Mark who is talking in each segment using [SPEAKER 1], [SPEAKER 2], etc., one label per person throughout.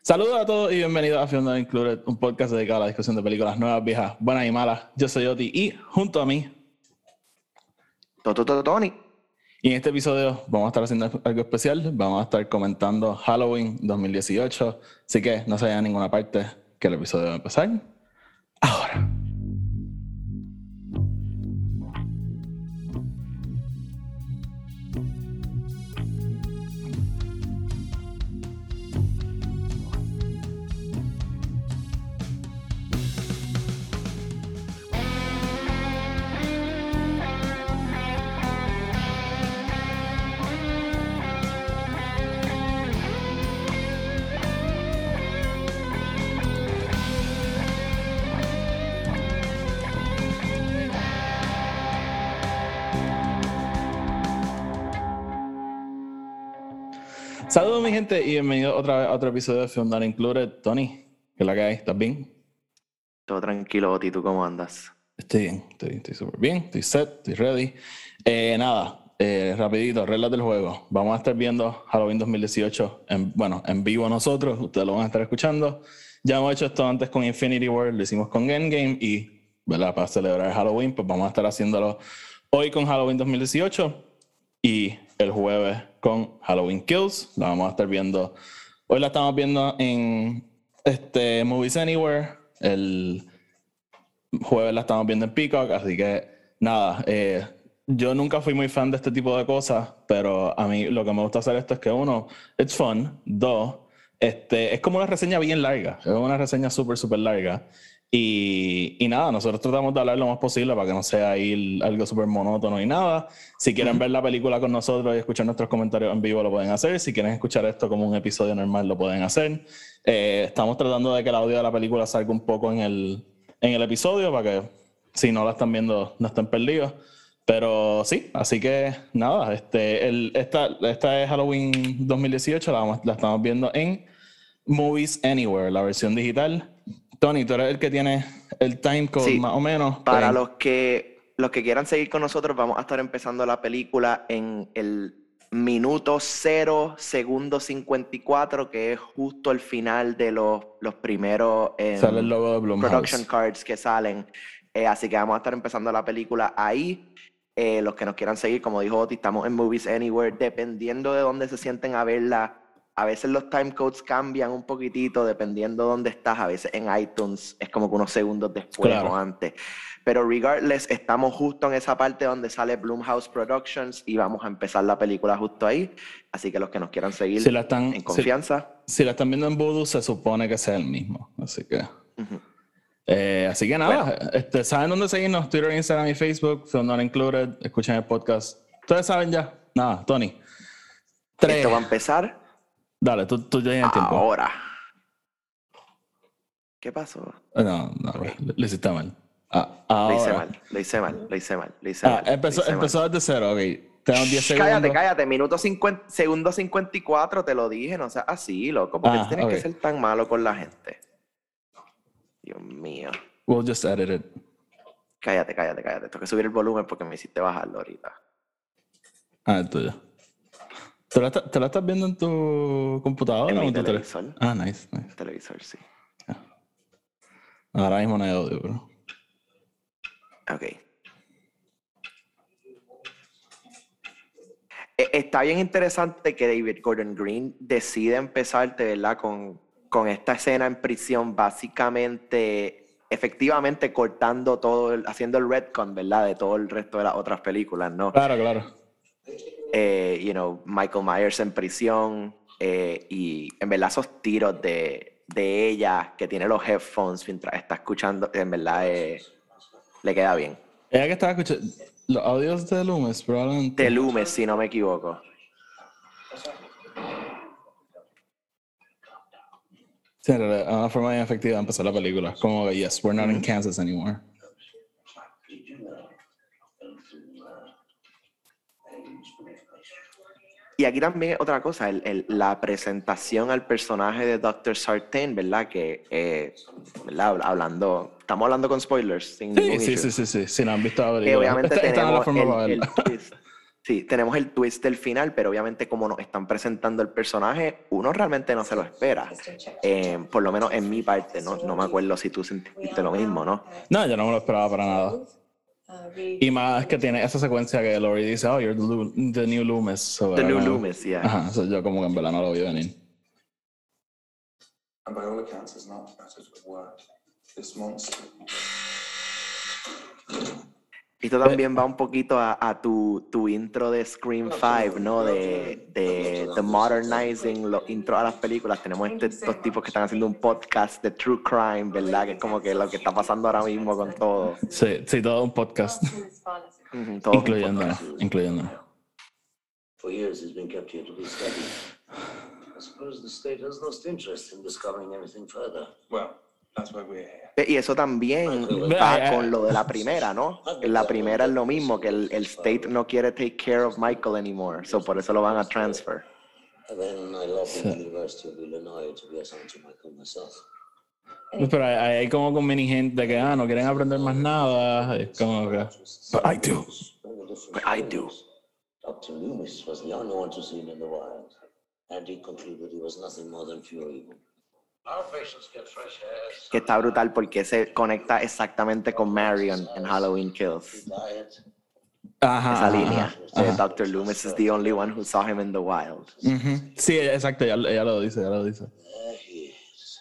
[SPEAKER 1] Saludos a todos y bienvenidos a Film Not Included, un podcast dedicado a la discusión de películas nuevas, viejas, buenas y malas. Yo soy Oti y junto a mí,
[SPEAKER 2] Tony.
[SPEAKER 1] y en este episodio vamos a estar haciendo algo especial. Vamos a estar comentando Halloween 2018, así que no se vayan a ninguna parte, que el episodio va a empezar ahora. Saludos mi gente y bienvenidos otra vez a otro episodio de Film Not Included. Tony, ¿qué es la que hay? ¿Estás bien?
[SPEAKER 2] Todo tranquilo, Oti, ¿tú cómo andas?
[SPEAKER 1] Estoy bien, estoy súper bien, estoy set, estoy ready. Rapidito, reglas del juego. Vamos a estar viendo Halloween 2018 en vivo nosotros, ustedes lo van a estar escuchando. Ya hemos hecho esto antes con Infinity War, lo hicimos con Endgame y, ¿verdad? Para celebrar Halloween, pues vamos a estar haciéndolo hoy con Halloween 2018 y el jueves con Halloween Kills. La vamos a estar viendo, hoy la estamos viendo en Movies Anywhere, el jueves la estamos viendo en Peacock, así que nada, yo nunca fui muy fan de este tipo de cosas, pero a mí lo que me gusta hacer esto es que uno, it's fun, dos, es como una reseña bien larga, es una reseña súper larga y nada, nosotros tratamos de hablar lo más posible para que no sea ahí algo súper monótono y nada. Si quieren ver la película con nosotros y escuchar nuestros comentarios en vivo lo pueden hacer, si quieren escuchar esto como un episodio normal lo pueden hacer. Estamos tratando de que el audio de la película salga un poco en el episodio para que si no la están viendo no estén perdidos. Pero sí, así que nada, esta es Halloween 2018, la estamos viendo en Movies Anywhere, la versión digital. Tony, tú eres el que tiene el timecode
[SPEAKER 2] Sí,
[SPEAKER 1] más o menos.
[SPEAKER 2] para los que quieran seguir con nosotros, vamos a estar empezando la película en el minuto 0, segundo 54, que es justo el final de los primeros
[SPEAKER 1] Sale el logo de Blumhouse.
[SPEAKER 2] production cards que salen. Así que vamos a estar empezando la película ahí. Los que nos quieran seguir, como dijo Oti, estamos en Movies Anywhere, dependiendo de dónde se sienten a verla. A veces los timecodes cambian un poquitito dependiendo de dónde estás. A veces en iTunes es como que unos segundos después o antes. Pero regardless, estamos justo en esa parte donde sale Blumhouse Productions y vamos a empezar la película justo ahí. Así que los que nos quieran seguir en confianza.
[SPEAKER 1] Si la están viendo en Vudu, se supone que sea el mismo. Así que... así que nada, bueno. ¿Saben dónde seguirnos? Twitter, Instagram y Facebook, Film Not Included, escuchen el podcast. Ustedes saben ya. Nada, Tony.
[SPEAKER 2] 3. Esto va a empezar.
[SPEAKER 1] Dale, tú ya tienes tiempo.
[SPEAKER 2] Ahora. ¿Qué pasó?
[SPEAKER 1] No, lo hiciste mal.
[SPEAKER 2] Lo hice mal.
[SPEAKER 1] Empezó desde cero, ok. Tenemos 10 segundos.
[SPEAKER 2] Cállate. Segundo 54, te lo dije, no seas así, loco. ¿Por qué tienes que ser tan malo con la gente? Dios mío.
[SPEAKER 1] We'll just edit it.
[SPEAKER 2] Cállate. Tengo que subir el volumen porque me hiciste bajarlo ahorita.
[SPEAKER 1] Es tuyo. ¿Te la estás viendo en tu computadora?
[SPEAKER 2] En mi televisor.
[SPEAKER 1] Nice.
[SPEAKER 2] Televisor, sí.
[SPEAKER 1] Ahora mismo no hay audio, bro.
[SPEAKER 2] Ok. Está bien interesante que David Gordon Green decide empezarte, ¿verdad? Con esta escena en prisión, básicamente, efectivamente cortando todo, haciendo el retcon, ¿verdad? De todo el resto de las otras películas, ¿no?
[SPEAKER 1] Claro.
[SPEAKER 2] Michael Myers en prisión y en verdad esos tiros de ella que tiene los headphones mientras está escuchando, en verdad le queda bien.
[SPEAKER 1] Ella que estaba escuchando los audios de Loomis, probablemente.
[SPEAKER 2] De Loomis, si no me equivoco.
[SPEAKER 1] Sí, en realidad, una forma bien efectiva de empezar la película. Como que, yes, we're not in Kansas anymore.
[SPEAKER 2] Y aquí también otra cosa, la presentación al personaje de Dr. Sartain, ¿verdad? Que, ¿verdad? Estamos hablando con spoilers.
[SPEAKER 1] Sí, si no han visto la película.
[SPEAKER 2] Que obviamente tenemos
[SPEAKER 1] la forma
[SPEAKER 2] el twist. Sí, tenemos el twist del final, pero obviamente como nos están presentando el personaje, uno realmente no se lo espera. Por lo menos en mi parte, no me acuerdo si tú sentiste lo mismo, ¿no?
[SPEAKER 1] No, yo no me lo esperaba para nada. Y más que tiene esa secuencia que Laurie dice, oh, you're the new Loomis. So,
[SPEAKER 2] The New Loomis, yeah.
[SPEAKER 1] Ajá, so yo como que en verdad no lo vi venir.
[SPEAKER 3] And by all accounts, it's not as it work. This monster.
[SPEAKER 2] Esto también va un poquito a tu intro de Scream 5, ¿no? De The Modernizing, los intros a las películas. Tenemos estos tipos que están haciendo un podcast de True Crime, ¿verdad? Que es como que lo que está pasando ahora mismo con todo.
[SPEAKER 1] Sí, todo un podcast.
[SPEAKER 2] Todo
[SPEAKER 1] Incluyéndonos.
[SPEAKER 4] For years he's been kept here to be studied. I suppose the state has lost interest in discovering anything further.
[SPEAKER 3] Well, that's why we're here.
[SPEAKER 2] Y eso también va con lo de la primera, ¿no? En la primera es lo mismo, que el state no quiere take care of Michael anymore, so por eso lo van a transfer.
[SPEAKER 4] And then I lobbied the University of Illinois to be assigned to Michael myself.
[SPEAKER 1] Pero hay como con mini gente que no quieren aprender más nada. Es como que. But I do.
[SPEAKER 2] But I do.
[SPEAKER 4] Dr. Loomis was the only one to see him in the wild, and he concluded he was nothing more than pure evil. Our patients get fresh air.
[SPEAKER 2] Que está brutal porque se conecta exactamente con Marion en Halloween Kills.
[SPEAKER 4] Diet.
[SPEAKER 1] Ajá.
[SPEAKER 2] Esa línea. Dr. Loomis is the only one who saw him in the wild.
[SPEAKER 1] Sí, exacto, ella lo dice.
[SPEAKER 4] There he is.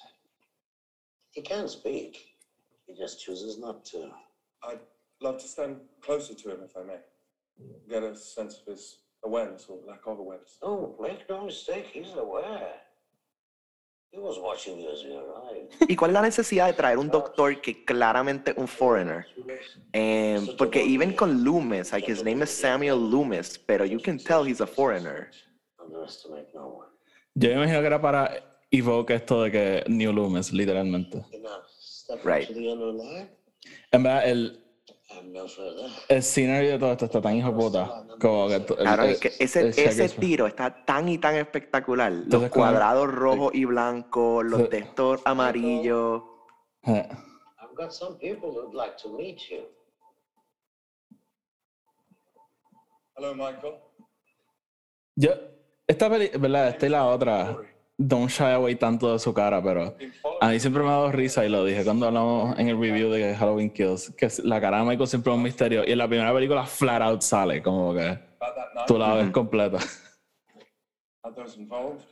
[SPEAKER 4] He can speak. He just chooses not to.
[SPEAKER 3] I'd love to stand closer to him if I may. Get a sense of his awareness or lack of awareness.
[SPEAKER 4] Oh, make no mistake, he's aware. He was watching you as you arrived.
[SPEAKER 2] ¿Y cuál es la necesidad de traer un doctor que claramente es un foreigner? Porque even con Loomis, like his name is Samuel Loomis, pero you can tell he's a foreigner.
[SPEAKER 4] Underestimate no one.
[SPEAKER 1] Yo me imagino que era para evoke esto de que New Loomis, literalmente.
[SPEAKER 4] Enough. Step
[SPEAKER 2] Right.
[SPEAKER 4] into the unknown line.
[SPEAKER 1] En verdad,
[SPEAKER 4] I'm no further.
[SPEAKER 1] el scenery de todo esto está tan hijo de puta. Como que
[SPEAKER 2] Claro, es que ese tiro está tan y tan espectacular. Los
[SPEAKER 1] Entonces,
[SPEAKER 2] cuadrados rojos y blancos, los de estos amarillos.
[SPEAKER 4] I've got some people who'd like to meet you.
[SPEAKER 3] Hello, Michael.
[SPEAKER 1] Yo, ¿verdad? Esta y la otra, don't shy away tanto de su cara, pero a mí siempre me ha dado risa y lo dije cuando hablamos en el review de Halloween Kills, que la cara de Michael siempre es un misterio y en la primera película flat out sale, como que
[SPEAKER 3] About that night,
[SPEAKER 1] tú la ves completa.
[SPEAKER 3] are those involved?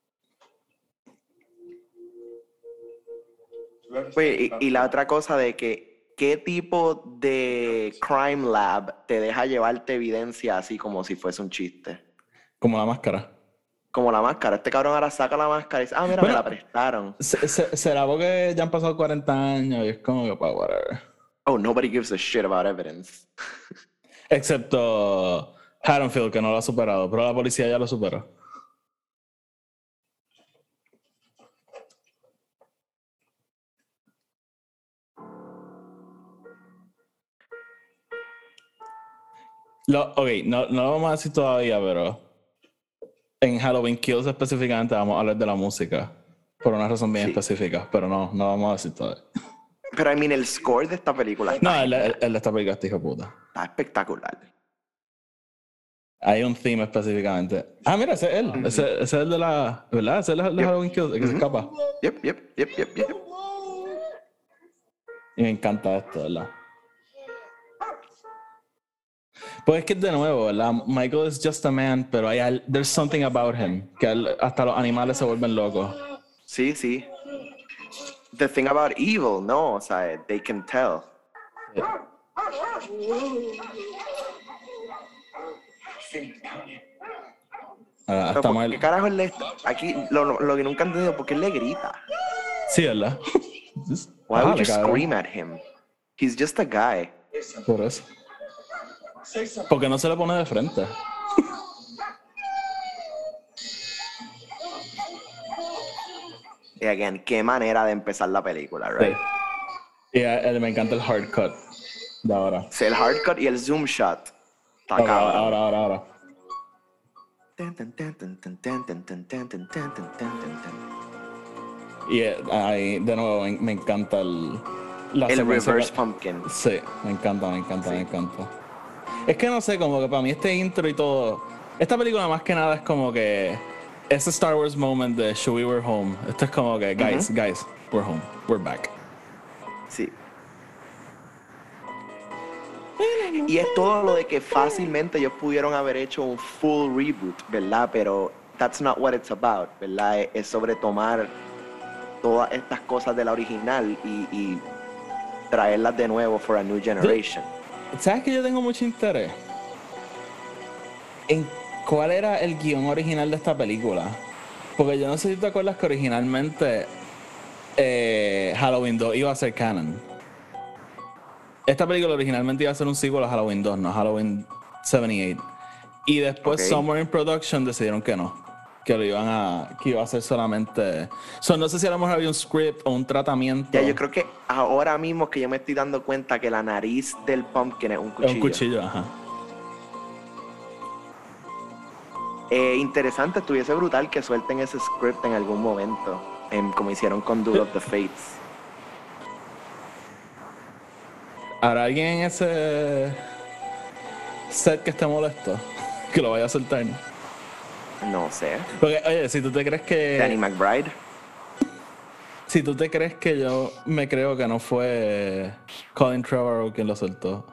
[SPEAKER 3] Do you ever
[SPEAKER 2] Oye,
[SPEAKER 3] think
[SPEAKER 2] y
[SPEAKER 3] about
[SPEAKER 2] la otra cosa de que, ¿qué tipo de crime lab te deja llevarte evidencia así como si fuese un chiste?
[SPEAKER 1] Como la máscara.
[SPEAKER 2] Como la máscara. Este cabrón ahora saca la máscara y dice, mira,
[SPEAKER 1] Bueno,
[SPEAKER 2] me la prestaron.
[SPEAKER 1] ¿Será porque ya han pasado 40 años y es como que, pues, whatever?
[SPEAKER 2] Oh, nobody gives a shit about evidence.
[SPEAKER 1] Excepto Haddonfield, que no lo ha superado, pero la policía ya lo superó. Ok, no lo vamos a decir todavía, pero en Halloween Kills específicamente vamos a hablar de la música. Por una razón bien
[SPEAKER 2] Sí.
[SPEAKER 1] específica, pero no vamos a decir todavía.
[SPEAKER 2] Pero, I mean, el score de esta película
[SPEAKER 1] No,
[SPEAKER 2] está,
[SPEAKER 1] el de esta película está hijo de puta.
[SPEAKER 2] está espectacular.
[SPEAKER 1] Hay un theme específicamente. Ah, mira, ese es él. Ese es el de la... ¿Verdad? Ese es el de
[SPEAKER 2] Yep.
[SPEAKER 1] Halloween Kills, el que se escapa.
[SPEAKER 2] Yep.
[SPEAKER 1] Y me encanta esto, ¿verdad? Pues es que de nuevo, ¿verdad? Michael is just a man, pero there's something about him, que hasta los animales se vuelven locos.
[SPEAKER 2] Sí. The thing about evil, no, o sea, they can tell. Pero
[SPEAKER 1] Hasta
[SPEAKER 2] ¿por
[SPEAKER 1] mal.
[SPEAKER 2] qué carajo él aquí lo que nunca he entendido, ¿por qué él le grita?
[SPEAKER 1] Sí, ¿verdad?
[SPEAKER 2] Why would you
[SPEAKER 1] Cabrón.
[SPEAKER 2] scream at him? He's just a guy.
[SPEAKER 1] Por eso.
[SPEAKER 3] say something?
[SPEAKER 1] Porque no se le pone de frente.
[SPEAKER 2] Y again, qué manera de empezar la película, right?
[SPEAKER 1] Sí. Y me encanta el hard cut de ahora.
[SPEAKER 2] O sea, el hard cut y el zoom shot. Está
[SPEAKER 1] Ahora,
[SPEAKER 2] cabrón.
[SPEAKER 1] ahora. Y ahí, de nuevo, me encanta la
[SPEAKER 2] El
[SPEAKER 1] secuencia
[SPEAKER 2] reverse
[SPEAKER 1] que-
[SPEAKER 2] pumpkin.
[SPEAKER 1] Sí, me encanta. Es que no sé, como que para mí este intro y todo. Esta película más que nada es como que. Ese Star Wars moment de Chewie, we're home. Esto es como que, guys, we're home. We're back.
[SPEAKER 2] Sí. Y es todo lo de que fácilmente ellos pudieron haber hecho un full reboot, ¿verdad? Pero that's not what it's about, ¿verdad? Es sobre tomar todas estas cosas de la original y traerlas de nuevo for a new generation.
[SPEAKER 1] ¿Sabes que yo tengo mucho interés en cuál era el guión original de esta película? Porque yo no sé si te acuerdas que originalmente Halloween 2 iba a ser canon. Esta película originalmente iba a ser un sequel a Halloween 2, no Halloween 78. Y después Somewhere in Production decidieron que no. Que iba a ser solamente. No sé si a lo mejor había un script o un tratamiento.
[SPEAKER 2] Ya, yo creo que ahora mismo que yo me estoy dando cuenta que la nariz del pumpkin es un cuchillo.
[SPEAKER 1] Es un cuchillo, ajá.
[SPEAKER 2] Interesante, estuviese brutal que suelten ese script en algún momento, como hicieron con Duel of the Fates.
[SPEAKER 1] ¿Habrá alguien en ese set que esté molesto? Que lo vaya a soltar.
[SPEAKER 2] No sé.
[SPEAKER 1] Porque, oye, si tú te crees que.
[SPEAKER 2] Danny McBride.
[SPEAKER 1] Si tú te crees que yo me creo que no fue Colin Trevorrow quien lo soltó.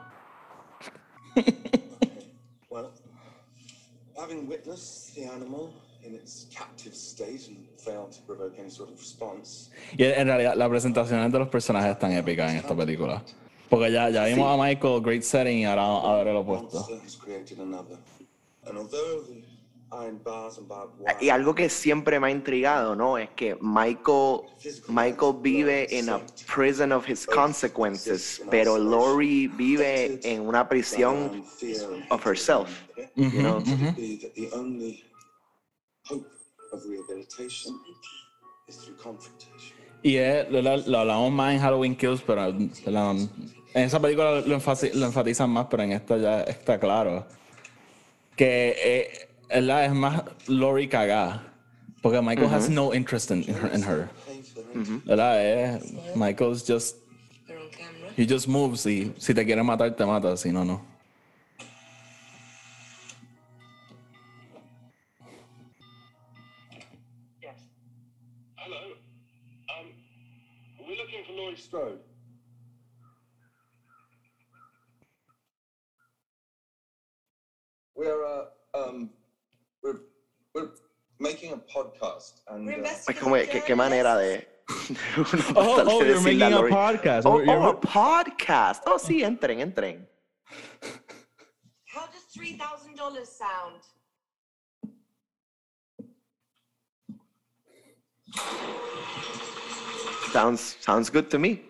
[SPEAKER 3] Well, having witnessed the animal in its captive state and failed to provoke any sort of response.
[SPEAKER 1] Y en realidad, las presentaciones de los personajes están épicas en esta película. Porque ya vimos a Michael, great setting, y ahora el opuesto.
[SPEAKER 2] Y algo que siempre me ha intrigado, ¿no? Es que Michael vive en a prison of his consequences, pero Laurie vive en una prisión of herself. You know?
[SPEAKER 3] The only hope of rehabilitation is through confrontation.
[SPEAKER 1] Y lo hablamos más en Halloween Kills, pero en esa película lo enfatizan más, pero en esta ya está claro. Que es más Laurie cagada. Porque Michael has no interest in her. ¿Verdad? Michael's just. He just moves y si te quiere matar, te mata, si no, no.
[SPEAKER 3] Yes. Hello. We're looking for Laurie Strode. We're making a podcast and
[SPEAKER 2] Es como, ¿qué manera de...
[SPEAKER 1] you're making a podcast.
[SPEAKER 2] A podcast. Oh, sí, entren.
[SPEAKER 5] How does $3,000 sound?
[SPEAKER 2] Sounds good to me.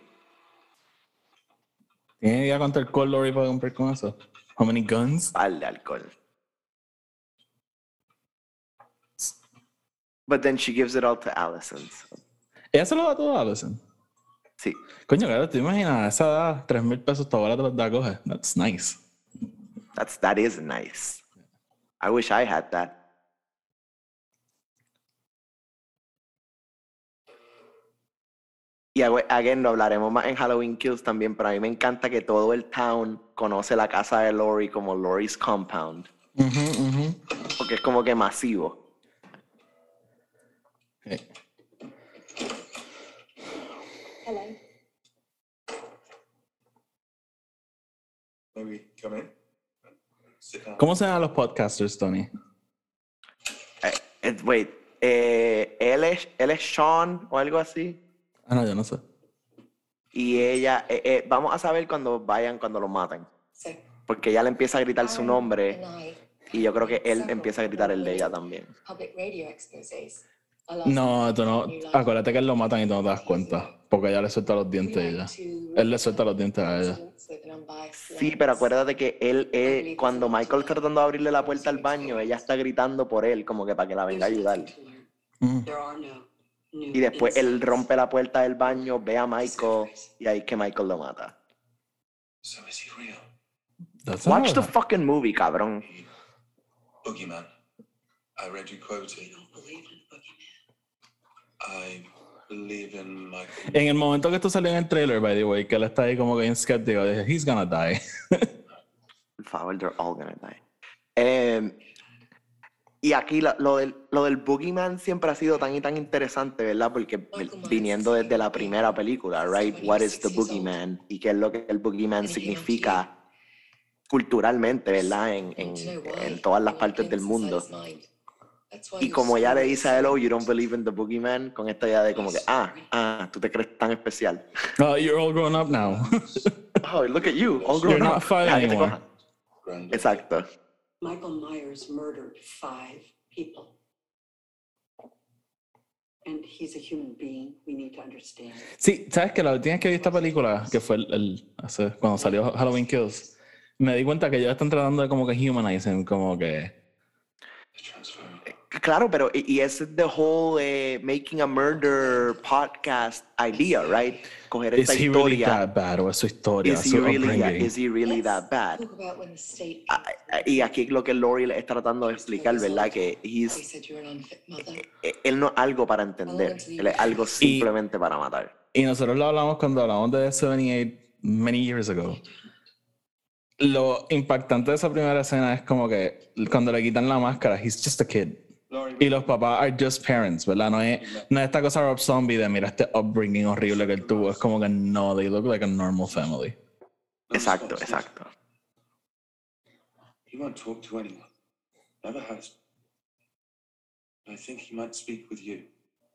[SPEAKER 1] ¿Tienes idea cuánto alcohol Laurie puede comprar con eso? How many guns?
[SPEAKER 2] Al de alcohol. But then she gives it all to Allison. So.
[SPEAKER 1] Ella se lo da todo a Allison.
[SPEAKER 2] Sí.
[SPEAKER 1] Coño, claro, te imaginas, a esa edad, $3,000 tu abuela te los da a coger. That's nice.
[SPEAKER 2] That is nice. I wish I had that. Y again, lo hablaremos más en Halloween Kills también, pero a mí me encanta que todo el town conoce la casa de Laurie como Laurie's Compound. Porque es como que masivo.
[SPEAKER 5] Hello.
[SPEAKER 3] maybe come in. Sit down.
[SPEAKER 1] ¿Cómo se llaman los podcasters, Tony?
[SPEAKER 2] Wait, él es Sean o algo así.
[SPEAKER 1] Ah, no, yo no sé.
[SPEAKER 2] Y ella, vamos a saber cuando lo maten.
[SPEAKER 5] So,
[SPEAKER 2] Porque ella le empieza a gritar su
[SPEAKER 5] Aaron
[SPEAKER 2] nombre
[SPEAKER 5] and I
[SPEAKER 2] y yo creo que él
[SPEAKER 5] several
[SPEAKER 2] empieza a gritar el de ella también.
[SPEAKER 5] public radio exposés. Our last
[SPEAKER 1] No, tú no.
[SPEAKER 5] new life.
[SPEAKER 1] Acuérdate que él lo matan y tú no te das cuenta. Porque ella le suelta los dientes a ella. Él le suelta los dientes a ella.
[SPEAKER 2] Sí, pero acuérdate que él, cuando Michael está tratando de abrirle la puerta al baño, ella está gritando por él, como que para que la venga a ayudar. Y después él rompe la puerta del baño, ve a Michael y ahí es que Michael lo mata.
[SPEAKER 3] So is he real?
[SPEAKER 1] That's
[SPEAKER 2] Watch
[SPEAKER 1] not
[SPEAKER 2] the
[SPEAKER 1] right.
[SPEAKER 2] fucking movie, cabrón.
[SPEAKER 3] Boogeyman. I read you quoted. I believe in my.
[SPEAKER 1] En el momento que esto salió en el trailer, by the way, que él está ahí como que bien skeptico, dije, he's gonna die.
[SPEAKER 2] Por favor, they're all gonna die. Y aquí lo del Boogeyman siempre ha sido tan y tan interesante, ¿verdad? Porque viniendo desde la primera película, right? What is the Boogeyman? Y qué es lo que el Boogeyman significa culturalmente, ¿verdad? En todas las partes del mundo. Y como ella le dice a él, oh, you don't believe in the Boogeyman, con esta idea de como que, tú te crees tan especial.
[SPEAKER 1] You're all grown up now.
[SPEAKER 2] Oh, look at you, all grown
[SPEAKER 1] You're
[SPEAKER 2] up.
[SPEAKER 1] not five anymore.
[SPEAKER 2] Exacto.
[SPEAKER 6] Michael Myers murdered 5 people. And he's a human being. We need to understand.
[SPEAKER 1] Sí, sabes que la última vez que vi esta película, que fue cuando salió Halloween Kills, me di cuenta que ellos están tratando de como que humanizing, como que...
[SPEAKER 2] Claro, pero y ese es the whole making a murder podcast idea, right? Coger esta
[SPEAKER 1] Is he
[SPEAKER 2] historia.
[SPEAKER 1] really that bad? O es su historia,
[SPEAKER 2] Is he
[SPEAKER 1] su
[SPEAKER 2] really,
[SPEAKER 1] upbringing.
[SPEAKER 2] is he really that bad?
[SPEAKER 5] Talk about when the state
[SPEAKER 2] Y aquí lo que Laurie le está tratando de explicar, ¿verdad? Que
[SPEAKER 5] He said you're an unfit mother.
[SPEAKER 2] él no es algo para entender, él es algo simplemente para matar.
[SPEAKER 1] Y nosotros lo hablamos cuando hablamos de 78 many years ago. Lo impactante de esa primera escena es como que cuando le quitan la máscara, he's just a kid. Y los papás are just parents, ¿verdad? No es esta cosa Rob Zombie de mira este upbringing horrible que él tuvo. Es como que no, they look like a normal family.
[SPEAKER 2] Exacto, exacto.
[SPEAKER 3] He won't talk to anyone. Never has. I think he might speak with you.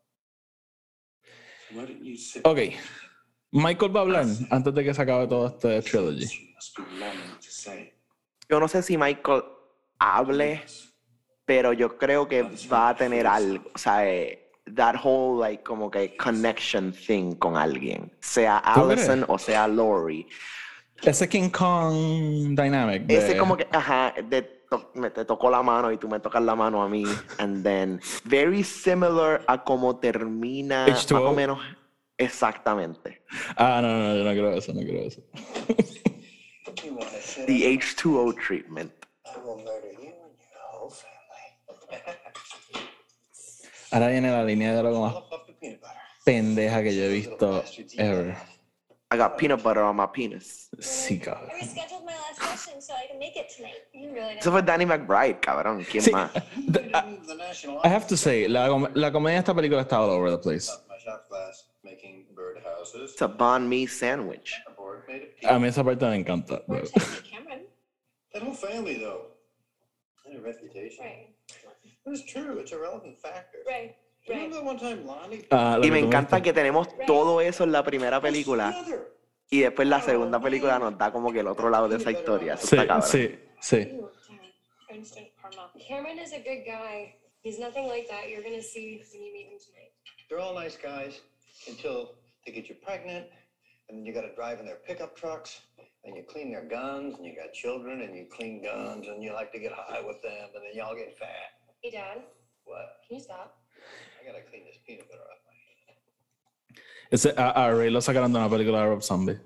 [SPEAKER 3] So why don't you sit?
[SPEAKER 1] Ok. Michael va a hablar antes de que se acabe todo este trilogy.
[SPEAKER 3] You must be longing to say.
[SPEAKER 2] Yo no sé si Michael hable, pero yo creo que va a tener algo, o sea, that whole like como que connection thing con alguien, sea
[SPEAKER 1] ¿Tú
[SPEAKER 2] Allison
[SPEAKER 1] crees?
[SPEAKER 2] o sea Laurie.
[SPEAKER 1] Ese King Kong dynamic.
[SPEAKER 2] Ese como que, te tocó la mano y tú me tocas la mano a mí, and then very similar a como termina
[SPEAKER 1] H2O.
[SPEAKER 2] más o menos exactamente.
[SPEAKER 1] No, yo no creo eso, no creo eso.
[SPEAKER 3] You want to sit?
[SPEAKER 2] The H2O treatment.
[SPEAKER 3] I will murder you and your whole family.
[SPEAKER 1] Ahora viene la línea de lo más
[SPEAKER 3] Puff up the peanut butter.
[SPEAKER 1] pendeja que yo he visto ever.
[SPEAKER 2] I got peanut butter on my penis.
[SPEAKER 1] Sí, cabrón.
[SPEAKER 7] I rescheduled my last session so I can make it tonight. You really
[SPEAKER 2] Eso fue Danny McBride, cabrón. ¿Quién
[SPEAKER 1] Sí,
[SPEAKER 2] más?
[SPEAKER 3] The national
[SPEAKER 1] I have to say, la comedia de esta película está all over the place.
[SPEAKER 3] my shop class making birdhouses.
[SPEAKER 2] It's a banh mi sandwich.
[SPEAKER 3] Our board made a
[SPEAKER 1] A
[SPEAKER 3] pizza.
[SPEAKER 1] mí esa parte me encanta.
[SPEAKER 7] We're
[SPEAKER 1] pero-
[SPEAKER 7] texting Cameron.
[SPEAKER 3] That whole family, though, had a reputation.
[SPEAKER 7] Right.
[SPEAKER 3] But it's true. It's a relevant factor.
[SPEAKER 7] Right.
[SPEAKER 3] Remember that one time Lonnie?
[SPEAKER 1] Ah, lo
[SPEAKER 2] Y
[SPEAKER 1] que
[SPEAKER 2] me
[SPEAKER 1] tú
[SPEAKER 2] encanta
[SPEAKER 1] viste.
[SPEAKER 2] que tenemos todo eso en la primera película
[SPEAKER 3] Together.
[SPEAKER 2] y después la segunda película nos da como que el otro lado de esa historia. Eso
[SPEAKER 1] Sí,
[SPEAKER 2] está cabrón.
[SPEAKER 1] sí.
[SPEAKER 7] Ew, Darren. Instant karma. Cameron is a good guy. He's nothing like that. You're gonna see when you meet him tonight.
[SPEAKER 8] They're all nice guys until they get you pregnant, and then you got to drive in their pickup trucks, and you clean their guns, and you got children, and you clean guns, and you like to get high with them, and then y'all get fat.
[SPEAKER 7] Hey, Dad.
[SPEAKER 8] What?
[SPEAKER 7] Can you stop?
[SPEAKER 8] I gotta clean this peanut butter off my hand.
[SPEAKER 1] Ese, a Ray lo sacaron de una película de Rob Zombie.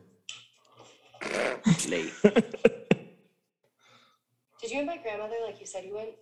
[SPEAKER 2] Ley.
[SPEAKER 7] Did you invite grandmother like you said you would?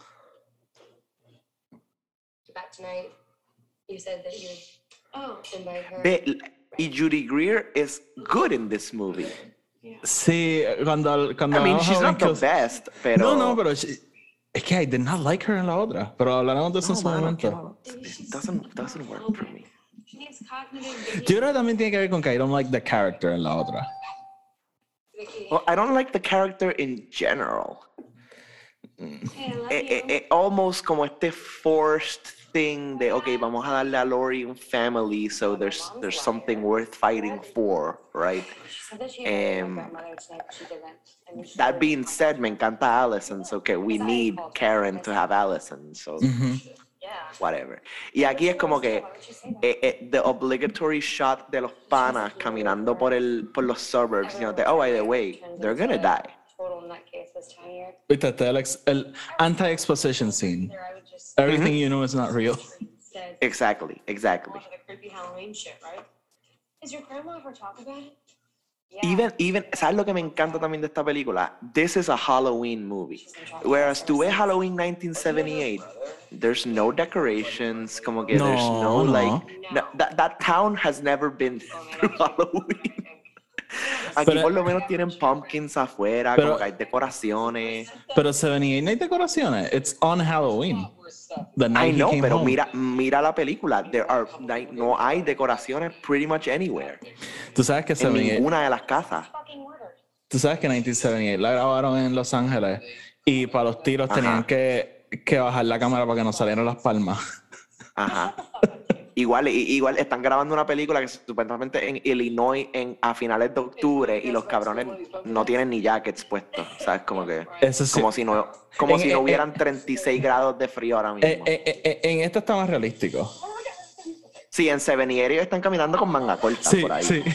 [SPEAKER 7] Back tonight. You said that you would invite her.
[SPEAKER 2] Y Judy Greer is good in this movie.
[SPEAKER 1] Sí, cuando
[SPEAKER 2] I mean,
[SPEAKER 1] hablamos
[SPEAKER 2] she's
[SPEAKER 1] de
[SPEAKER 2] not the
[SPEAKER 1] Kills-
[SPEAKER 2] best, pero...
[SPEAKER 1] No, pero es que I did not like her en la otra. Pero hablaremos de eso en su momento.
[SPEAKER 2] It doesn't work for me.
[SPEAKER 7] She needs cognitive
[SPEAKER 1] Yo creo que también tiene que ver con que I don't like the character en la otra.
[SPEAKER 7] Vicky.
[SPEAKER 2] Well, I don't like the character in general.
[SPEAKER 7] Hey, I love you.
[SPEAKER 2] Almost como este forced thing de, okay, vamos a darle a Laurie un family, so there's something worth fighting for, right?
[SPEAKER 7] She said that she invited
[SPEAKER 2] Um,
[SPEAKER 7] my grandmother tonight, but she didn't. I mean, she
[SPEAKER 2] That
[SPEAKER 7] didn't.
[SPEAKER 2] being said, me encanta Allison, so que we need Karen to have Allison, so
[SPEAKER 7] Yeah.
[SPEAKER 2] whatever. Y aquí es como que the obligatory shot de los panas caminando por los suburbs, you know, de, oh, by the way, they're gonna die.
[SPEAKER 7] Total nutcase was tinier.
[SPEAKER 1] Viste, el anti-exposition scene.
[SPEAKER 7] There, I would just
[SPEAKER 1] Everything you know is not real.
[SPEAKER 7] instead
[SPEAKER 2] Exactly.
[SPEAKER 7] all of the creepy Halloween shit, right? Does your grandma ever talk about it?
[SPEAKER 2] Even, ¿sabes lo que me encanta también de esta película? This is a Halloween movie. Whereas tú ves Halloween 1978, there's no decorations, como que there's no,
[SPEAKER 1] No.
[SPEAKER 2] like, that town has never been through Halloween. Aquí
[SPEAKER 1] Pero-
[SPEAKER 2] por lo menos tienen pumpkins afuera,
[SPEAKER 1] Pero-
[SPEAKER 2] como que hay decoraciones.
[SPEAKER 1] Pero 78 no hay decoraciones. It's on Halloween. The
[SPEAKER 2] I
[SPEAKER 1] night he
[SPEAKER 2] know,
[SPEAKER 1] came
[SPEAKER 2] pero
[SPEAKER 1] home.
[SPEAKER 2] mira la película. No hay decoraciones pretty much anywhere.
[SPEAKER 1] Tú sabes que
[SPEAKER 2] En
[SPEAKER 1] 78
[SPEAKER 2] ninguna de las casas.
[SPEAKER 1] Tú sabes que 1978 la grabaron en Los Ángeles y para los tiros
[SPEAKER 2] Ajá.
[SPEAKER 1] tenían que bajar la cámara para que no salieran las palmas.
[SPEAKER 2] Ajá. Igual están grabando una película que supuestamente en Illinois a finales de octubre y los cabrones no tienen ni jackets puestos. ¿Sabes? Como que
[SPEAKER 1] Eso sí.
[SPEAKER 2] como si no hubieran 36 grados de frío ahora mismo.
[SPEAKER 1] En esto está más realístico.
[SPEAKER 2] Sí, en 78 ellos están caminando con manga corta
[SPEAKER 1] Sí,
[SPEAKER 2] por ahí.
[SPEAKER 1] sí.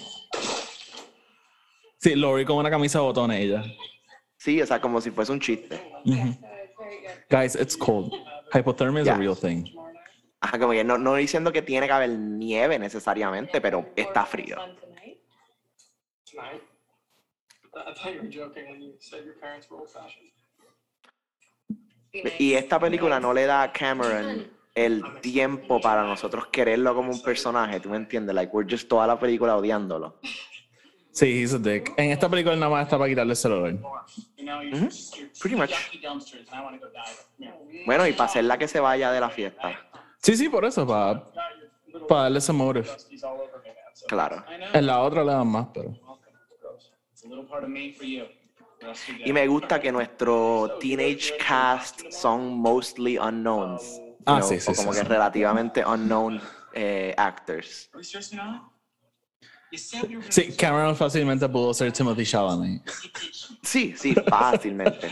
[SPEAKER 1] Sí, Lori con una camisa de botones ella.
[SPEAKER 2] Sí, o sea, como si fuese un chiste.
[SPEAKER 1] Guys, it's cold. Hypothermia is a
[SPEAKER 2] Yeah.
[SPEAKER 1] real thing.
[SPEAKER 2] Ajá, como que no diciendo que tiene que haber nieve necesariamente, pero está frío.
[SPEAKER 9] Tonight? I thought you were joking when you said your parents were old-fashioned.
[SPEAKER 2] Y esta película no le da a Cameron el tiempo para nosotros quererlo como un personaje, ¿tú me entiendes? Like, we're just toda la película odiándolo.
[SPEAKER 1] Sí, he's a dick. En esta película nada más está para quitarle el celular.
[SPEAKER 2] Pretty much. Bueno, y para hacerla que se vaya de la fiesta.
[SPEAKER 1] Sí, sí, por eso, para darle ese motive.
[SPEAKER 2] Claro.
[SPEAKER 1] En la otra le dan más, pero...
[SPEAKER 2] Y me gusta que nuestro teenage cast son mostly unknowns.
[SPEAKER 1] Ah, sí, sí,
[SPEAKER 2] o como
[SPEAKER 1] sí,
[SPEAKER 2] que
[SPEAKER 1] sí.
[SPEAKER 2] relativamente unknown actors.
[SPEAKER 1] Sí, Cameron fácilmente pudo ser Timothy Chalamet.
[SPEAKER 2] Sí, fácilmente.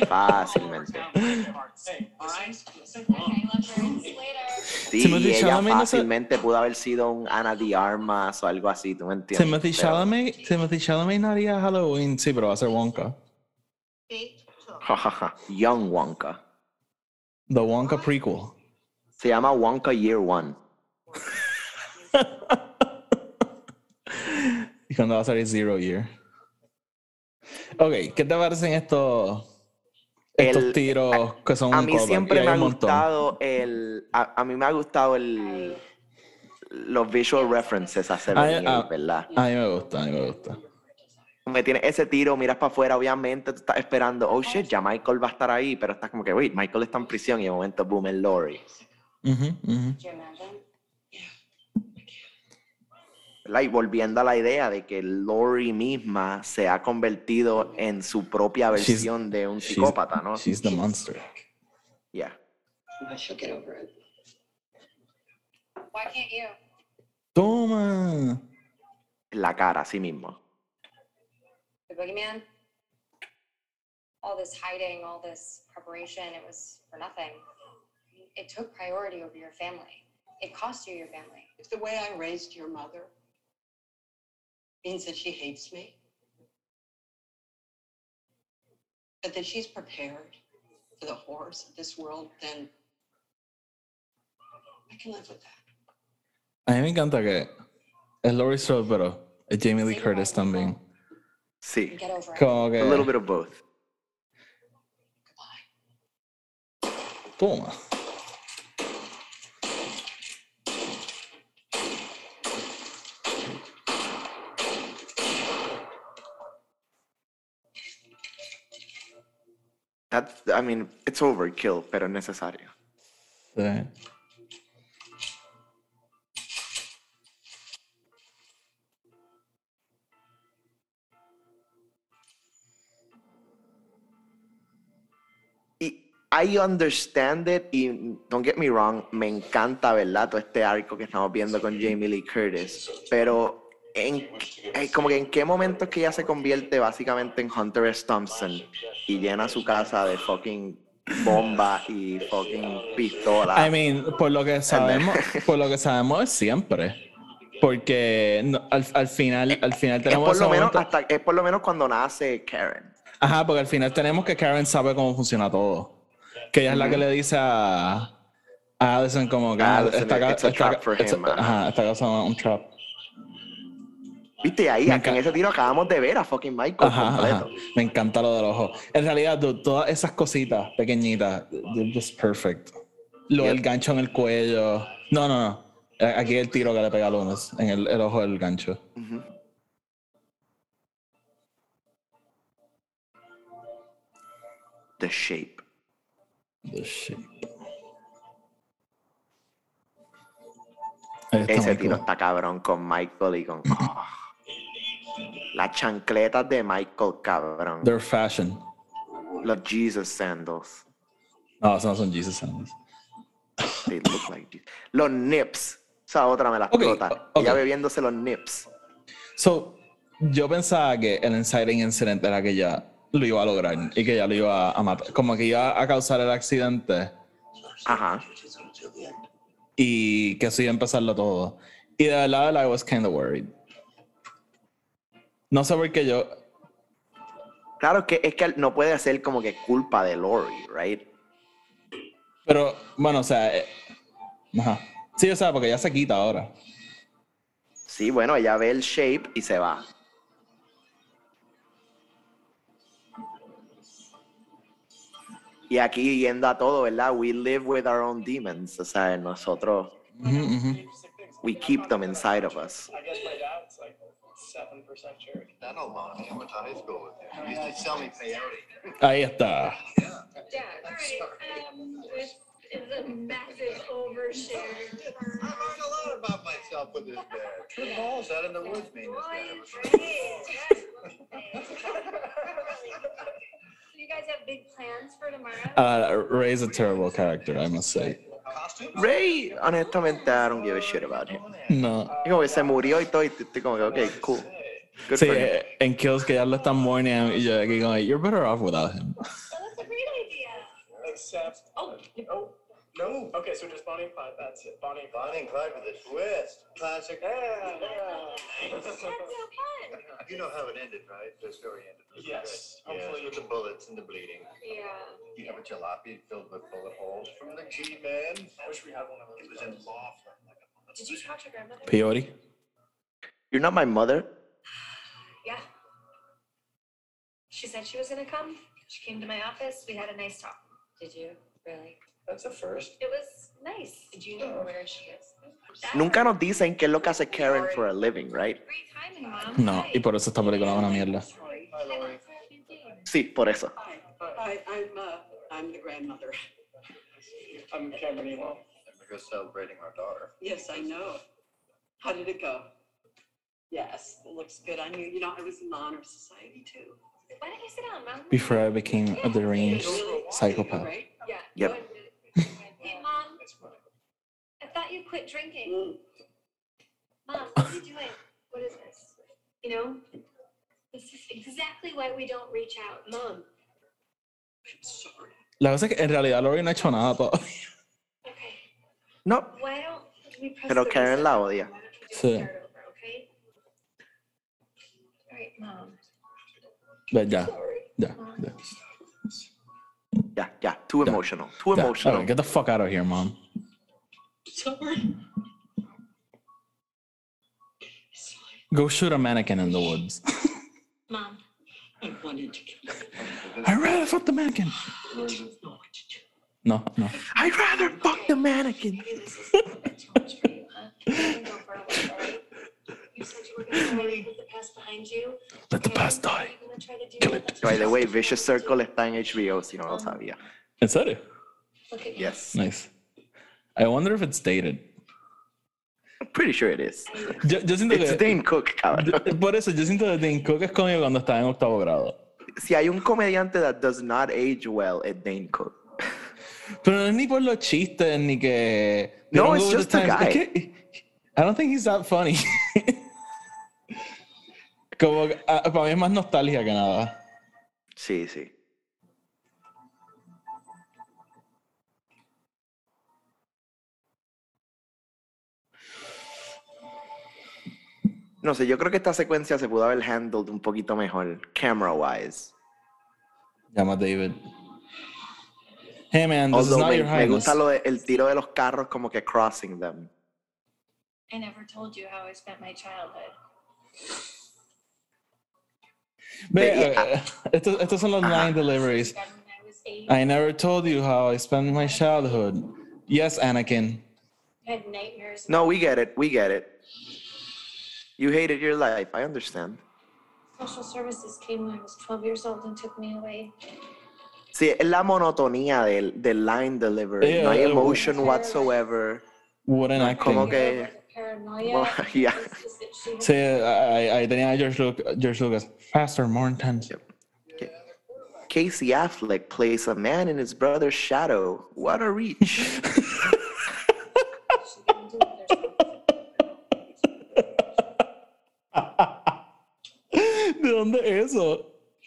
[SPEAKER 2] Sí,
[SPEAKER 1] Timothy
[SPEAKER 2] y ella
[SPEAKER 1] Chalamet no se-
[SPEAKER 2] fácilmente pudo haber sido un Ana de Armas o algo así, ¿tú me entiendes?
[SPEAKER 1] Timothy Chalamet no haría Halloween, sí, pero va a ser Wonka.
[SPEAKER 2] Jajaja, Young Wonka.
[SPEAKER 1] The Wonka prequel.
[SPEAKER 2] Se llama Wonka Year One.
[SPEAKER 1] Y cuando va a salir Zero Year. Ok, ¿qué te parecen estos tiros que son
[SPEAKER 2] A
[SPEAKER 1] un
[SPEAKER 2] mí
[SPEAKER 1] callback?
[SPEAKER 2] siempre
[SPEAKER 1] Y hay
[SPEAKER 2] me ha
[SPEAKER 1] un montón.
[SPEAKER 2] gustado a mí me ha gustado los visual references a 78, ¿verdad?
[SPEAKER 1] A mí me gusta.
[SPEAKER 2] Me tiene ese tiro, miras para afuera, obviamente tú estás esperando, oh shit, ya Michael va a estar ahí, pero estás como que, wait, Michael está en prisión y de momento, boom, el Lori. ¿Verdad? Y volviendo a la idea de que Lori misma se ha convertido en su propia versión de un psicópata, ¿no?
[SPEAKER 1] She's the monster.
[SPEAKER 2] Yeah.
[SPEAKER 6] She'll get over it.
[SPEAKER 7] Why can't you?
[SPEAKER 1] Toma.
[SPEAKER 2] La cara, así mismo.
[SPEAKER 7] The boogeyman? All this hiding, all this preparation, it was for nothing. It took priority over your family. It cost you your family.
[SPEAKER 6] If the way I raised your mother means that she hates me, but that she's prepared for the horrors of this world, then I can live with that.
[SPEAKER 1] A mí me encanta que es Laurie Strode, pero es Jamie Lee Curtis también.
[SPEAKER 2] Sí.
[SPEAKER 7] Get over it.
[SPEAKER 1] Como que...
[SPEAKER 2] A little bit of both.
[SPEAKER 1] Toma.
[SPEAKER 2] I mean, it's overkill, pero es necesario.
[SPEAKER 1] Sí.
[SPEAKER 2] Y I understand it, y don't get me wrong, me encanta, ¿verdad? Todo este arco que estamos viendo con Jamie Lee Curtis, pero como que en qué momento es que ella se convierte básicamente en Hunter S. Thompson y llena su casa de fucking bombas y fucking pistolas.
[SPEAKER 1] I mean, por lo que sabemos es siempre. Porque al final tenemos ese momento.
[SPEAKER 2] Es por lo menos cuando nace Karen.
[SPEAKER 1] Ajá, porque al final tenemos que Karen sabe cómo funciona todo. Que ella es la que le dice a Allison como que
[SPEAKER 2] It's a trap for him.
[SPEAKER 1] Ajá, esta casa es un trap.
[SPEAKER 2] Viste, ahí, en ese tiro acabamos de ver a fucking Michael completo.
[SPEAKER 1] Ajá. Me encanta lo del ojo. En realidad, todas esas cositas pequeñitas, they're just perfect. Lo del gancho en el cuello. No. Aquí el tiro que le pega a Lunas en el ojo del gancho.
[SPEAKER 2] The Shape.
[SPEAKER 1] The Shape. Ahí está
[SPEAKER 2] Ese
[SPEAKER 1] Michael.
[SPEAKER 2] tiro está cabrón con Michael y con... Las chancletas de Michael, cabrón.
[SPEAKER 1] They're fashion.
[SPEAKER 2] Los Jesus sandals.
[SPEAKER 1] No, esos no son Jesus sandals.
[SPEAKER 2] They look like Jesus. Los nips. Esa otra me la
[SPEAKER 1] Ok,
[SPEAKER 2] explota.
[SPEAKER 1] ok.
[SPEAKER 2] Ella bebiéndose los nips.
[SPEAKER 1] So, yo pensaba que el inciting incident era que ella lo iba a lograr y que ella lo iba a matar. Como que iba a causar el accidente
[SPEAKER 2] Ajá.
[SPEAKER 1] y que eso iba a empezarlo todo. Y de verdad, I was kind of worried. No sé por qué yo...
[SPEAKER 2] Claro que es que no puede ser como que culpa de Lori, right?
[SPEAKER 1] Pero, bueno, o sea... ajá. Sí, o sea, porque ya se quita ahora.
[SPEAKER 2] Sí, bueno, ella ve el shape y se va. Y aquí yendo a todo, ¿verdad? We live with our own demons. O sea, nosotros, we keep them inside of us.
[SPEAKER 9] I guess my dad's like 7% sure.
[SPEAKER 8] I know Lonnie. I went to high school with him. He used to sell me peyote.
[SPEAKER 1] Ahí está.
[SPEAKER 10] This is a massive overshare.
[SPEAKER 8] I learned a lot about myself with his dad. True balls out in the woods mean his dad.
[SPEAKER 10] You guys have big plans for tomorrow?
[SPEAKER 1] Ray's a terrible character, I must say.
[SPEAKER 2] Ray, honestamente, I don't give a shit about him.
[SPEAKER 1] No.
[SPEAKER 2] Y como que se murió y todo, y estoy como que, ok, cool. Good
[SPEAKER 1] Sí,
[SPEAKER 2] for him.
[SPEAKER 1] en Kills que ya lo están mourning y yo aquí como, you're better off without him.
[SPEAKER 10] Well, that's a great idea.
[SPEAKER 9] Except, no. Okay, so just Bonnie and Clyde. That's it. Bonnie and Clyde.
[SPEAKER 8] Bonnie and Clyde with a twist. Classic.
[SPEAKER 9] Yeah.
[SPEAKER 10] That's so fun.
[SPEAKER 8] You know how it ended, right? The story ended. It was
[SPEAKER 9] Yes,
[SPEAKER 8] good. Yes,
[SPEAKER 9] hopefully.
[SPEAKER 8] with the bullets and the bleeding.
[SPEAKER 10] Yeah.
[SPEAKER 8] You have a jalopy filled with bullet holes from the G-Man.
[SPEAKER 9] I wish we had one of those.
[SPEAKER 8] It was in Laughlin.
[SPEAKER 10] Did you talk to grandmother?
[SPEAKER 1] Peyote.
[SPEAKER 2] You're not my mother?
[SPEAKER 10] Yeah. She said she was gonna come. She came to my office. We had a nice talk. Did you? Really?
[SPEAKER 9] That's a first.
[SPEAKER 10] It was nice. Did you know where she is?
[SPEAKER 2] Nunca nos dicen qué es lo que hace Karen for a living, right?
[SPEAKER 10] Great timing, Mom.
[SPEAKER 1] No, y por eso esta película es una mierda.
[SPEAKER 9] Hi, Lori.
[SPEAKER 2] Sí, por eso.
[SPEAKER 11] I'm the grandmother.
[SPEAKER 9] I'm Cameron Elo.
[SPEAKER 8] And we're just celebrating our daughter.
[SPEAKER 11] Yes, I know. How did it go? Yes, it looks good on you. You know, I was in the honor society too.
[SPEAKER 10] Why don't you sit down, Mom?
[SPEAKER 1] Before I became a deranged
[SPEAKER 11] Really?
[SPEAKER 1] psychopath.
[SPEAKER 11] Right?
[SPEAKER 10] Yeah.
[SPEAKER 2] Yep.
[SPEAKER 10] Hey, Mom. I thought you quit drinking. Mom, what are you doing? What is this? You know, this is exactly why we don't reach out. Mom.
[SPEAKER 11] I'm sorry.
[SPEAKER 1] La cosa es que en realidad Lori no ha hecho nada todavía.
[SPEAKER 10] Okay.
[SPEAKER 2] No,
[SPEAKER 10] Why don't we press
[SPEAKER 2] pero
[SPEAKER 10] the
[SPEAKER 2] Karen
[SPEAKER 10] reset
[SPEAKER 2] la
[SPEAKER 10] button?
[SPEAKER 2] odia.
[SPEAKER 10] Why don't you just
[SPEAKER 1] Sí.
[SPEAKER 10] start over, okay? All right, Mom.
[SPEAKER 1] Ve, ya,
[SPEAKER 10] Sorry.
[SPEAKER 1] ya.
[SPEAKER 2] Ya, too emotional. Too
[SPEAKER 1] Ya.
[SPEAKER 2] emotional.
[SPEAKER 1] Alright, get the fuck out of here, mom.
[SPEAKER 11] Sorry.
[SPEAKER 1] Go shoot a mannequin in the woods.
[SPEAKER 10] Mom.
[SPEAKER 11] I wanted to kill you.
[SPEAKER 1] I'd rather fuck the mannequin. No.
[SPEAKER 2] I'd rather fuck the mannequin.
[SPEAKER 10] Maybe this is too much for you, huh? You can go for a while, all right? You said you were going to try to put the past behind you.
[SPEAKER 1] Let the
[SPEAKER 10] and
[SPEAKER 1] past die.
[SPEAKER 10] you're gonna try to do
[SPEAKER 1] Kill
[SPEAKER 10] that.
[SPEAKER 1] it.
[SPEAKER 2] By the way, Vicious Circle está en HBO, si no lo sabía.
[SPEAKER 1] ¿En serio?
[SPEAKER 10] Look at me.
[SPEAKER 2] Yes.
[SPEAKER 1] Nice. I wonder if it's dated.
[SPEAKER 2] I'm pretty sure it is.
[SPEAKER 1] Yo siento
[SPEAKER 2] It's
[SPEAKER 1] que...
[SPEAKER 2] Dane Cook, cabrón.
[SPEAKER 1] Por eso, yo siento que Dane Cook es conmigo cuando estaba en octavo grado.
[SPEAKER 2] Si hay un comediante that does not age well, it's Dane Cook.
[SPEAKER 1] Pero no es ni por los chistes, ni que...
[SPEAKER 2] No,
[SPEAKER 1] they don't
[SPEAKER 2] it's
[SPEAKER 1] go with
[SPEAKER 2] just
[SPEAKER 1] the
[SPEAKER 2] the
[SPEAKER 1] times.
[SPEAKER 2] guy.
[SPEAKER 1] Es que, I don't think he's that funny. Como que, para mí es más nostalgia que nada.
[SPEAKER 2] Sí, sí. No sé, yo creo que esta secuencia se pudo haber handled un poquito mejor, camera-wise.
[SPEAKER 1] Llama a David. Hey man, this is
[SPEAKER 2] Although
[SPEAKER 1] not
[SPEAKER 2] me,
[SPEAKER 1] your
[SPEAKER 2] me
[SPEAKER 1] highness.
[SPEAKER 2] gusta el tiro de los carros como que crossing them.
[SPEAKER 10] I never told you how I spent my childhood.
[SPEAKER 1] Ve, estos son los line deliveries.
[SPEAKER 10] Then when I was 8,
[SPEAKER 1] I never told you how I spent my childhood. Yes, Anakin.
[SPEAKER 10] I had nightmares.
[SPEAKER 2] No, we get it. We get it. You hated your life. I understand.
[SPEAKER 10] Social services came when I was 12 years old and took me away.
[SPEAKER 2] Sí, es la monotonía del line delivery. No hay emotion whatsoever.
[SPEAKER 1] Wooden
[SPEAKER 2] No es
[SPEAKER 1] acting.
[SPEAKER 2] como que... Yeah.
[SPEAKER 1] Sí, ahí tenía a George Lucas. Faster, more intense.
[SPEAKER 2] Casey Affleck plays a man in his brother's shadow. What a reach.
[SPEAKER 1] ¿De dónde es eso?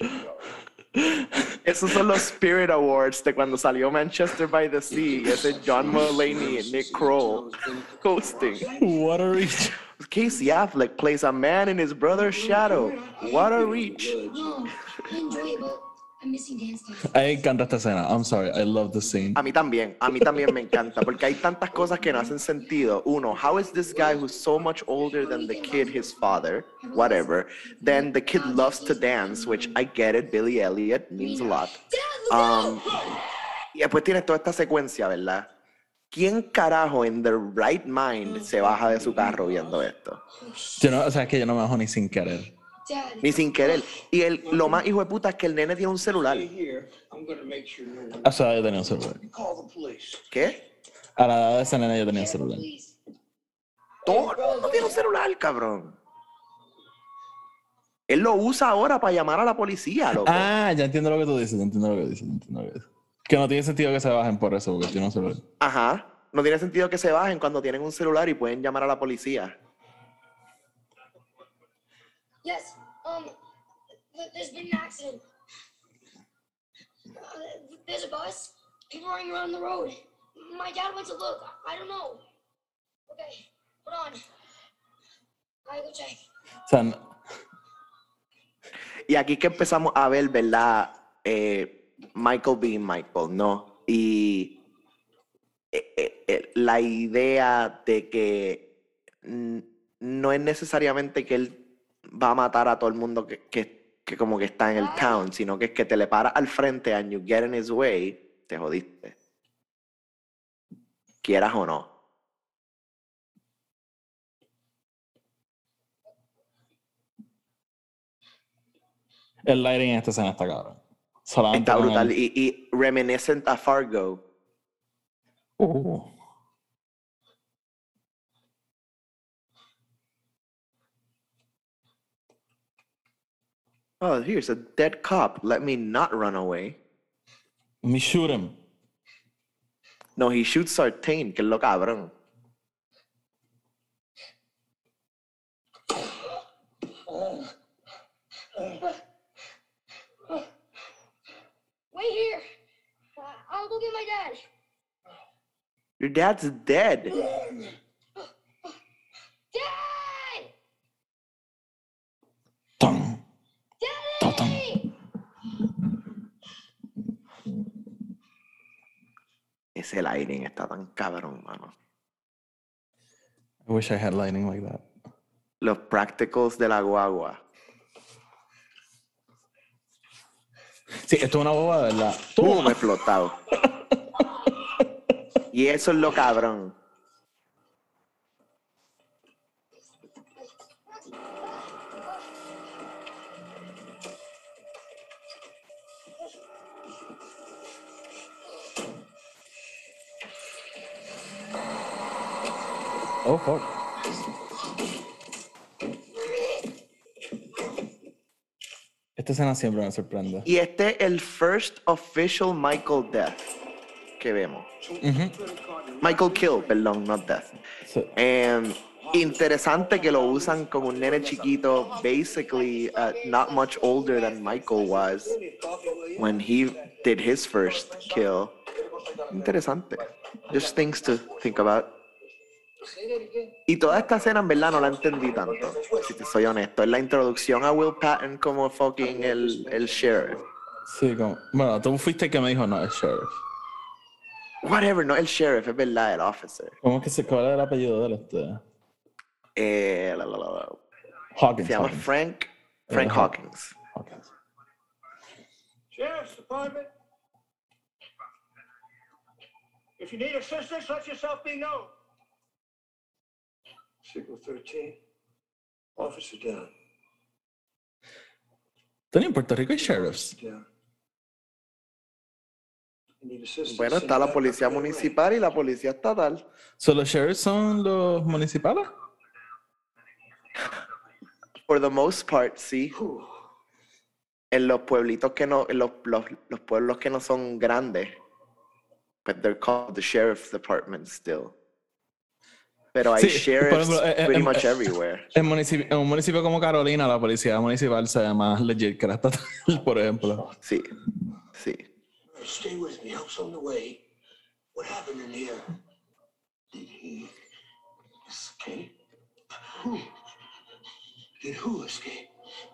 [SPEAKER 2] Esos son los Spirit Awards de cuando salió Manchester by the Sea. Ese John Mulaney y Nick Kroll hosting.
[SPEAKER 1] What a reach.
[SPEAKER 2] Casey Affleck plays a man in his brother's shadow. What a reach.
[SPEAKER 10] No, I enjoy it, but I'm missing dance time.
[SPEAKER 1] A mí me encanta esta escena. I'm sorry, I love the scene.
[SPEAKER 2] A mí también me encanta, porque hay tantas cosas que no hacen sentido. Uno, how is this guy who's so much older than the kid, his father, whatever, then the kid loves to dance, which I get it, Billy Elliot means a lot. Y después tienes toda esta secuencia, ¿verdad? ¿Quién carajo en the right mind se baja de su carro viendo esto?
[SPEAKER 1] Yo no, o sea, es que yo no me bajo ni sin querer.
[SPEAKER 2] Ni sin querer. Y lo más hijo de puta es que el nene tiene un celular.
[SPEAKER 1] O sea, yo tenía un celular.
[SPEAKER 2] ¿Qué?
[SPEAKER 1] A la edad de esa nena yo tenía un celular.
[SPEAKER 2] Todo el mundo tiene un celular, cabrón. Él lo usa ahora para llamar a la policía, loco.
[SPEAKER 1] Ah, ya entiendo lo que tú dices, Que no tiene sentido que se bajen por eso, porque tiene un celular.
[SPEAKER 2] Ajá. No tiene sentido que se bajen cuando tienen un celular y pueden llamar a la policía.
[SPEAKER 10] Yes, there's been an accident. There's a bus. People running around the road. My dad went to look. I don't know. Okay, hold on. I go check.
[SPEAKER 1] O sea,
[SPEAKER 2] y aquí que empezamos a ver, ¿verdad? Michael being Michael, ¿no? Y la idea de que no es necesariamente que él va a matar a todo el mundo que como que está en el town, sino que es que te le paras al frente and you get in his way, te jodiste. Quieras o no.
[SPEAKER 1] el lighting en esta escena está cabrón. Solamente
[SPEAKER 2] está brutal. Y reminiscent a Fargo. Oh, here's a dead cop. Let me not run away.
[SPEAKER 1] Me shoot him.
[SPEAKER 2] No, he shoots Sartain, que es lo cabrón.
[SPEAKER 10] Wait here. I'll go get my dad.
[SPEAKER 2] Your dad's dead.
[SPEAKER 10] Dad!
[SPEAKER 1] Tum.
[SPEAKER 10] Daddy!
[SPEAKER 2] Ese lighting está tan cabrón, mano.
[SPEAKER 1] I wish I had lighting like that.
[SPEAKER 2] Los practicals de la guagua.
[SPEAKER 1] Sí, esto es una boba, ¿verdad?
[SPEAKER 2] Me he explotado. Y eso es lo cabrón.
[SPEAKER 1] Oh, fuck. Esta escena siempre me sorprende.
[SPEAKER 2] Y este es el first official Michael death que vemos. Michael kill, perdón, not death.
[SPEAKER 1] Sí.
[SPEAKER 2] Interesante que lo usan como un nene chiquito, basically not much older than Michael was when he did his first kill. Interesante. Just things to think about. Y toda esta escena en verdad no la entendí tanto, si te soy honesto. Es la introducción a Will Patton como fucking el sheriff.
[SPEAKER 1] Sí, como... Bueno, tú fuiste el que me dijo, no, el sheriff.
[SPEAKER 2] Whatever, no el sheriff, es verdad, el officer.
[SPEAKER 1] ¿Cómo es que se cobra el apellido de él? Hawkins.
[SPEAKER 2] Se llama
[SPEAKER 1] Hawkins.
[SPEAKER 2] Frank Hawkins.
[SPEAKER 1] Hawkins.
[SPEAKER 12] Sheriff's Department. If you need assistance, let yourself be known.
[SPEAKER 3] Signal 13. Officer down.
[SPEAKER 1] Tony, en Puerto Rico hay sheriffs.
[SPEAKER 3] Down. You need assistance.
[SPEAKER 2] Bueno, está la policía municipal y la policía estatal.
[SPEAKER 1] So, ¿los sheriffs son los municipales?
[SPEAKER 2] For the most part, sí. En los pueblitos que no, en los pueblos que no son grandes, but they're called the sheriff's department still. Pero hay
[SPEAKER 1] Sí,
[SPEAKER 2] sheriffs
[SPEAKER 1] por ejemplo,
[SPEAKER 2] pretty much everywhere.
[SPEAKER 1] En un municipio como Carolina, la policía municipal se llama legit que la estatal, por ejemplo.
[SPEAKER 2] Sí, sí.
[SPEAKER 12] Stay with me. Help's on the way. What happened in here? Did he escape? Who? Did who escape?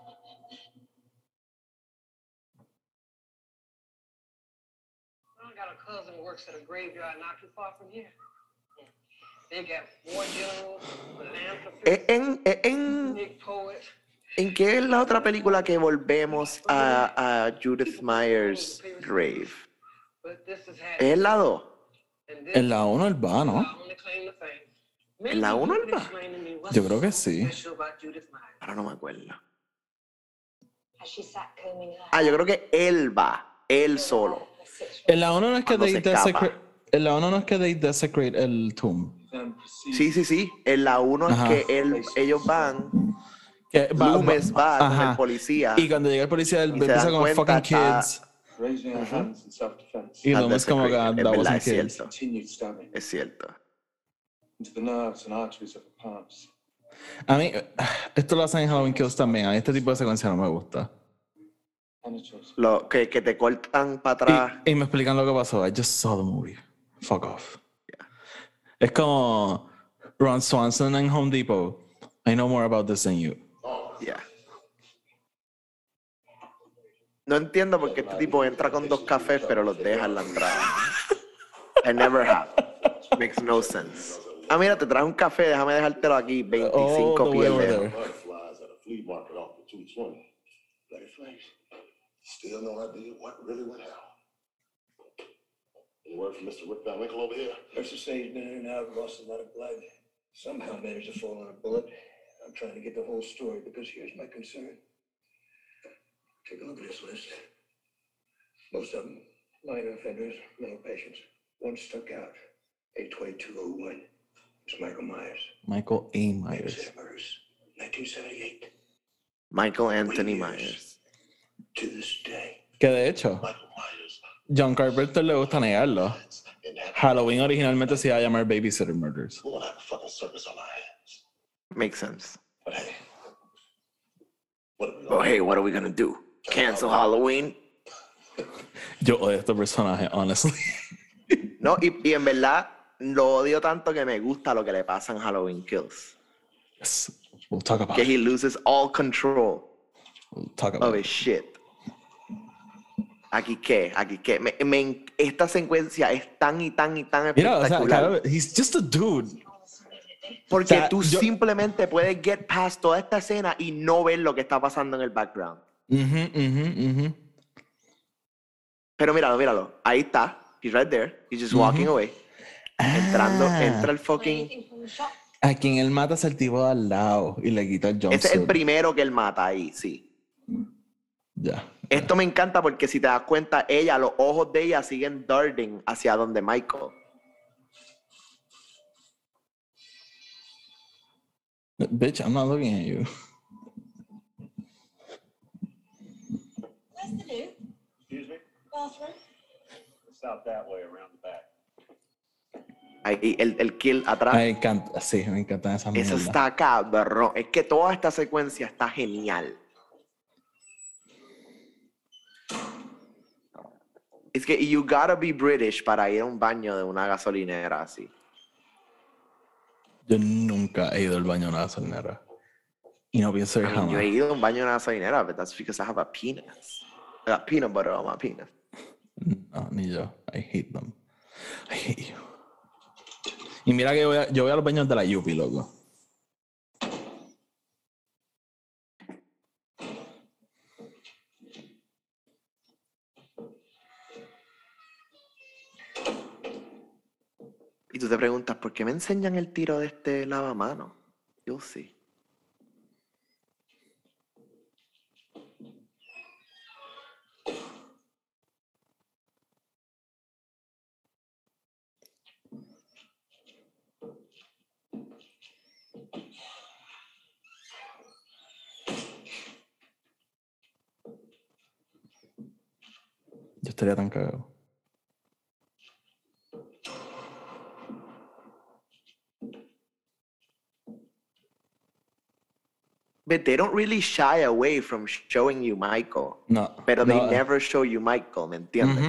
[SPEAKER 11] I got a cousin who works at a graveyard not too far from here. They got war generals, philanthropists, big poets.
[SPEAKER 2] ¿En qué es la otra película que volvemos a Judith Myers' grave? ¿Es la 2?
[SPEAKER 1] En la 1 él va, ¿no?
[SPEAKER 2] ¿En la 1 él va?
[SPEAKER 1] Yo creo que sí.
[SPEAKER 2] Ahora no me acuerdo.
[SPEAKER 7] As she sat combing her
[SPEAKER 2] Ah, yo creo que él va, él solo.
[SPEAKER 1] En la 1 no es que
[SPEAKER 2] Cuando se
[SPEAKER 1] they
[SPEAKER 2] escapa.
[SPEAKER 1] desecrate. En la 1 no es que they desecrate el tomb.
[SPEAKER 2] Sí, sí, sí. En la 1 es
[SPEAKER 1] Ajá.
[SPEAKER 2] que ellos van,
[SPEAKER 1] Que
[SPEAKER 2] Loomis va con
[SPEAKER 1] ajá.
[SPEAKER 2] el policía.
[SPEAKER 1] Y cuando llega el policía, él
[SPEAKER 2] Y se
[SPEAKER 1] empieza
[SPEAKER 2] dan
[SPEAKER 1] con
[SPEAKER 2] cuenta,
[SPEAKER 1] fucking
[SPEAKER 2] está-
[SPEAKER 1] kids.
[SPEAKER 3] Raising our hands in self-defense.
[SPEAKER 1] Y
[SPEAKER 2] Está
[SPEAKER 1] Loomis como que
[SPEAKER 2] desecrated. Es
[SPEAKER 1] that
[SPEAKER 2] verdad,
[SPEAKER 1] wasn't
[SPEAKER 2] es
[SPEAKER 1] kids.
[SPEAKER 2] cierto.
[SPEAKER 3] Continued stabbing
[SPEAKER 2] Es cierto.
[SPEAKER 3] into the nerves and arteries of the palms.
[SPEAKER 1] A mí, esto lo hacen en Halloween Kills también. A mí este tipo de secuencia no me gusta.
[SPEAKER 3] Penetrates.
[SPEAKER 2] Lo que te cortan para atrás.
[SPEAKER 1] Y me explican lo que pasó. I just saw the movie. Fuck off. Es como Ron Swanson en Home Depot. I know more about this than you.
[SPEAKER 2] Yeah. No entiendo por qué este tipo entra con 2 cafés, pero los deja en la entrada. I never have. Makes no sense. Ah, mira, te traje un café, déjame dejártelo aquí. 25
[SPEAKER 1] the way over
[SPEAKER 2] pies.
[SPEAKER 1] there.
[SPEAKER 4] Butterflies at a flea market off the 220. Bloody flames. Still no idea what really went down. Any word from Mr. Rick Van Winkle over here?
[SPEAKER 12] Nurses say he's been in and out, lost a lot of blood. Somehow managed to fall on a bullet. I'm trying to get the whole story because here's my concern. Take a look at this list. Most of them minor offenders, mental patients. One stuck out. 82201. It's Michael Myers.
[SPEAKER 1] Michael A. Myers.
[SPEAKER 12] Babysitter murders. 1978.
[SPEAKER 2] Michael Anthony Myers.
[SPEAKER 12] To this day.
[SPEAKER 1] Que de hecho, John Carpenter le gusta negarlo. Halloween originalmente se iba a llamar Babysitter Murders.
[SPEAKER 4] We're gonna have a fucking circus on our hands.
[SPEAKER 2] Makes sense.
[SPEAKER 4] But hey, what are we
[SPEAKER 2] Oh,
[SPEAKER 4] gonna
[SPEAKER 2] hey, what are we gonna do? Cancel Halloween?
[SPEAKER 1] Yo odio a este personaje, honestly.
[SPEAKER 2] No, y en verdad lo odio tanto que me gusta lo que le pasa en Halloween Kills.
[SPEAKER 1] Yes. We'll talk about
[SPEAKER 2] Que
[SPEAKER 1] it.
[SPEAKER 2] he loses all control
[SPEAKER 1] We'll talk
[SPEAKER 2] of
[SPEAKER 1] about
[SPEAKER 2] his
[SPEAKER 1] it.
[SPEAKER 2] shit. Aquí qué. Esta secuencia es tan y tan y tan
[SPEAKER 1] Mira, o sea,
[SPEAKER 2] espectacular.
[SPEAKER 1] claro, he's just a dude.
[SPEAKER 2] Porque
[SPEAKER 1] o sea,
[SPEAKER 2] tú
[SPEAKER 1] yo-
[SPEAKER 2] simplemente puedes get past toda esta escena y no ver lo que está pasando en el background. Pero míralo. Ahí está. He's right there. He's just walking away. Entra el fucking...
[SPEAKER 1] A quien él mata es el tipo de al lado y le quita el jumpsuit.
[SPEAKER 2] Ese es el primero que él mata ahí, sí.
[SPEAKER 1] Ya.
[SPEAKER 2] Esto me encanta porque si te das cuenta, los ojos de ella siguen darting hacia donde Michael.
[SPEAKER 1] Bitch, I'm not looking at you.
[SPEAKER 10] Where's the loo?
[SPEAKER 3] Excuse me?
[SPEAKER 10] Bathroom?
[SPEAKER 3] It's out that way around the back.
[SPEAKER 2] Ahí, el kill atrás.
[SPEAKER 1] Me encanta, sí, me encantan esas
[SPEAKER 2] Eso
[SPEAKER 1] mierdas.
[SPEAKER 2] está cabrón. Es que toda esta secuencia está genial. Es que you gotta be British para ir a un baño de una gasolinera así.
[SPEAKER 1] Yo nunca he ido al baño de una gasolinera. Y no pienso ir
[SPEAKER 2] I mean, yo he
[SPEAKER 1] jamás.
[SPEAKER 2] ido a un baño de una gasolinera, but that's because I have a penis. I got peanut butter on my penis.
[SPEAKER 1] No, ni yo. I hate them. I hate you. Y mira que yo voy a los baños de la Yupi, loco.
[SPEAKER 2] Y tú te preguntas, ¿por qué me enseñan el tiro de este lavamanos? You'll see.
[SPEAKER 1] estaría tan cagado.
[SPEAKER 2] But they don't really shy away from showing you Michael.
[SPEAKER 1] No.
[SPEAKER 2] Pero they
[SPEAKER 1] no,
[SPEAKER 2] never show you Michael, ¿me entiendes?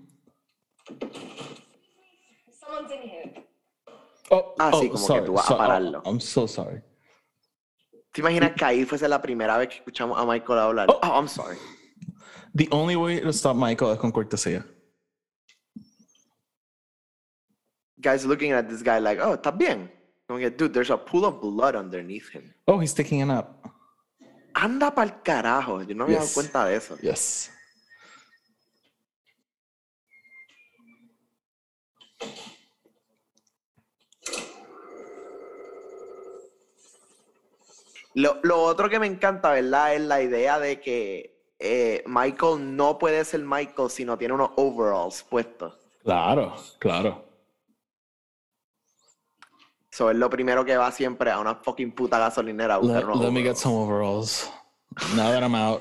[SPEAKER 10] Someone's in here.
[SPEAKER 2] Sí, como que tú vas a pararlo.
[SPEAKER 1] I'm so sorry.
[SPEAKER 2] ¿Te imaginas que ahí fuese la primera vez que escuchamos a Michael hablar? Oh, I'm sorry.
[SPEAKER 1] The only way to stop Michael es con cortesía.
[SPEAKER 2] Guys looking at this guy like, oh, ¿estás bien? Como que, dude, there's a pool of blood underneath him.
[SPEAKER 1] Oh, he's taking a nap.
[SPEAKER 2] Anda pa'l carajo. Yo no me he dado cuenta de eso.
[SPEAKER 1] Yes.
[SPEAKER 2] Lo otro que me encanta, ¿verdad? Es la idea de que Michael no puede ser Michael si no tiene unos overalls puestos.
[SPEAKER 1] Claro, claro.
[SPEAKER 2] So es lo primero que va siempre a una fucking puta gasolinera a buscar unos
[SPEAKER 1] Let me get
[SPEAKER 2] overalls.
[SPEAKER 1] some overalls. Now that I'm out.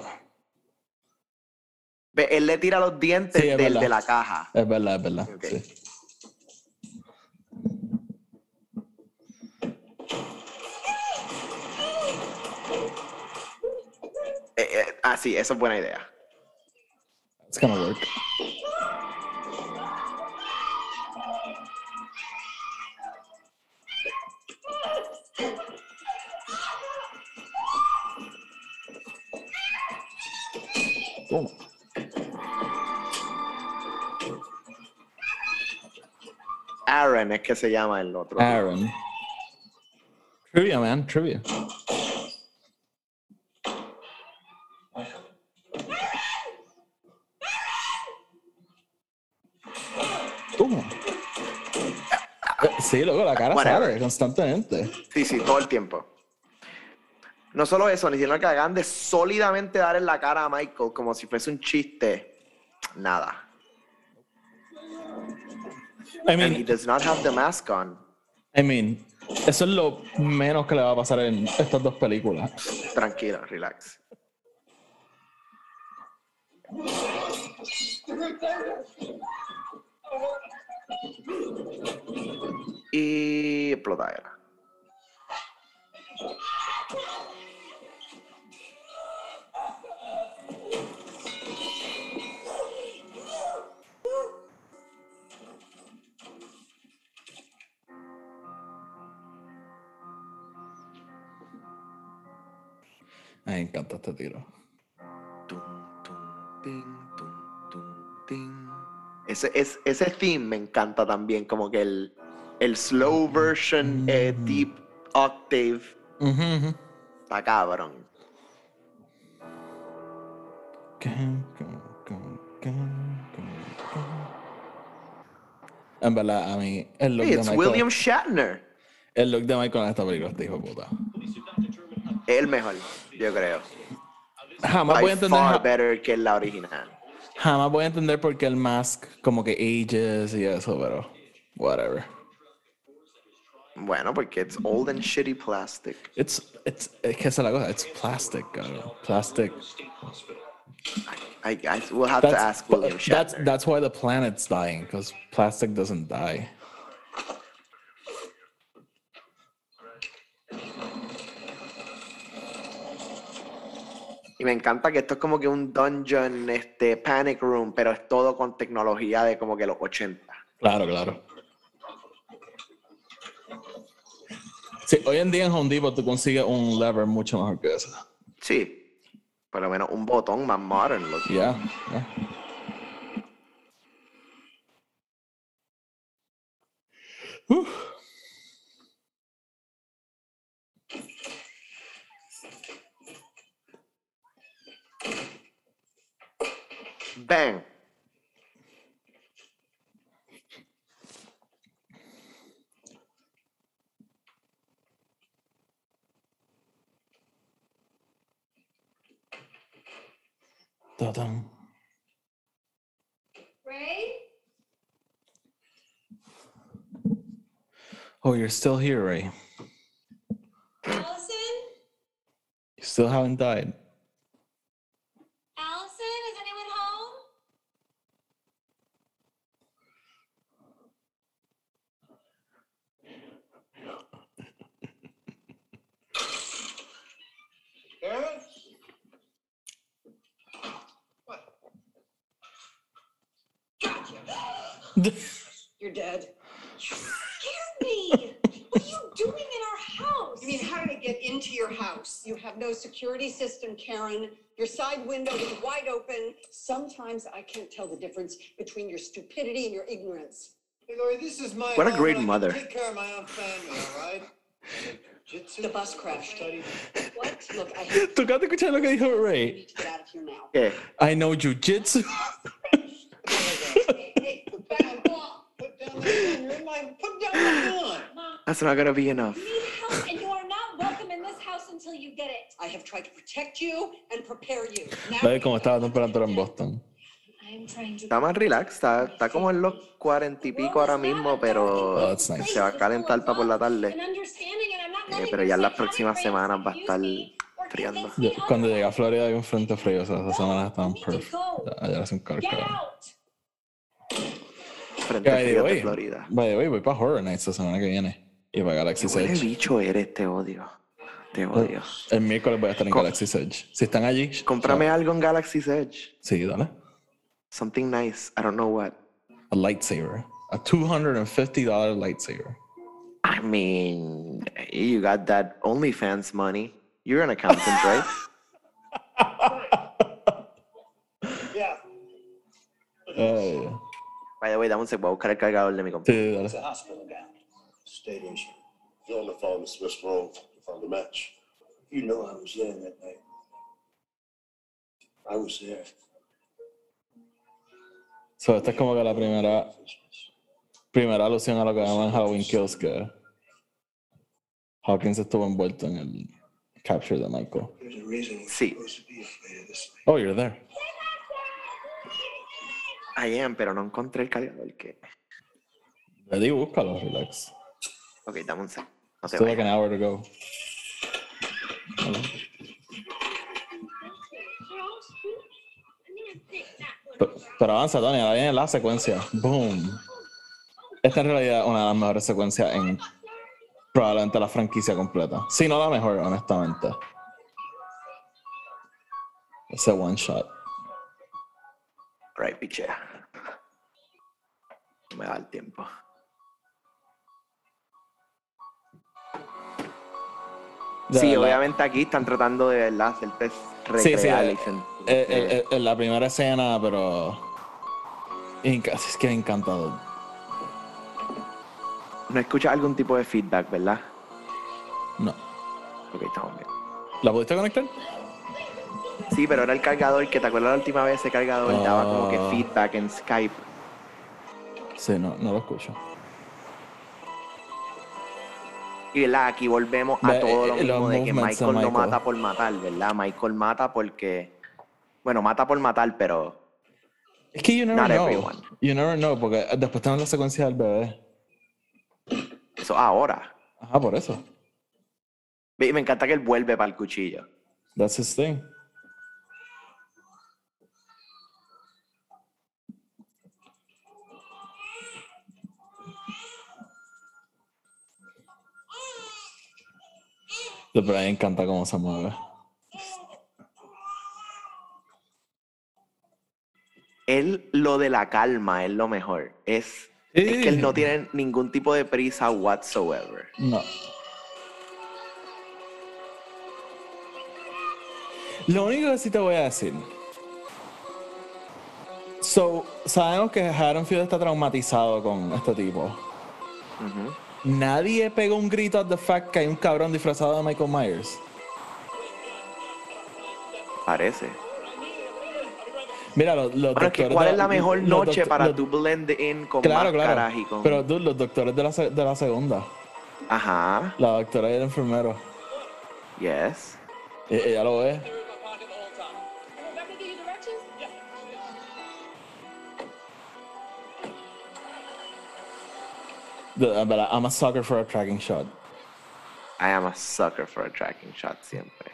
[SPEAKER 2] Ve, él le tira los dientes
[SPEAKER 1] Sí, es
[SPEAKER 2] de
[SPEAKER 1] verdad.
[SPEAKER 2] la caja.
[SPEAKER 1] Es verdad.
[SPEAKER 2] Okay.
[SPEAKER 1] Sí.
[SPEAKER 2] Sí, eso es buena idea.
[SPEAKER 1] It's gonna work. Oh.
[SPEAKER 2] Aaron es que se llama el otro.
[SPEAKER 1] Aaron. Trivia, man. Trivia. Sí, luego la cara sale constantemente.
[SPEAKER 2] Sí, todo el tiempo. No solo eso, ni siquiera que hagan de sólidamente dar en la cara a Michael como si fuese un chiste. Nada.
[SPEAKER 1] I mean,
[SPEAKER 2] And he does not have the mask on.
[SPEAKER 1] I mean, eso es lo menos que le va a pasar en estas dos películas.
[SPEAKER 2] Tranquilo, relax. Y explotadera.
[SPEAKER 1] Me encanta este tiro.
[SPEAKER 2] Ese theme me encanta también, como que el slow version deep octave. Está cabrón.
[SPEAKER 1] En verdad, a mí el look de Michael.
[SPEAKER 2] William Shatner.
[SPEAKER 1] El look de Michael en esta película está hijo de puta.
[SPEAKER 2] Es el mejor, yo creo.
[SPEAKER 1] Jamás voy a entender.
[SPEAKER 2] Far better que la original.
[SPEAKER 1] Jamás voy a entender por qué el mask como que ages y eso, pero whatever.
[SPEAKER 2] Bueno, porque it's old and shitty plastic.
[SPEAKER 1] Es que esa es la cosa, it's plastic, cabrón. Plastic.
[SPEAKER 2] We'll have to ask William Shatner.
[SPEAKER 1] That's why the planet's dying, because plastic doesn't die.
[SPEAKER 2] Y me encanta que esto es como que un dungeon, panic room, pero es todo con tecnología de como que los 80.
[SPEAKER 1] Claro. Sí, hoy en día en Home Depot tú consigues un lever mucho mejor que eso.
[SPEAKER 2] Sí, por lo menos un botón más modern.
[SPEAKER 1] Yeah.
[SPEAKER 2] Bang.
[SPEAKER 1] Ta-dum.
[SPEAKER 10] Ray?
[SPEAKER 1] Oh, you're still here, Ray.
[SPEAKER 10] Allison?
[SPEAKER 1] You still haven't died.
[SPEAKER 10] Allison? Is anyone home?
[SPEAKER 11] You're dead.
[SPEAKER 10] Scared me. What are you doing in our house?
[SPEAKER 11] You mean, how did it get into your house? You have no security system, Karen. Your side window is wide open. Sometimes I can't tell the difference between your stupidity and your ignorance.
[SPEAKER 8] Hey, Lori, this is my
[SPEAKER 2] What a
[SPEAKER 8] home,
[SPEAKER 2] great
[SPEAKER 8] and I
[SPEAKER 2] mother.
[SPEAKER 8] can take care of my own family, all right? Jiu-jitsu?
[SPEAKER 11] The bus crashed.
[SPEAKER 8] Study.
[SPEAKER 11] What? Look, I have
[SPEAKER 1] ¿Tú acabas de escuchar lo que dijo Ray?
[SPEAKER 11] to get out of here now.
[SPEAKER 2] ¿Qué?
[SPEAKER 1] I know jujitsu.
[SPEAKER 8] Put down that gun. You're in my... Put down the gun.
[SPEAKER 2] That's not gonna be enough.
[SPEAKER 10] You need help, and you are not welcome in this house until you get it.
[SPEAKER 11] I have tried to protect you and prepare you.
[SPEAKER 1] ¿Ves cómo está la temperatura en Boston?
[SPEAKER 10] I am trying to.
[SPEAKER 2] Está más relax, está como en los 40 y pico ahora mismo, pero
[SPEAKER 1] Oh, that's nice.
[SPEAKER 2] se va a calentar para por la tarde.
[SPEAKER 10] And understanding, and I'm not letting
[SPEAKER 2] Pero
[SPEAKER 10] your
[SPEAKER 2] ya en las
[SPEAKER 10] psychotic
[SPEAKER 2] próximas
[SPEAKER 10] brains
[SPEAKER 2] semanas va a
[SPEAKER 10] confuse
[SPEAKER 2] estar
[SPEAKER 10] me or
[SPEAKER 2] friando.
[SPEAKER 10] convince me
[SPEAKER 1] Cuando llegué a
[SPEAKER 10] otherwise.
[SPEAKER 1] Florida hay un frente frío, o sea, esas semanas estaban
[SPEAKER 10] You need to
[SPEAKER 1] perfect.
[SPEAKER 10] go.
[SPEAKER 1] Allá hace un calor.
[SPEAKER 10] Get
[SPEAKER 1] cabrón.
[SPEAKER 10] out.
[SPEAKER 2] Frente
[SPEAKER 1] By the
[SPEAKER 2] frío de
[SPEAKER 1] way,
[SPEAKER 2] Florida.
[SPEAKER 1] by the way, voy para Horror Nights la semana que viene. Y para Galaxy's
[SPEAKER 2] Qué
[SPEAKER 1] Edge.
[SPEAKER 2] bicho eres, te odio. Te odio.
[SPEAKER 1] El miércoles voy a estar en Galaxy's Edge. Si están allí,
[SPEAKER 2] Cómprame algo en Galaxy's Edge.
[SPEAKER 1] sí, dale.
[SPEAKER 2] Something nice. I don't know what.
[SPEAKER 1] A lightsaber. A $250 lightsaber.
[SPEAKER 2] I mean, you got that OnlyFans money. You're an accountant, right?
[SPEAKER 8] Yeah.
[SPEAKER 2] By the way, dame un sec, voy a buscar el cargador de mi computadora.
[SPEAKER 1] Sí, dale.
[SPEAKER 12] It's a hospital gown. State issue.
[SPEAKER 3] You only found the Smith's room to find the match.
[SPEAKER 12] You know I was there that night. I was there.
[SPEAKER 1] So, esta es como que la primera alusión a lo que llaman Halloween Kills, que Hawkins estuvo envuelto en el capture de Michael.
[SPEAKER 12] There's a reason we're
[SPEAKER 2] Sí.
[SPEAKER 12] supposed to be afraid of this thing.
[SPEAKER 1] Oh, you're there.
[SPEAKER 2] I am, pero no encontré el cargador. Que...
[SPEAKER 1] Ready, búscalo, relax.
[SPEAKER 2] Ok, dame un sec. No te
[SPEAKER 1] Still like
[SPEAKER 2] vayas.
[SPEAKER 1] an hour to go. Pero avanza, Tony, ahora viene la secuencia. Boom. Esta en realidad es una de las mejores secuencias en probablemente la franquicia completa. Si no la mejor, honestamente. Ese one shot.
[SPEAKER 2] Right, pichea. No me da el tiempo.
[SPEAKER 1] De
[SPEAKER 2] Sí,
[SPEAKER 1] verdad.
[SPEAKER 2] obviamente aquí están tratando de verdad hacerte recrear
[SPEAKER 1] la primera escena, pero es que me encanta.
[SPEAKER 2] No escuchas algún tipo de feedback, ¿verdad?
[SPEAKER 1] No.
[SPEAKER 2] Ok, estamos bien.
[SPEAKER 1] ¿La pudiste conectar?
[SPEAKER 2] Sí, pero era el cargador, que te acuerdas la última vez ese cargador daba como que feedback en Skype.
[SPEAKER 1] Sí, no lo escucho.
[SPEAKER 2] Y ¿verdad? Aquí volvemos a
[SPEAKER 1] Ve,
[SPEAKER 2] todo lo
[SPEAKER 1] los
[SPEAKER 2] mismo de que
[SPEAKER 1] movements de
[SPEAKER 2] Michael no
[SPEAKER 1] Michael.
[SPEAKER 2] mata por matar, ¿verdad? Michael mata porque... Bueno, mata por matar, pero...
[SPEAKER 1] Es que you never
[SPEAKER 2] Not
[SPEAKER 1] know.
[SPEAKER 2] everyone.
[SPEAKER 1] You never know, porque después tenemos la secuencia del bebé.
[SPEAKER 2] Eso ahora.
[SPEAKER 1] Ajá, por eso.
[SPEAKER 2] Y me encanta que él vuelve para el cuchillo.
[SPEAKER 1] That's his thing. Pero a mí me encanta cómo se mueve.
[SPEAKER 2] Él, lo de la calma es lo mejor. Es que él no tiene ningún tipo de prisa whatsoever.
[SPEAKER 1] No. Lo único que sí te voy a decir. Sabemos que Haddonfield está traumatizado con este tipo.
[SPEAKER 2] Ujú.
[SPEAKER 1] Nadie pegó un grito at the fact que hay un cabrón disfrazado de Michael Myers.
[SPEAKER 2] Parece.
[SPEAKER 1] Mira, los
[SPEAKER 2] Bueno, es
[SPEAKER 1] doctores
[SPEAKER 2] que ¿cuál
[SPEAKER 1] de-
[SPEAKER 2] es la mejor
[SPEAKER 1] los
[SPEAKER 2] noche
[SPEAKER 1] doctor-
[SPEAKER 2] para
[SPEAKER 1] los-
[SPEAKER 2] tú blend in con
[SPEAKER 1] Claro,
[SPEAKER 2] máscaras
[SPEAKER 1] claro.
[SPEAKER 2] y con...
[SPEAKER 1] Pero dude, los doctores de la segunda.
[SPEAKER 2] Ajá.
[SPEAKER 1] La doctora y el enfermero.
[SPEAKER 2] Yes.
[SPEAKER 1] Ella lo ve. En verdad, I'm a sucker for a tracking shot.
[SPEAKER 2] I am a sucker for a tracking shot siempre.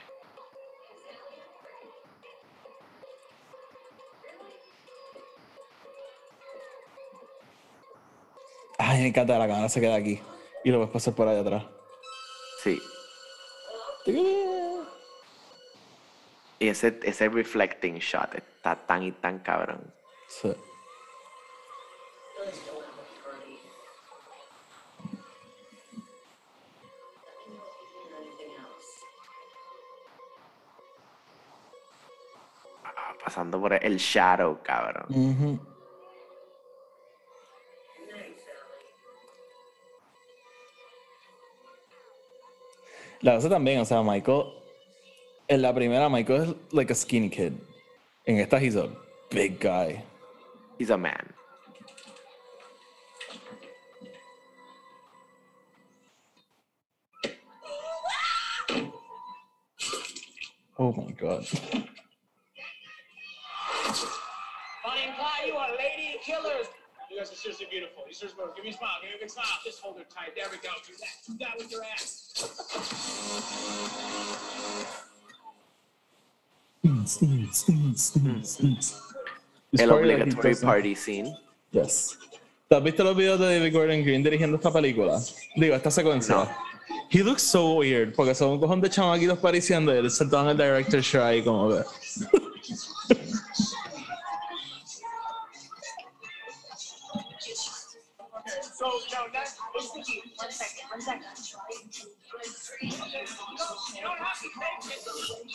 [SPEAKER 1] Ay, me encanta, la cámara se queda aquí. Y lo puedes pasar por allá atrás.
[SPEAKER 2] Sí. Y ese reflecting shot está tan y tan cabrón.
[SPEAKER 1] Sí.
[SPEAKER 5] Let's go have a party. Or anything else.
[SPEAKER 2] Pasando por el shadow, cabrón.
[SPEAKER 1] Ujú. La cosa también, o sea, Michael, en la primera, Michael es like a skinny kid. En esta, he's a big guy.
[SPEAKER 2] He's a man.
[SPEAKER 1] Oh my God.
[SPEAKER 13] Bonnie and Clyde, you are lady killers. You guys are seriously beautiful. You seriously beautiful. Give me a smile. Give me a big smile. Just hold her tight. There we go. Do that. Do that with your ass.
[SPEAKER 2] El obligatory party scene.
[SPEAKER 1] Yes. ¿Te has visto los videos de David Gordon Green dirigiendo esta película? Digo, esta secuencia.
[SPEAKER 2] No.
[SPEAKER 1] He looks so weird, porque son un cojón de chamaquitos pareciendo y él sentado en el director's chair ahí como que...
[SPEAKER 13] So, no, that's... One second. You don't have to take it.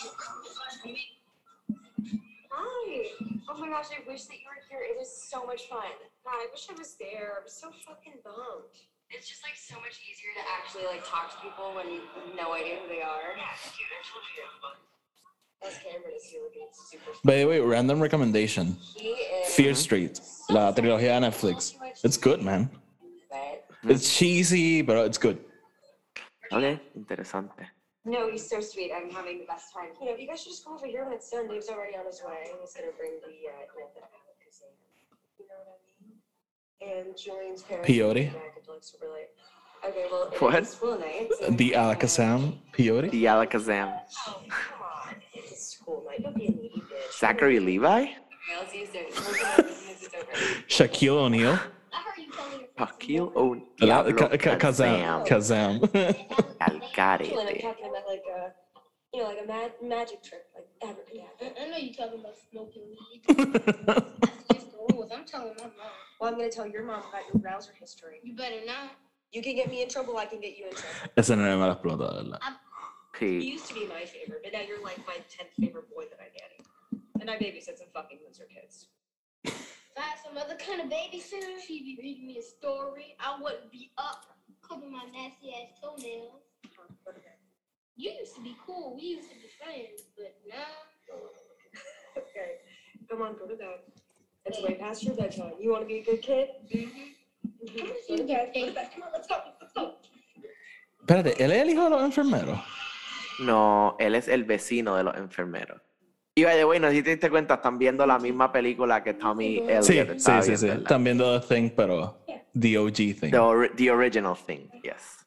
[SPEAKER 7] Hi. Oh my gosh, I wish that you were here. It was so much fun. God, I wish I was there. I'm so fucking bummed. It's just like so much easier to actually like talk to people when you have no idea who they are. Yeah, dude, I told you to have fun. That's Cameron is here looking super fun.
[SPEAKER 1] By the way, random recommendation.
[SPEAKER 7] He is...
[SPEAKER 1] Fear Street, la trilogía de Netflix. It's good, man. It's cheesy, but it's good.
[SPEAKER 2] Ok, interesante.
[SPEAKER 7] No, he's so sweet. I'm having the best time. You know, you guys should just come over here when it's done. Dave's already on his way. He's gonna bring the you know what I mean? And Julian's parents.
[SPEAKER 1] Peyote?
[SPEAKER 7] Like super late. Okay, well,
[SPEAKER 2] What?
[SPEAKER 7] it's school night. So
[SPEAKER 1] The Alakazam peyote?
[SPEAKER 2] The Alakazam.
[SPEAKER 7] Oh, come on. It's a school night. Don't be a needy bitch.
[SPEAKER 2] Zachary Levi?
[SPEAKER 7] Okay, I'll see you soon. It's over.
[SPEAKER 1] Shaquille O'Neal?
[SPEAKER 2] Shaquille O'Neal.
[SPEAKER 1] Kazam.
[SPEAKER 2] Al
[SPEAKER 7] I'm
[SPEAKER 2] garete.
[SPEAKER 7] talking about like a, you know, like a magic trick, like abracadabra.
[SPEAKER 10] I know you're talking about smoking weed. That's the rules. I'm telling my mom.
[SPEAKER 7] Well, I'm gonna tell your mom about your browser history.
[SPEAKER 10] You better not.
[SPEAKER 7] You can get me in trouble, I can get you in trouble.
[SPEAKER 1] Ese no me la explota, ¿verdad?
[SPEAKER 7] You
[SPEAKER 2] Sí.
[SPEAKER 7] used to be my favorite, but now you're like my 10th favorite boy that I daddy. And I babysit some fucking loser kids.
[SPEAKER 10] If I had some other kind of babysitter, she'd be reading me a story. I wouldn't be up clipping my nasty ass toenails. You used to be cool. We used to be friends, but now.
[SPEAKER 7] Okay, come on, go to bed. It's way past your bedtime. You want to be a good kid? Go to bed. Go to bed. Come on, let's go. Let's go.
[SPEAKER 1] Espérate, ¿él es el hijo de los enfermeros?
[SPEAKER 2] No, él es el vecino de los enfermeros. Y by the way, no sé si te diste cuenta, están viendo la misma película que Tommy Elliott
[SPEAKER 1] Sí,
[SPEAKER 2] estaba
[SPEAKER 1] sí, sí,
[SPEAKER 2] viendo,
[SPEAKER 1] sí.
[SPEAKER 2] ¿verdad?
[SPEAKER 1] Están viendo The Thing, pero The OG Thing.
[SPEAKER 2] The original thing, yes.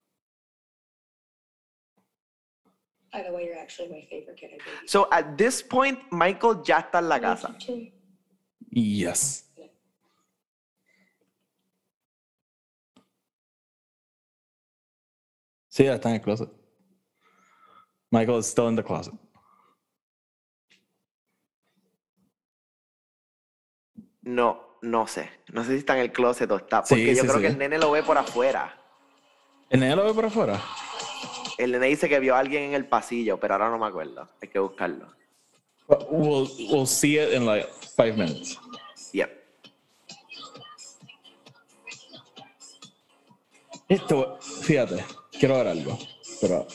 [SPEAKER 7] By the way, you're actually my favorite kid I babysit.
[SPEAKER 2] So at this point, Michael ya está en la casa.
[SPEAKER 1] Yes. Sí, está en el closet. Michael is still in the closet.
[SPEAKER 2] No, no sé. No sé si está en el closet o está. Porque
[SPEAKER 1] Sí,
[SPEAKER 2] yo
[SPEAKER 1] sí,
[SPEAKER 2] creo
[SPEAKER 1] sí.
[SPEAKER 2] que el nene lo ve por afuera.
[SPEAKER 1] ¿El nene lo ve por afuera?
[SPEAKER 2] El nene dice que vio a alguien en el pasillo, pero ahora no me acuerdo. Hay que buscarlo.
[SPEAKER 1] We'll see it in like 5 minutes.
[SPEAKER 2] Yep.
[SPEAKER 1] Esto, fíjate, quiero ver algo, pero...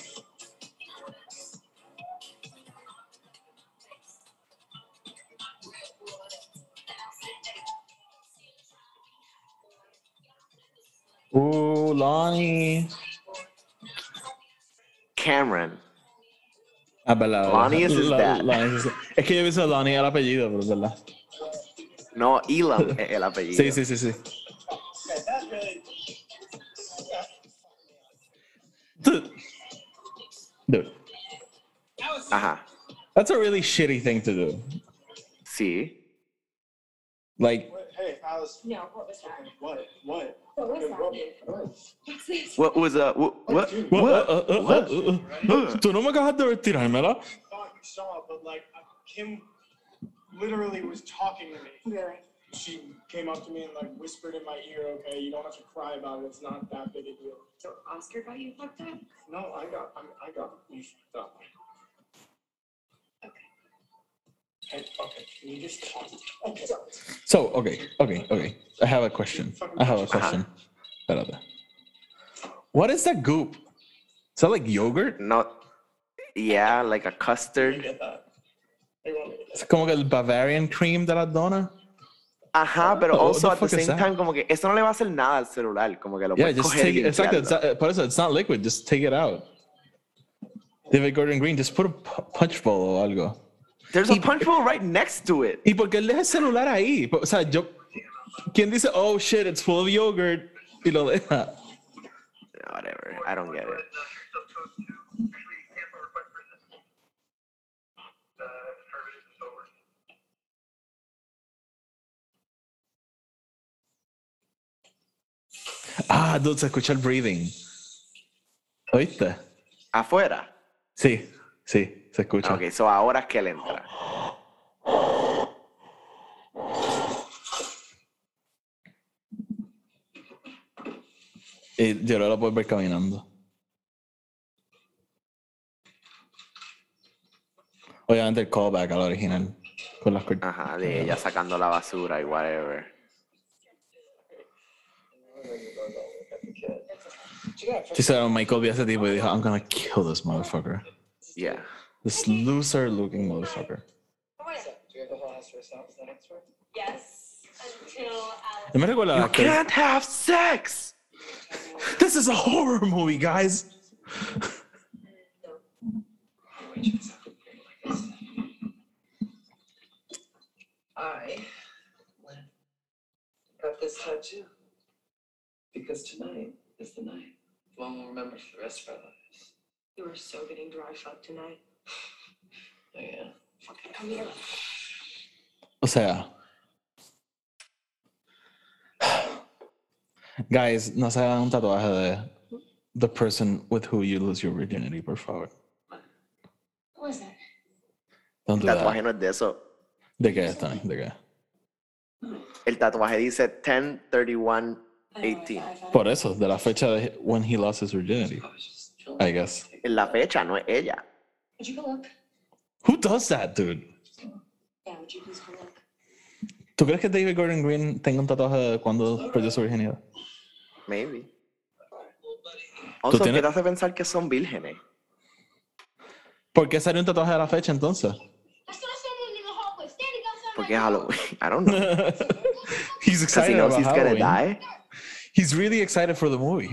[SPEAKER 1] Lonnie.
[SPEAKER 2] Cameron.
[SPEAKER 1] Ah, verdad.
[SPEAKER 2] Lonnie is his dad.
[SPEAKER 1] Es que yo he visto Lonnie el apellido, pero es verdad.
[SPEAKER 2] No, Elam es el apellido.
[SPEAKER 1] Sí, sí, sí, sí. Dude.
[SPEAKER 2] Ajá.
[SPEAKER 1] That's a really shitty thing to do.
[SPEAKER 2] Sí.
[SPEAKER 1] Like,
[SPEAKER 9] Hey, Alice.
[SPEAKER 7] No, what was that?
[SPEAKER 9] What? What?
[SPEAKER 7] What was that? What's this?
[SPEAKER 2] What was what?
[SPEAKER 1] Tú no me acabas de retirármela.
[SPEAKER 9] I thought you saw, but like Kim literally was talking to me.
[SPEAKER 7] Really?
[SPEAKER 9] She came up to me and like whispered in my ear, "Okay, you don't have to cry about it. It's not that big a deal."
[SPEAKER 5] So Oscar got you fucked up?
[SPEAKER 9] No, I got you fucked up.
[SPEAKER 5] Okay.
[SPEAKER 9] Hey, okay, can you just talk? Okay.
[SPEAKER 1] So, okay. I have a question. Espérate. What is that goop? Is that like yogurt?
[SPEAKER 2] No. Yeah, like a custard.
[SPEAKER 1] Es como que el Bavarian cream de la dona.
[SPEAKER 2] Ajá, pero
[SPEAKER 1] What
[SPEAKER 2] also
[SPEAKER 1] the
[SPEAKER 2] at the
[SPEAKER 1] fuck is
[SPEAKER 2] same
[SPEAKER 1] that?
[SPEAKER 2] time, como que eso no le va a hacer nada al celular, como que lo
[SPEAKER 1] Yeah,
[SPEAKER 2] puedes
[SPEAKER 1] just
[SPEAKER 2] coger
[SPEAKER 1] take
[SPEAKER 2] y
[SPEAKER 1] it. Exacto.
[SPEAKER 2] limpiarlo.
[SPEAKER 1] Por eso, it's not liquid. Just take it out. David Gordon Green, just put a punch bowl o algo.
[SPEAKER 2] There's a punch bowl right next to it.
[SPEAKER 1] ¿Y por qué él deja el celular ahí? O sea, ¿quién dice, oh shit, it's full of yogurt? Y lo deja.
[SPEAKER 2] Whatever, I don't get it.
[SPEAKER 1] Ah, dude, se escucha el breathing. ¿Oíste?
[SPEAKER 2] ¿Afuera?
[SPEAKER 1] Sí, se escucha.
[SPEAKER 2] Ok, so ahora es que él entra.
[SPEAKER 1] Y yo no lo puedo ver caminando. Obviamente el callback a la original. Con las
[SPEAKER 2] Ajá, de ella sacando la basura y whatever.
[SPEAKER 1] She said, Michael vio a ese tipo y dijo, I'm gonna kill this motherfucker.
[SPEAKER 2] Yeah.
[SPEAKER 1] This loser looking motherfucker.
[SPEAKER 5] Yes. Until Alex.
[SPEAKER 1] Yo me recuerdo
[SPEAKER 2] You
[SPEAKER 1] a actor-
[SPEAKER 2] can't have sex!
[SPEAKER 1] This is a horror movie, guys.
[SPEAKER 14] I got this tattoo because tonight is the night. One we'll remember for the rest of our lives.
[SPEAKER 5] You were so getting dry fucked tonight.
[SPEAKER 14] Oh, yeah.
[SPEAKER 5] Fucking come here.
[SPEAKER 1] O sea, guys, no se hagan un tatuaje de the person with who you lose your virginity, por favor.
[SPEAKER 5] What was that?
[SPEAKER 1] Don't do
[SPEAKER 2] El tatuaje
[SPEAKER 1] that.
[SPEAKER 2] no es de eso.
[SPEAKER 1] ¿De qué es, Tony? ¿De qué?
[SPEAKER 2] El tatuaje dice 10/31/18.
[SPEAKER 1] Por eso, de la fecha de when he lost his virginity, I guess.
[SPEAKER 2] En la fecha, no es ella.
[SPEAKER 5] Would you go look?
[SPEAKER 1] Who does that, dude?
[SPEAKER 5] Yeah, would you please go look?
[SPEAKER 1] ¿Tú crees que David Gordon Green tenga un tatuaje de cuando perdió su virginidad?
[SPEAKER 2] Maybe. Also, ¿qué
[SPEAKER 1] tienes-
[SPEAKER 2] te hace pensar que son vírgenes?
[SPEAKER 1] ¿Por qué salió un tatuaje de la fecha entonces?
[SPEAKER 2] Porque es Halloween. I don't know.
[SPEAKER 1] He's
[SPEAKER 2] Because he
[SPEAKER 1] excited
[SPEAKER 2] knows
[SPEAKER 1] about
[SPEAKER 2] he's gonna
[SPEAKER 1] Halloween.
[SPEAKER 2] die.
[SPEAKER 1] He's really excited for the movie.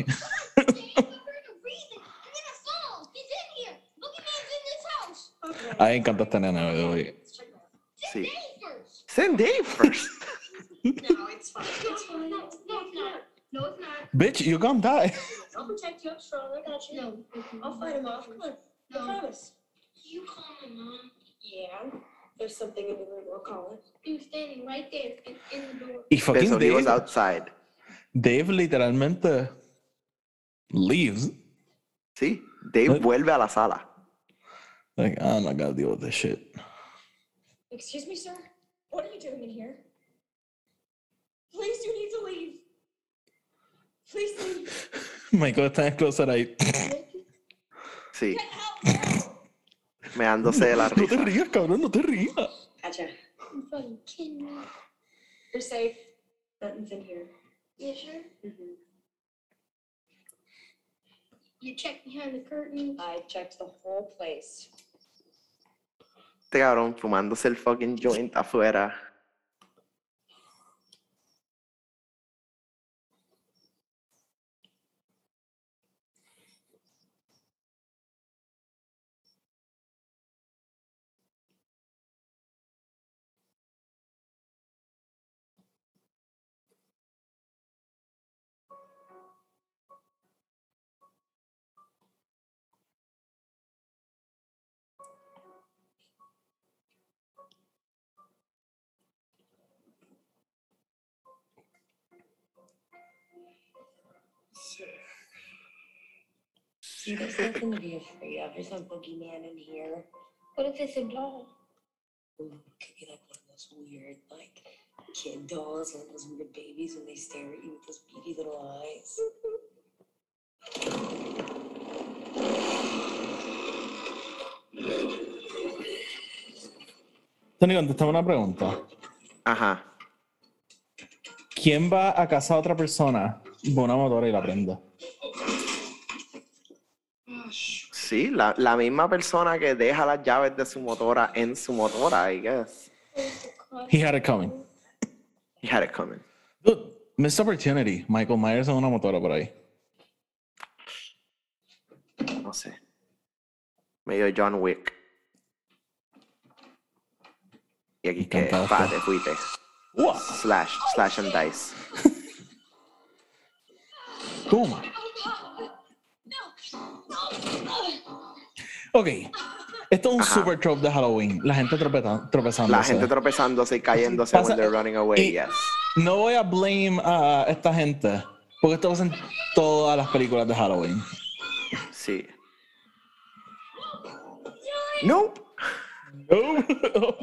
[SPEAKER 1] A mí me encanta esta nena, by the way.
[SPEAKER 2] Sí. Send Dave first.
[SPEAKER 5] No, it's fine. It's fine.
[SPEAKER 10] No, it's not. No, it's not.
[SPEAKER 1] Bitch, you're gonna die.
[SPEAKER 10] I'll protect you. I'm strong. I got you. No. I'll fight him off. Come on. I promise. You call my mom.
[SPEAKER 5] Yeah. There's something in the room. We'll call it.
[SPEAKER 10] He was standing right there in the door.
[SPEAKER 1] Y fucking
[SPEAKER 2] So he was
[SPEAKER 1] Dave,
[SPEAKER 2] outside.
[SPEAKER 1] Dave literalmente leaves.
[SPEAKER 2] Sí. Dave vuelve a la sala.
[SPEAKER 1] Like, I'm not gonna deal with this shit.
[SPEAKER 10] Excuse me, sir. What are you doing in here? Please, you need to leave. Please leave.
[SPEAKER 1] Michael está closer ahí.
[SPEAKER 2] Sí. Meándose de la
[SPEAKER 1] No te
[SPEAKER 2] risa.
[SPEAKER 1] rías, cabrón, no te rías.
[SPEAKER 5] Gotcha.
[SPEAKER 10] You fucking kidding me?
[SPEAKER 5] You're safe. Nothing's in here.
[SPEAKER 10] You sure?
[SPEAKER 5] Mm-hmm.
[SPEAKER 10] You checked behind the curtain.
[SPEAKER 5] I checked the whole place.
[SPEAKER 2] Este cabrón fumándose el fucking joint afuera.
[SPEAKER 5] See, there's nothing to be afraid of. There's no boogeyman in here.
[SPEAKER 10] What if it's a doll?
[SPEAKER 5] Ooh, it could be like one of those weird, like, kid dolls and those weird babies when they stare at you with those beady little eyes.
[SPEAKER 1] Tony, contestame una pregunta.
[SPEAKER 2] Ajá.
[SPEAKER 1] ¿Quién va a casa a otra persona con una motora y la prenda?
[SPEAKER 2] Sí, la misma persona que deja las llaves de su motora en su motora, I guess.
[SPEAKER 1] He had it coming.
[SPEAKER 2] He had it coming.
[SPEAKER 1] Dude, missed opportunity. Michael Myers en una motora por ahí.
[SPEAKER 2] No sé. Medio John Wick. Y aquí que, pa, te fuiste. Slash and dice.
[SPEAKER 1] Toma. Ok. Esto es un super trope de Halloween. La gente tropezándose.
[SPEAKER 2] La gente tropezándose y cayéndose when they're running away, yes.
[SPEAKER 1] No voy a blame a esta gente, porque esto pasa en todas las películas de Halloween.
[SPEAKER 2] Sí. Nope.
[SPEAKER 1] Nope.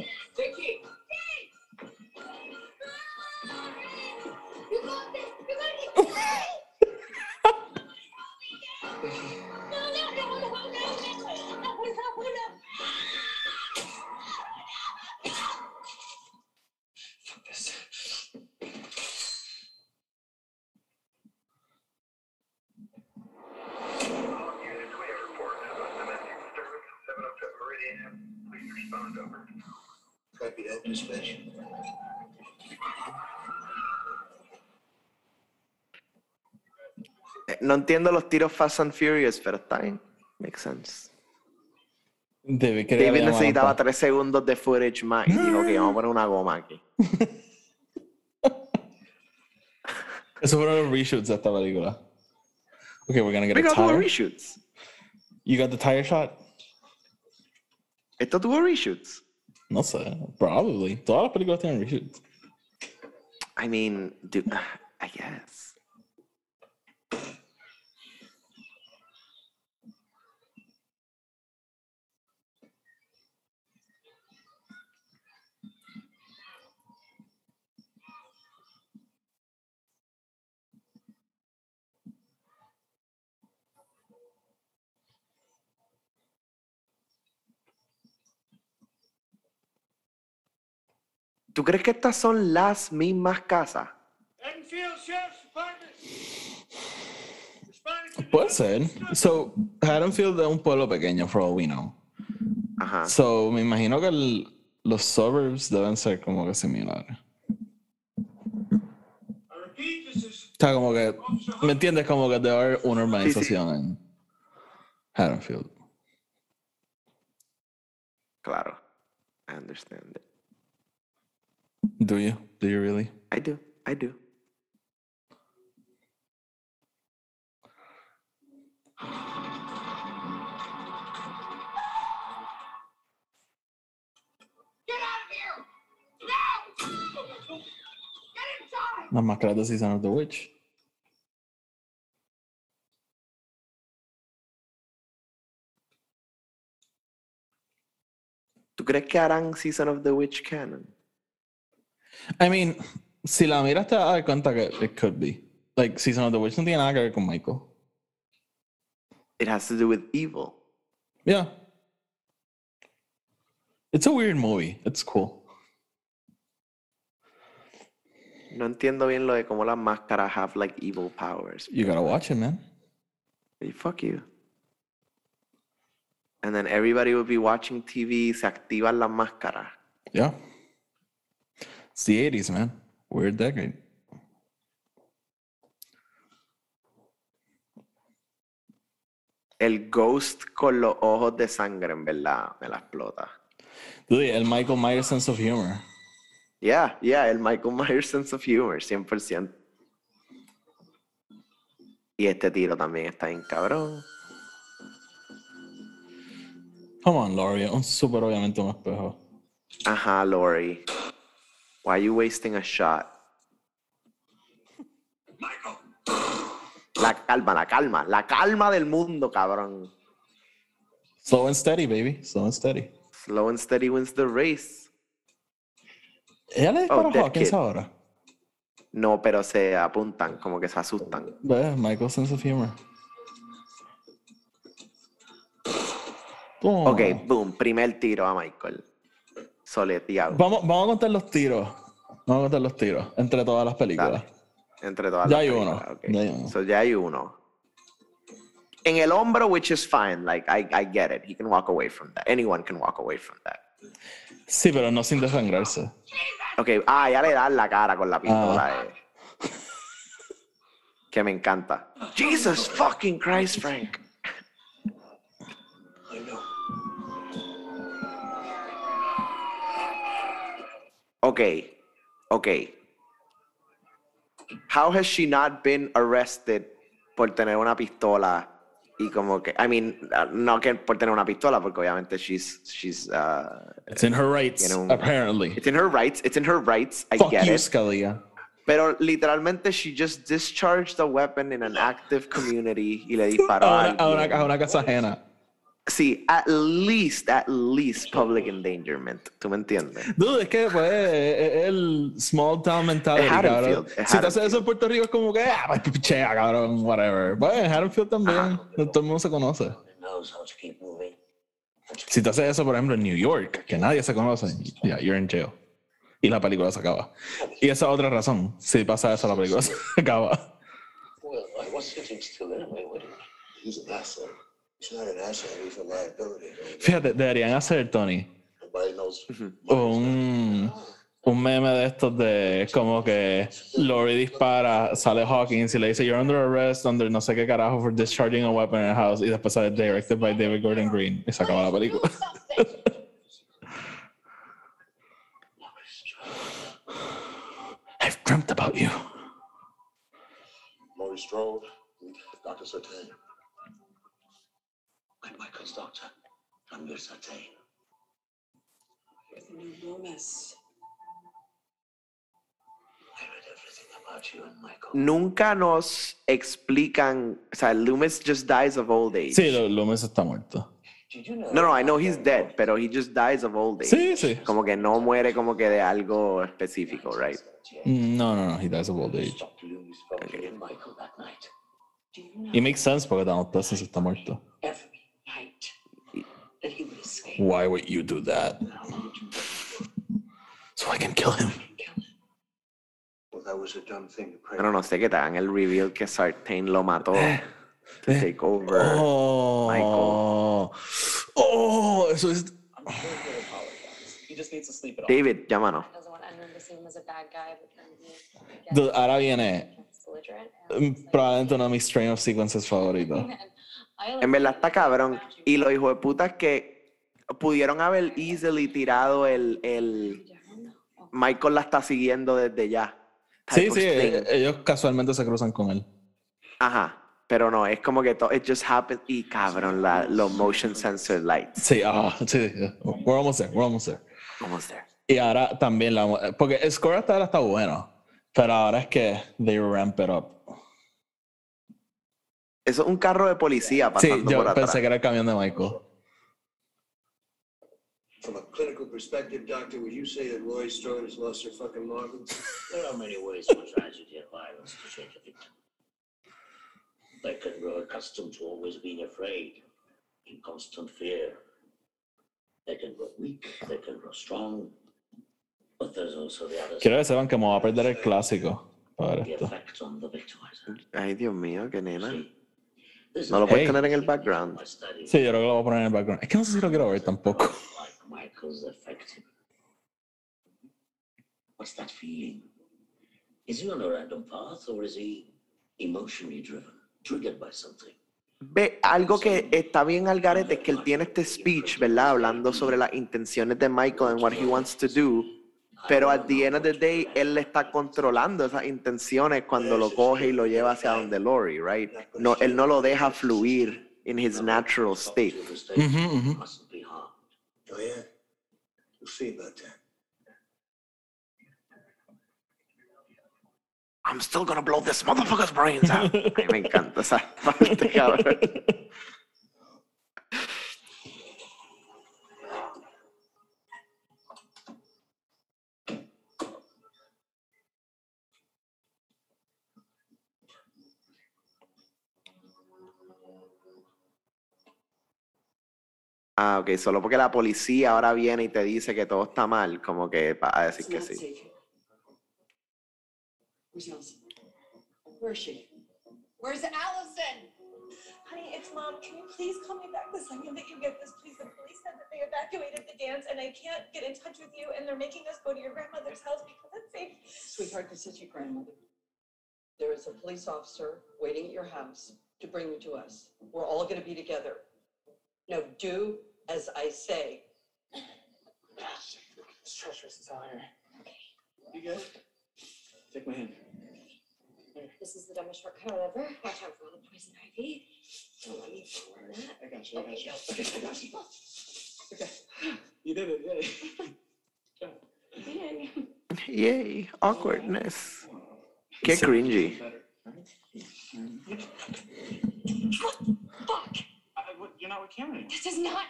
[SPEAKER 12] Copy that, dispatch.
[SPEAKER 2] No entiendo los tiros Fast and Furious, pero está bien. Makes sense.
[SPEAKER 1] David
[SPEAKER 2] necesitaba 3 segundos de footage más y dijo que vamos a poner una goma aquí.
[SPEAKER 1] Eso fueron los reshoots de esta película. Okay, we're gonna get
[SPEAKER 2] We
[SPEAKER 1] a
[SPEAKER 2] got
[SPEAKER 1] tire.
[SPEAKER 2] reshoots.
[SPEAKER 1] You got the tire shot?
[SPEAKER 2] ¿Esto tuvo reshoots?
[SPEAKER 1] No sé. Probably. Todas las películas tienen reshoots.
[SPEAKER 2] I mean, dude, I guess. ¿Tú crees que estas son las mismas casas?
[SPEAKER 13] Enfield Sheriff's Department.
[SPEAKER 1] Puede ser. So, Haddonfield es un pueblo pequeño, for all we know.
[SPEAKER 2] Ajá.
[SPEAKER 1] So, me imagino que los suburbs deben ser como que similares. O sea, como que, ¿me entiendes? Como que debe haber una urbanización en Haddonfield.
[SPEAKER 2] Claro. I understand it.
[SPEAKER 1] Do you? Do you really?
[SPEAKER 2] I do. I do.
[SPEAKER 13] Get out of here! No! Get inside!
[SPEAKER 1] Las máscaras de Season of the Witch.
[SPEAKER 2] ¿Tú crees que harán Season of the Witch canon?
[SPEAKER 1] I mean, si la miras te vas a dar cuenta que it could be. Like, Season of the Witch no tiene nada que ver con Michael.
[SPEAKER 2] It has to do with evil.
[SPEAKER 1] Yeah. It's a weird movie. It's cool.
[SPEAKER 2] No entiendo bien lo de cómo las máscaras have like evil powers.
[SPEAKER 1] You gotta watch it, man.
[SPEAKER 2] Hey, fuck you. And then everybody will be watching TV, se activan las máscaras.
[SPEAKER 1] Yeah. It's the 80s, man. Weird decade.
[SPEAKER 2] El ghost con los ojos de sangre, en verdad, me la explota.
[SPEAKER 1] Dude, el Michael Myers sense of humor.
[SPEAKER 2] Yeah, el Michael Myers sense of humor, 100%. Y este tiro también está bien cabrón.
[SPEAKER 1] Come on, Laurie. Un súper obviamente un espejo.
[SPEAKER 2] Ajá, Laurie. Why are you wasting a shot? La calma del mundo, cabrón.
[SPEAKER 1] Slow and steady, baby. Slow and steady.
[SPEAKER 2] Slow and steady wins the race.
[SPEAKER 1] ¿Ella le dispara a
[SPEAKER 2] Dead
[SPEAKER 1] Hawkins
[SPEAKER 2] Kid.
[SPEAKER 1] ahora?
[SPEAKER 2] No, pero se apuntan, como que se asustan.
[SPEAKER 1] ¿Ves? Michael's sense of humor. Boom.
[SPEAKER 2] Ok, boom, primer tiro a Michael. Soleteado.
[SPEAKER 1] Vamos a contar los tiros. Vamos a contar los tiros entre todas las películas.
[SPEAKER 2] Dale. Entre todas
[SPEAKER 1] Ya
[SPEAKER 2] las
[SPEAKER 1] hay
[SPEAKER 2] películas.
[SPEAKER 1] uno.
[SPEAKER 2] Okay.
[SPEAKER 1] Ya hay uno.
[SPEAKER 2] So ya hay uno. En el hombro, which is fine. Like, I get it. He can walk away from that. Anyone can walk away from that.
[SPEAKER 1] Sí, pero no sin desangrarse.
[SPEAKER 2] Ok, ya le dan la cara con la pistola. Que me encanta. Jesus fucking Christ, Frank.
[SPEAKER 12] I know.
[SPEAKER 2] Okay. How has she not been arrested por tener una pistola? Y como que, I mean, no que por tener una pistola, porque obviamente she's
[SPEAKER 1] It's in her rights, apparently.
[SPEAKER 2] It's in her rights. I
[SPEAKER 1] Fuck
[SPEAKER 2] get
[SPEAKER 1] you,
[SPEAKER 2] it.
[SPEAKER 1] Scalia.
[SPEAKER 2] Pero literalmente she just discharged a weapon in an active community y le disparó a alguien.
[SPEAKER 1] A una casa ajena.
[SPEAKER 2] Sí, at least public endangerment. ¿Tú me entiendes?
[SPEAKER 1] Dude, es que pues, es el small town mentality,
[SPEAKER 2] Es Haddonfield,
[SPEAKER 1] cabrón. Si te haces eso en Puerto Rico es como que, pues pichea, cabrón, whatever. Pues en Haddonfield también, todo el mundo se conoce. Si te haces eso, por ejemplo, en New York, que nadie se conoce, yeah, you're in jail. Y la película se acaba. Y esa es otra razón. Si pasa eso, la película se acaba.
[SPEAKER 12] Well, I was sitting still anyway. He's an asset. He's not an asset, he's a liability.
[SPEAKER 1] Fíjate, deberían hacer, Tony,
[SPEAKER 12] Nobody knows.
[SPEAKER 1] un meme de estos de como que Laurie dispara, sale Hawkins y le dice you're under arrest under no sé qué carajo for discharging a weapon in a house y después sale directed by David Gordon Green y se acaba la película. I've dreamt about you.
[SPEAKER 12] Maury Strode, Dr. Sartain.
[SPEAKER 4] I'm Michael's doctor. I'm your Sartain.
[SPEAKER 11] You're the new Loomis.
[SPEAKER 4] I read everything about you and Michael.
[SPEAKER 2] Nunca nos explican, o sea, Loomis just dies of old age.
[SPEAKER 1] Sí, Loomis está muerto.
[SPEAKER 2] No, I know he's dead, pero he just dies of old age.
[SPEAKER 1] Sí.
[SPEAKER 2] Como que no muere como que de algo específico, right?
[SPEAKER 1] No, he dies of old age.
[SPEAKER 4] Okay. Michael that night.
[SPEAKER 1] It makes sense porque Donald Pleasence está muerto.
[SPEAKER 11] Every night that he would escape.
[SPEAKER 1] Why would you do that? So I can kill him.
[SPEAKER 12] Well, that was a dumb thing to pray.
[SPEAKER 2] Pero no sé que te hagan el reveal que Sartain lo mató. To take over Michael.
[SPEAKER 1] Eso es.
[SPEAKER 14] I'm sure he'll apologize. He just needs to sleep it off.
[SPEAKER 2] David, llámanos.
[SPEAKER 7] Doesn't want anyone to see him as a bad guy, but then
[SPEAKER 1] Dude, ahora viene
[SPEAKER 7] belligerent.
[SPEAKER 1] probablemente uno de mis train of sequences favoritos.
[SPEAKER 2] En verdad está cabrón. Y los hijos de putas que pudieron haber easily tirado el Michael la está siguiendo desde ya.
[SPEAKER 1] Sí, ellos casualmente se cruzan con él.
[SPEAKER 2] Ajá. Pero no, es como que todo, it just happened. Y cabrón, los motion sensor lights.
[SPEAKER 1] Sí, sí. We're almost there.
[SPEAKER 2] Almost there.
[SPEAKER 1] Y ahora también porque el score hasta ahora está bueno, pero ahora es que they ramp it up.
[SPEAKER 2] Eso es un carro de policía pasando
[SPEAKER 1] Sí, yo
[SPEAKER 2] por atrás.
[SPEAKER 1] pensé que era el camión de Michael.
[SPEAKER 12] From a clinical perspective, doctor, would you say that Laurie Strode has lost her fucking marbles?
[SPEAKER 4] There are many ways for tragedy and violence to change a victim. They can grow accustomed to always being afraid, in constant fear. They can grow weak, they can grow strong. But there's also the other
[SPEAKER 1] Quiero que sepan que me voy a perder el clásico para ver
[SPEAKER 4] the
[SPEAKER 1] esto.
[SPEAKER 4] effect on the victimizer.
[SPEAKER 2] Ay, Dios mío, qué nena.
[SPEAKER 4] This
[SPEAKER 2] No lo
[SPEAKER 4] is
[SPEAKER 2] puedes
[SPEAKER 1] Hey.
[SPEAKER 2] tener en el background.
[SPEAKER 4] my study.
[SPEAKER 1] Sí, yo creo que lo voy a poner en el background. Es que no sé si lo quiero ver tampoco.
[SPEAKER 4] Like Michael's affected. What's that feeling? Is he on a random path or is he emotionally driven, triggered by something?
[SPEAKER 2] Ve, algo que está bien al garete es que él tiene este speech, ¿verdad? Hablando sobre las intenciones de Michael and what he wants to do. Pero at the end of the day, él le está controlando esas intenciones cuando lo coge y lo lleva hacia donde Laurie, right? No, él no lo deja fluir in his natural state.
[SPEAKER 4] Mustn't be harmed.
[SPEAKER 12] Oh, yeah? We'll see about that.
[SPEAKER 2] I'm still gonna blow this motherfucker's brains out. Ay, me encanta esa parte, cabrón. Ah, ok, solo porque la policía ahora viene y te dice que todo está mal, como que va a decir
[SPEAKER 11] It's
[SPEAKER 2] que
[SPEAKER 11] not
[SPEAKER 2] sí.
[SPEAKER 11] safe. Where's Allison? Where is she? Where's Allison?
[SPEAKER 10] Honey, it's Mom. Can you please call me back the second that you get this, please? The police said that they evacuated the dance, and I can't get in touch with you, and they're making us go to your grandmother's house because it's safe.
[SPEAKER 11] Sweetheart, this is your grandmother. There is a police officer waiting at your house to bring you to us. We're all going to be together. Now, do as I say.
[SPEAKER 9] It's treacherous as hell here. You good? Take my hand.
[SPEAKER 5] This is the dumbest shortcut I'll ever. Watch out for all the poison ivy. Don't let me fall in that.
[SPEAKER 9] I got you. I got you.
[SPEAKER 5] Okay,
[SPEAKER 9] I got you. Okay. You did it. Yay.
[SPEAKER 2] Yay, awkwardness. Qué cringy.
[SPEAKER 5] Fuck!
[SPEAKER 9] You're not with Cameron anymore.
[SPEAKER 5] This does not.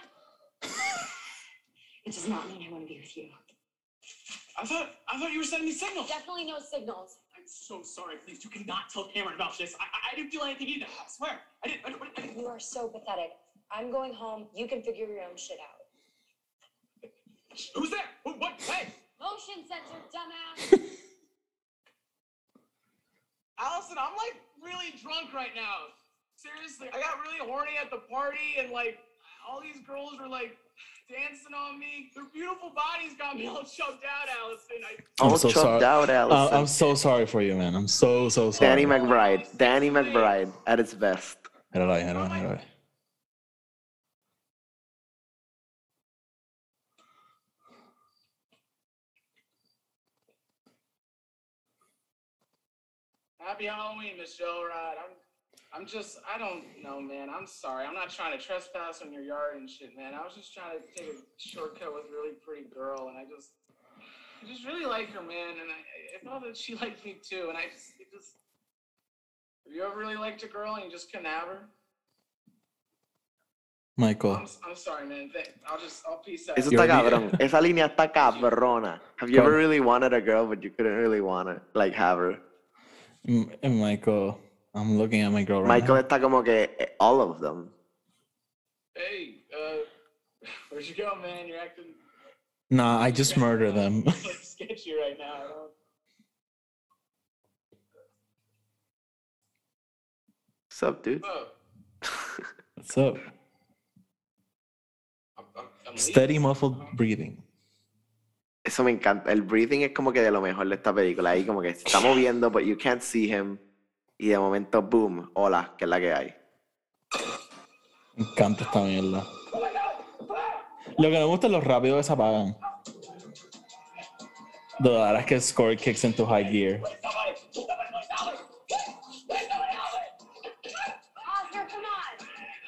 [SPEAKER 5] It does not mean I want to be with you.
[SPEAKER 9] I thought you were sending me signals.
[SPEAKER 5] Definitely no signals.
[SPEAKER 9] I'm so sorry. Please, you cannot tell Cameron about this. I didn't feel anything either. I swear. I didn't.
[SPEAKER 5] You are so pathetic. I'm going home. You can figure your own shit out.
[SPEAKER 9] Who's there? What? Hey!
[SPEAKER 5] Motion sensor, dumbass!
[SPEAKER 9] Allison, I'm like really drunk right now. Seriously, I got really horny at the party and like all these girls were like dancing on me. Their beautiful bodies got me all choked out, Allison.
[SPEAKER 2] I'm so sorry. Out, Allison.
[SPEAKER 1] I'm so sorry for you, man. I'm so sorry.
[SPEAKER 2] Danny McBride at its best.
[SPEAKER 1] Héroe.
[SPEAKER 9] Happy Halloween, Miss Joyride. I don't know, man. I'm sorry. I'm not trying to trespass on your yard and shit, man. I was just trying to take a shortcut with a really pretty girl, and I just really like her, man. And I thought that she liked me too, and it just. Have you ever really liked a girl and you just couldn't have her?
[SPEAKER 1] Michael.
[SPEAKER 9] I'm sorry, man. I'll peace out.
[SPEAKER 2] Eso está cabrón. Esa línea está cabrona. Have you ever really wanted a girl but you couldn't really want her, like have her?
[SPEAKER 1] Michael, I'm looking at my girl right
[SPEAKER 2] Michael
[SPEAKER 1] now.
[SPEAKER 2] está como que all of them.
[SPEAKER 9] Hey, where'd you go, man? You're acting.
[SPEAKER 1] Nah, I just murder them.
[SPEAKER 9] Sketchy right now.
[SPEAKER 2] What's up, dude?
[SPEAKER 1] What's up? Steady muffled breathing.
[SPEAKER 2] Eso me encanta. El breathing es como que de lo mejor de esta película. Ahí como que se está moviendo, but you can't see him. Y de momento, boom, hola, que es la que hay.
[SPEAKER 1] Me encanta esta mierda. Lo que me gusta es lo rápido que se apagan. The verdad es que el score kicks into high gear.
[SPEAKER 5] Oscar, come on!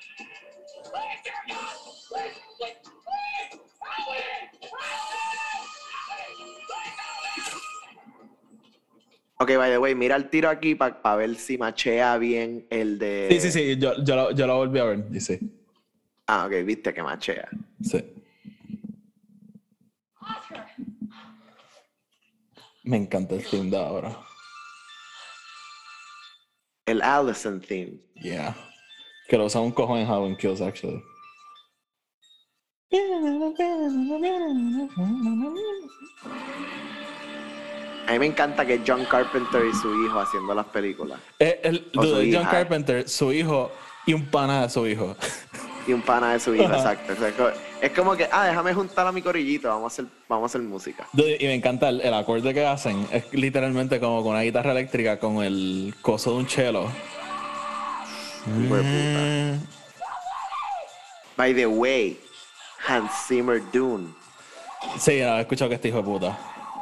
[SPEAKER 2] Ok, by the way, mira el tiro aquí para ver si machea bien el de...
[SPEAKER 1] Sí, yo lo volví a ver, dice.
[SPEAKER 2] Ah, ok, viste que machea.
[SPEAKER 1] Sí.
[SPEAKER 5] Oscar!
[SPEAKER 1] Me encanta el theme de ahora.
[SPEAKER 2] El Allison theme.
[SPEAKER 1] Yeah. Que lo usa un cojón en Halloween Kills, actually.
[SPEAKER 2] A mí me encanta que John Carpenter y su hijo haciendo las películas.
[SPEAKER 1] John Carpenter, su hijo y un pana de su hijo.
[SPEAKER 2] Y un pana de su hijo, exacto. O sea, es como que, déjame juntar a mi corillito, vamos a hacer música.
[SPEAKER 1] Y me encanta el acorde que hacen. Es literalmente como con una guitarra eléctrica con el coso de un cello.
[SPEAKER 2] Hijo de puta. By the way, Hans Zimmer Dune.
[SPEAKER 1] Sí, he escuchado que este hijo de puta.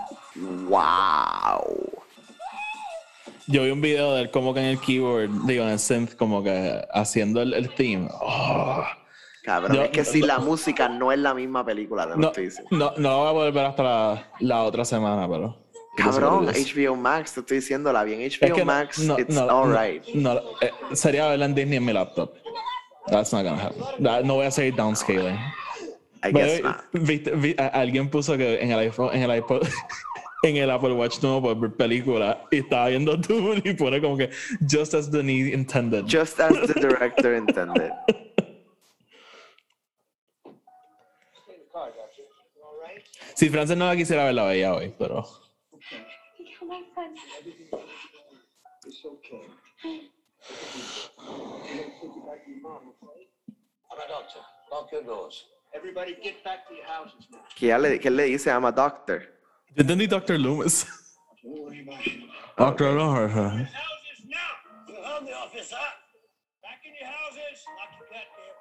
[SPEAKER 2] Wow.
[SPEAKER 1] Yo vi un video de él como que en el keyboard, digo en el synth, como que haciendo el theme. Oh.
[SPEAKER 2] Cabrón, es que si la música no es la misma película, te lo estoy diciendo.
[SPEAKER 1] No lo voy a poder ver hasta la otra semana, pero...
[SPEAKER 2] Cabrón, HBO Max, te estoy diciendo, la vi en HBO Max, it's alright.
[SPEAKER 1] Sería verla en Disney en mi laptop. That's not gonna happen. No voy a seguir downscaling.
[SPEAKER 2] I guess not.
[SPEAKER 1] Alguien puso que en el iPhone, en el iPod, en el Apple Watch no puede ver película y estaba viendo Dune y pone como que just as the need intended.
[SPEAKER 2] Just as the director intended.
[SPEAKER 1] Si Frances no la quisiera ver, la veía hoy, pero...
[SPEAKER 10] Come on, fun.
[SPEAKER 12] It's okay.
[SPEAKER 8] I'm a doctor. Lock your doors.
[SPEAKER 12] Everybody get back to your houses now.
[SPEAKER 2] ¿Qué le dice? I'm a doctor.
[SPEAKER 1] Yo entendí Dr. Loomis.
[SPEAKER 12] Don't worry about it.
[SPEAKER 1] Dr. Loomis.
[SPEAKER 13] Houses now! We'll hold the officer. Back in your houses. Lock your goddamn.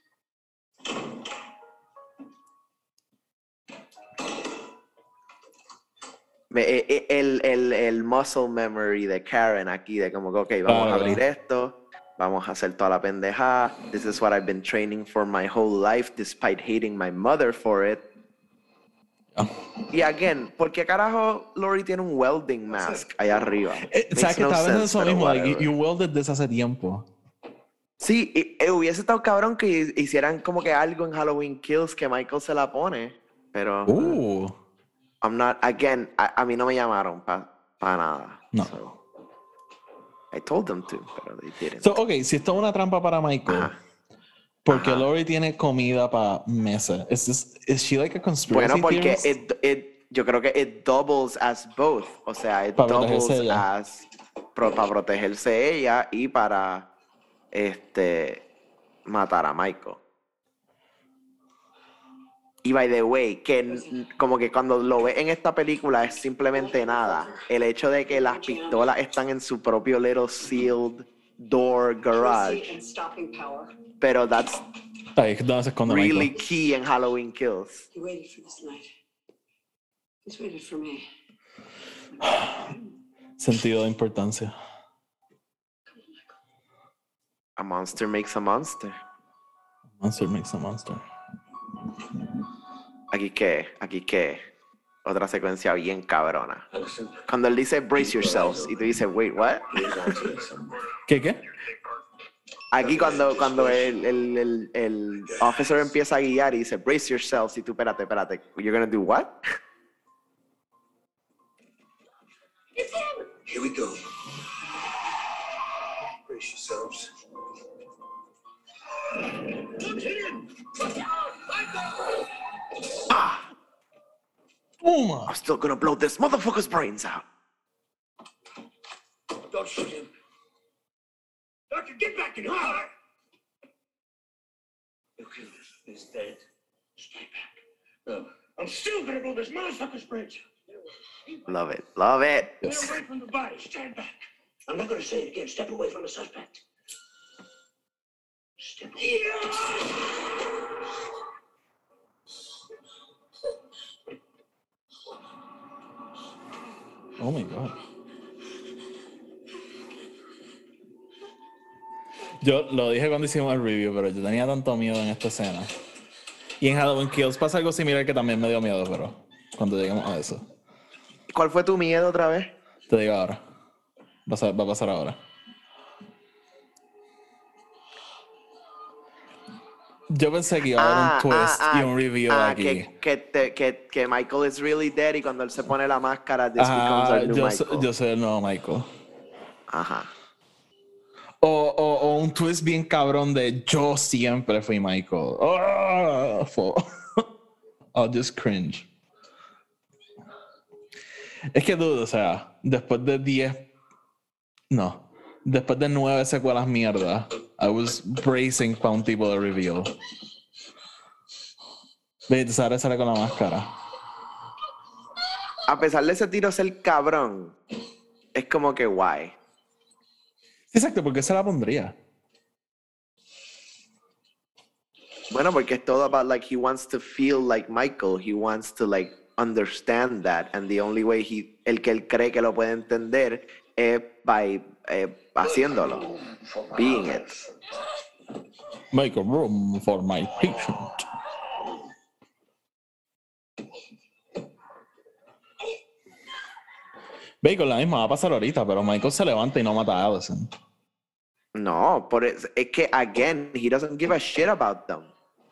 [SPEAKER 2] El muscle memory de Karen aquí, de como que, ok, vamos a abrir esto, vamos a hacer toda la pendejada. This is what I've been training for my whole life, despite hating my mother for it. Y again, ¿por qué carajo Lori tiene un welding mask allá arriba?
[SPEAKER 1] O sea, que estaba en eso mismo, like, you welded desde hace tiempo.
[SPEAKER 2] Sí, hubiese estado cabrón que hicieran como que algo en Halloween Kills que Michael se la pone, pero... I'm not, again, a mí no me llamaron para nada.
[SPEAKER 1] No.
[SPEAKER 2] So, I told them to, pero they didn't.
[SPEAKER 1] So, ok, si esto es una trampa para Michael, porque Lori tiene comida para meses. Is she like a conspiracy
[SPEAKER 2] Bueno, porque
[SPEAKER 1] theorist?
[SPEAKER 2] yo creo que it doubles as both. O sea, it
[SPEAKER 1] Para
[SPEAKER 2] doubles
[SPEAKER 1] protegerse ella.
[SPEAKER 2] as para protegerse ella y para matar a Michael. Y by the way, que como que cuando lo ves en esta película es simplemente nada. El hecho de que las pistolas están en su propio little sealed door garage. Pero that's
[SPEAKER 1] Ahí es donde se esconde
[SPEAKER 2] really
[SPEAKER 1] Michael.
[SPEAKER 2] key en Halloween Kills.
[SPEAKER 11] He waited for this night. He's waited for me.
[SPEAKER 1] Sentido de importancia.
[SPEAKER 2] A monster makes a monster.
[SPEAKER 1] Monster makes a monster.
[SPEAKER 2] Aquí que, otra secuencia bien cabrona. Cuando él dice brace yourselves y tú dices, wait, what?
[SPEAKER 1] ¿Qué?
[SPEAKER 2] Aquí cuando el officer empieza a guiar y dice brace yourselves y tú, espérate, you're gonna do what?
[SPEAKER 12] Here we go. Brace yourselves.
[SPEAKER 2] I'm still gonna blow this motherfucker's brains out.
[SPEAKER 12] Don't shoot him. Doctor, get back in here! You killed him. He's dead. Stay back. No, I'm still gonna blow this motherfucker's brains out.
[SPEAKER 2] Love it.
[SPEAKER 12] Get away from the body. Stand back. I'm not gonna say it again. Step away from the suspect. Step away.
[SPEAKER 1] Oh my God. Yo lo dije cuando hicimos el review, pero yo tenía tanto miedo en esta escena. Y en Halloween Kills pasa algo similar que también me dio miedo, pero cuando lleguemos a eso.
[SPEAKER 2] ¿Cuál fue tu miedo otra vez?
[SPEAKER 1] Te digo ahora. Va a pasar ahora. Yo pensé que iba a haber un twist y un review aquí.
[SPEAKER 2] Que Michael is really dead y cuando él se pone la máscara, this becomes our new Michael.
[SPEAKER 1] Yo soy el nuevo Michael.
[SPEAKER 2] Ajá.
[SPEAKER 1] O un twist bien cabrón de yo siempre fui Michael. I'll just cringe. Es que dudo, o sea, después de 9 secuelas mierda, I was bracing para un tipo de reveal. Vete, Sara sale con la máscara.
[SPEAKER 2] A pesar de ese tiro ser cabrón, es como que guay.
[SPEAKER 1] Exacto, ¿por qué se la pondría?
[SPEAKER 2] Bueno, porque es todo about like he wants to feel like Michael, he wants to like understand that, and the only way el que él cree que lo puede entender es by haciéndolo, being it.
[SPEAKER 1] Make a room for my patient. Bacon, la misma va a pasar ahorita, pero Michael se levanta y no mata a Allison.
[SPEAKER 2] No, es que, again, he doesn't give a shit about them.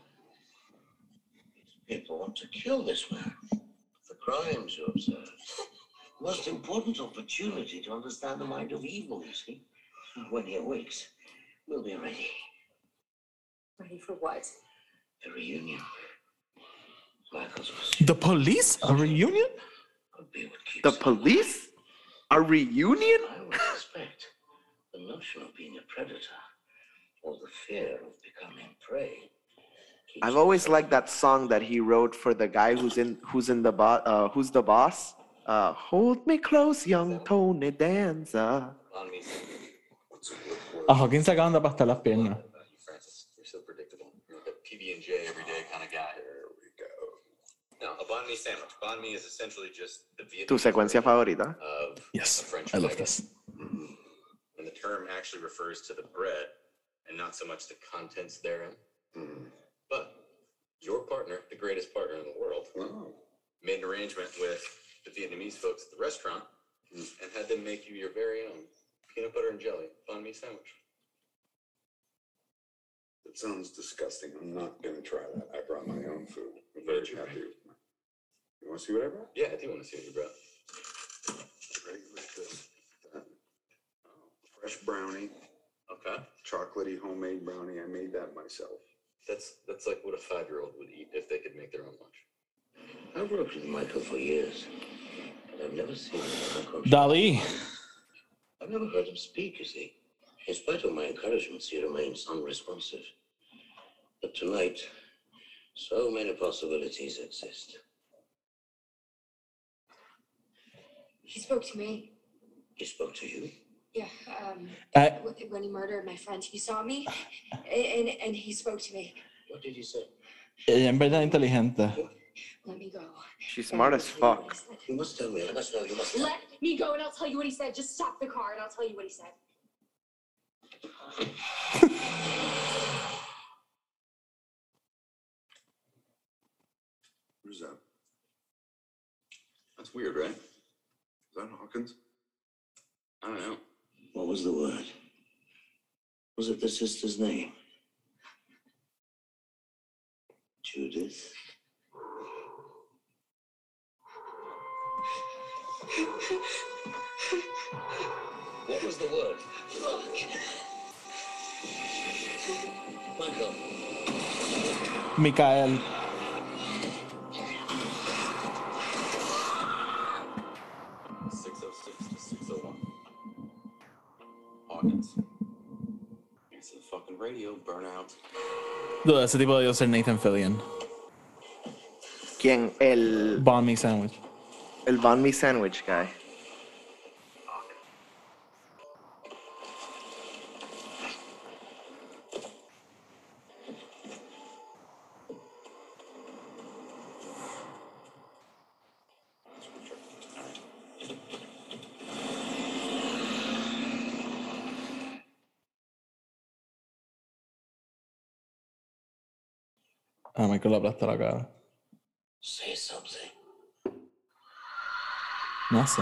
[SPEAKER 4] People want to kill this man. The crimes you observe. Most important opportunity to understand the mind of evil, you see. When he awakes, we'll be ready.
[SPEAKER 11] Ready for what?
[SPEAKER 4] The reunion. Michael's
[SPEAKER 1] The Police? A reunion?
[SPEAKER 2] The Police? A reunion?
[SPEAKER 4] I would suspect the notion of being a predator or the fear of becoming prey.
[SPEAKER 2] I've always liked that song that he wrote for the guy who's the boss. Hold me close, young Tony Danza.
[SPEAKER 1] A Hawkins se acaban de aplastar las piernas.
[SPEAKER 15] Francis, you're so predictable. You're like a PB&J everyday kind of guy. There we go. Now, a banh mi sandwich. Banh mi is essentially just the
[SPEAKER 2] ¿Tu
[SPEAKER 15] Vietnamese
[SPEAKER 2] secuencia favorita?
[SPEAKER 15] of
[SPEAKER 1] Yes,
[SPEAKER 15] a French
[SPEAKER 1] I love
[SPEAKER 15] baguette.
[SPEAKER 1] this.
[SPEAKER 15] And the term actually refers to the bread and not so much the contents therein. But your partner, the greatest partner in the world, made an arrangement with the Vietnamese folks at the restaurant and had them make you your very own peanut butter and jelly banh mi sandwich.
[SPEAKER 3] That sounds disgusting. I'm not gonna try that. I brought my own food. I'm very happy with my. You want to see what I brought?
[SPEAKER 15] Yeah, I do want to see what you brought.
[SPEAKER 3] Ready with this. Fresh brownie.
[SPEAKER 15] Okay.
[SPEAKER 3] Chocolatey homemade brownie. I made that myself.
[SPEAKER 15] That's like what a 5-year-old would eat if they could make their own lunch.
[SPEAKER 4] I've worked with Michael for years, and I've never seen him unconscious.
[SPEAKER 1] Dali.
[SPEAKER 4] I've never heard him speak, you see. In spite of my encouragements, he remains unresponsive. But tonight, so many possibilities exist.
[SPEAKER 5] He spoke to me.
[SPEAKER 4] He spoke to you?
[SPEAKER 5] Yeah, when he murdered my friend, he saw me, and he spoke to me.
[SPEAKER 4] What did he say?
[SPEAKER 1] Ella en verdad es inteligente.
[SPEAKER 5] Let me go.
[SPEAKER 2] She's smart as fuck.
[SPEAKER 4] You must tell me. I must know. You must tell me.
[SPEAKER 5] Let me go, and I'll tell you what he said. Just stop the car, and I'll tell you what he said.
[SPEAKER 3] Who's that?
[SPEAKER 15] That's weird, right?
[SPEAKER 3] Is that Hawkins?
[SPEAKER 15] I don't know.
[SPEAKER 4] What was the word? Was it the sister's name? Judith? What was the word? Michael.
[SPEAKER 1] Mikael.
[SPEAKER 15] Hawkins. It's the fucking radio burnout.
[SPEAKER 1] Dude, ese tipo debió ser Nathan Fillion.
[SPEAKER 2] ¿Quién? El
[SPEAKER 1] Banh mi sandwich.
[SPEAKER 2] banh mi sandwich guy.
[SPEAKER 1] A Michael le aplasta la cara.
[SPEAKER 4] Say something.
[SPEAKER 1] No sé.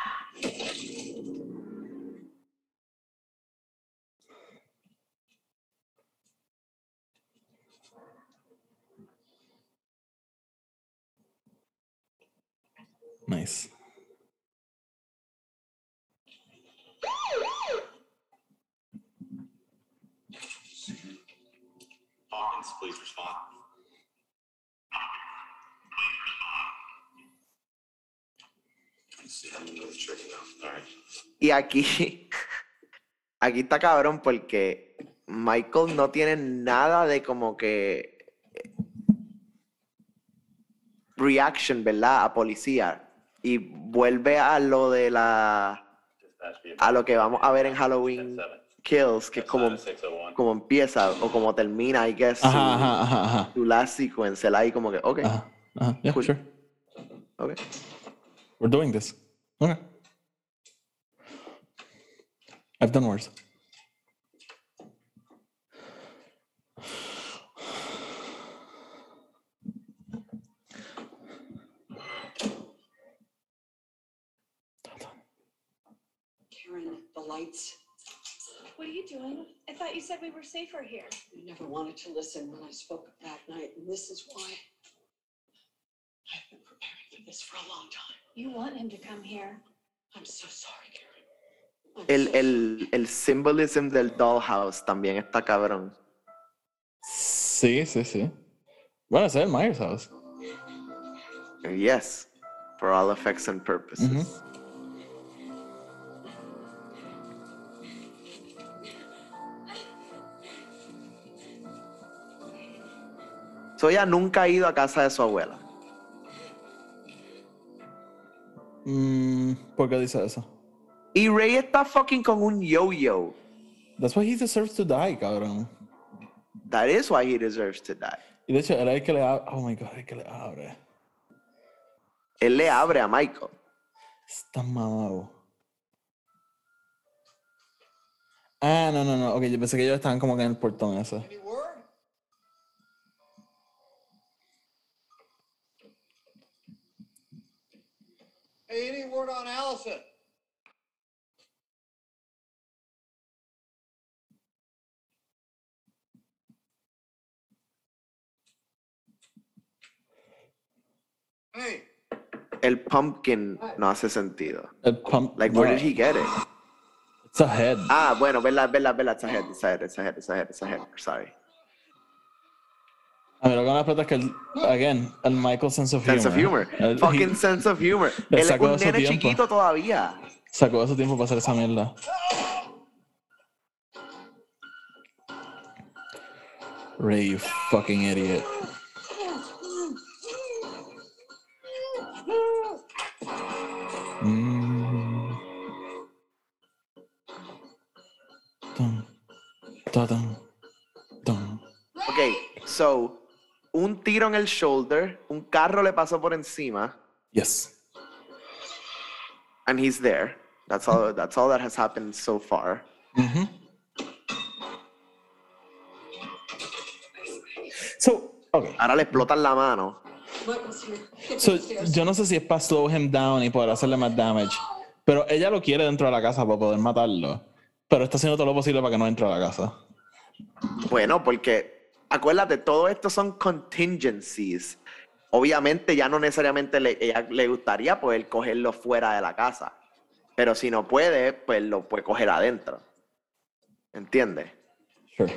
[SPEAKER 1] Nice.
[SPEAKER 15] Hawkins, please respond.
[SPEAKER 2] Y aquí está cabrón porque Michael no tiene nada de como que reaction, ¿verdad? A policía. Y vuelve a lo de a lo que vamos a ver en Halloween Kills, que es como empieza o como termina, I guess, su last sequence. Él ahí como que, ok.
[SPEAKER 1] Yeah,
[SPEAKER 2] cool.
[SPEAKER 1] sure.
[SPEAKER 2] Okay.
[SPEAKER 1] We're doing this. Okay. I've done worse.
[SPEAKER 11] Karen, the lights.
[SPEAKER 10] What are you doing? I thought you said we were safer here.
[SPEAKER 11] You never wanted to listen when I spoke up that night, and this is why. I've been preparing for this for a long time.
[SPEAKER 10] You want him to come here.
[SPEAKER 11] I'm so sorry, Karen.
[SPEAKER 2] El symbolism del dollhouse también está cabrón.
[SPEAKER 1] Sí, sí, sí. Bueno, ese es el Myers House.
[SPEAKER 2] Yes, for all effects and purposes. So ella nunca ha ido a casa de su abuela.
[SPEAKER 1] ¿Por qué dice eso?
[SPEAKER 2] Y Ray está fucking con un yo-yo.
[SPEAKER 1] That's why he deserves to die, cabrón.
[SPEAKER 2] That is why he deserves to die.
[SPEAKER 1] Y de hecho, él es el que le abre. Oh my God, el que le abre.
[SPEAKER 2] Él le abre a Michael.
[SPEAKER 1] Está mamado. Ah, no. Ok, yo pensé que ellos estaban como que en el portón ese.
[SPEAKER 8] Any word? Hey, any word on Allison? Hey.
[SPEAKER 2] El pumpkin no hace sentido.
[SPEAKER 1] El pump.
[SPEAKER 2] Like, where did he get it?
[SPEAKER 1] It's a head.
[SPEAKER 2] Ah, bueno, verdad. It's a head. Sorry.
[SPEAKER 1] A mí lo que me explota es que, el Michael sense of humor.
[SPEAKER 2] Sense of humor. Fucking sense of humor. Él es un nene chiquito todavía.
[SPEAKER 1] Sacó de su tiempo para hacer esa mierda. Ray, you fucking idiot.
[SPEAKER 2] Ok, so, un tiro en el shoulder, un carro le pasó por encima.
[SPEAKER 1] Yes.
[SPEAKER 2] And he's there. That's all that has happened so far.
[SPEAKER 1] So, okay.
[SPEAKER 2] Ahora le explotan la mano.
[SPEAKER 1] So, yo no sé si es para slow him down y poder hacerle más damage, pero ella lo quiere dentro de la casa para poder matarlo, pero está haciendo todo lo posible para que no entre a la casa.
[SPEAKER 2] Bueno, porque acuérdate, todo esto son contingencies. Obviamente ya no necesariamente ella le gustaría poder cogerlo fuera de la casa, pero si no puede, pues lo puede coger adentro. ¿Entiendes?
[SPEAKER 1] Sure.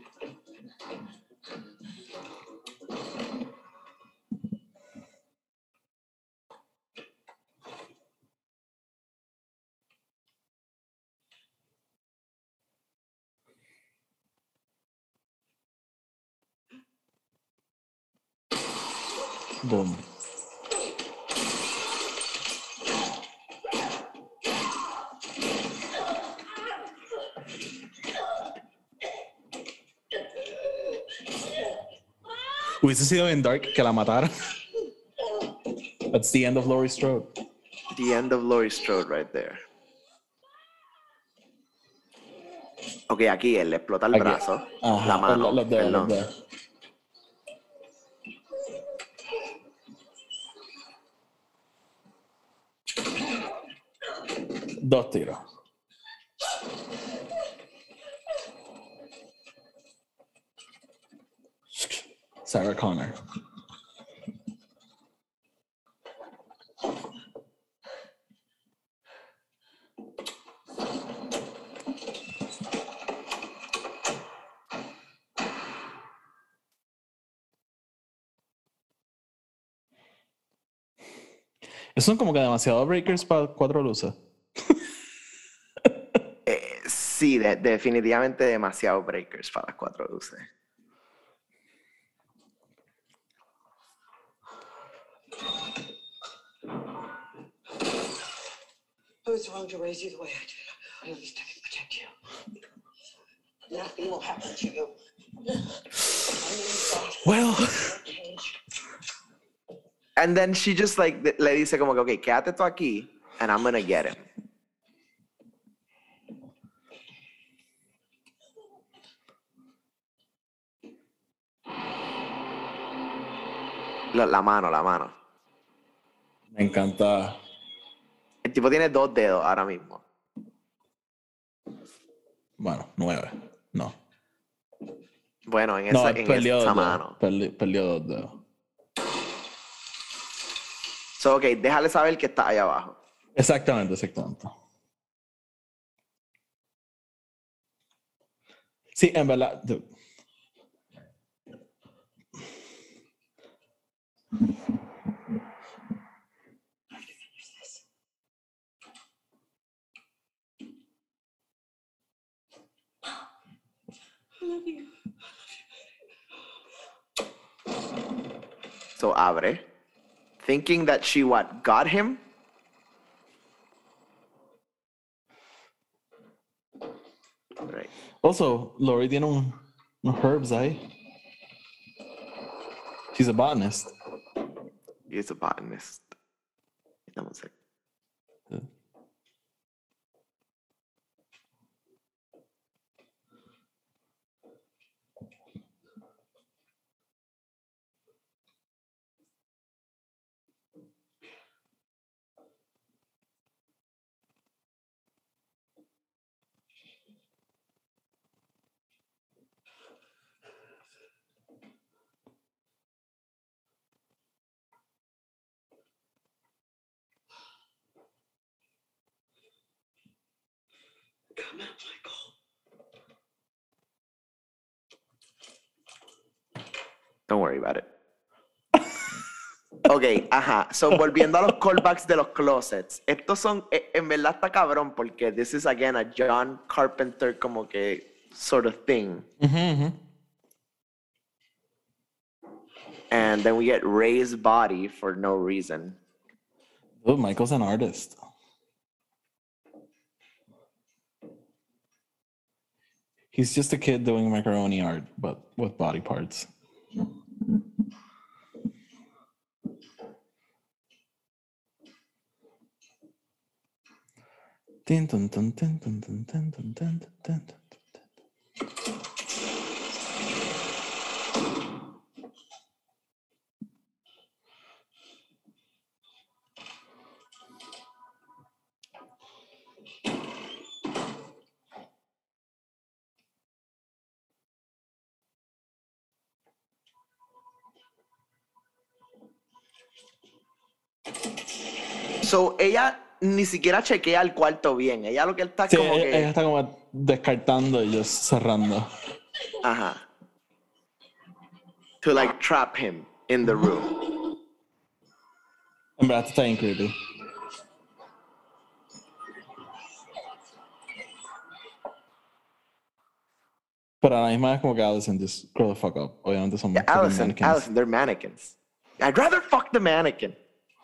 [SPEAKER 1] Boom. Hubiese sido bien dark que la matara. That's the end of Laurie Strode.
[SPEAKER 2] The end of Laurie Strode right there. Ok, aquí él le explota el brazo.
[SPEAKER 1] Ajá,
[SPEAKER 2] la mano.
[SPEAKER 1] Perdón. Dos tiros. Sarah Connor. Son como que demasiado breakers para 4 luces.
[SPEAKER 2] Sí, definitivamente demasiado breakers para las 4 luces.
[SPEAKER 11] I was wrong to raise you the way I did. I always tried to protect you. Nothing will happen to you.
[SPEAKER 2] Well. And then she just like le dice como que, okay, quédate tú aquí and I'm gonna get him. La mano.
[SPEAKER 1] Me encanta.
[SPEAKER 2] El tipo tiene 2 dedos ahora mismo.
[SPEAKER 1] Bueno, 9. No.
[SPEAKER 2] Bueno, en esa mano.
[SPEAKER 1] Perdió 2 dedos.
[SPEAKER 2] So, ok, déjale saber que está ahí abajo.
[SPEAKER 1] Exactamente. Sí, en verdad.
[SPEAKER 2] So abre. Thinking that she what? Got him? Right.
[SPEAKER 1] Also, Lori tiene unos herbs ahí. She's a botanist.
[SPEAKER 2] He's a botanist. Dame un sec.
[SPEAKER 12] Come on, Michael.
[SPEAKER 2] Don't worry about it. Ok, ajá. So, volviendo a los callbacks de los closets. Estos son, en verdad está cabrón porque this is again a John Carpenter como que sort of thing. And then we get Ray's body for no reason.
[SPEAKER 1] Oh, Michael's an artist. He's just a kid doing macaroni art, but with body parts. Tin, dun, dun, dun, dun, dun, dun, dun, dun, dun, dun.
[SPEAKER 2] So, ella ni siquiera chequea el cuarto bien. Ella lo que está
[SPEAKER 1] Sí,
[SPEAKER 2] como
[SPEAKER 1] ella
[SPEAKER 2] que...
[SPEAKER 1] está como descartando y just cerrando.
[SPEAKER 2] Ajá. To like trap him in the room.
[SPEAKER 1] En verdad está bien creepy. Pero a la misma vez como que Allison just grow the fuck up. Obviamente son
[SPEAKER 2] Yeah,
[SPEAKER 1] fucking
[SPEAKER 2] Allison,
[SPEAKER 1] mannequins.
[SPEAKER 2] Allison, they're mannequins. I'd rather fuck the mannequin.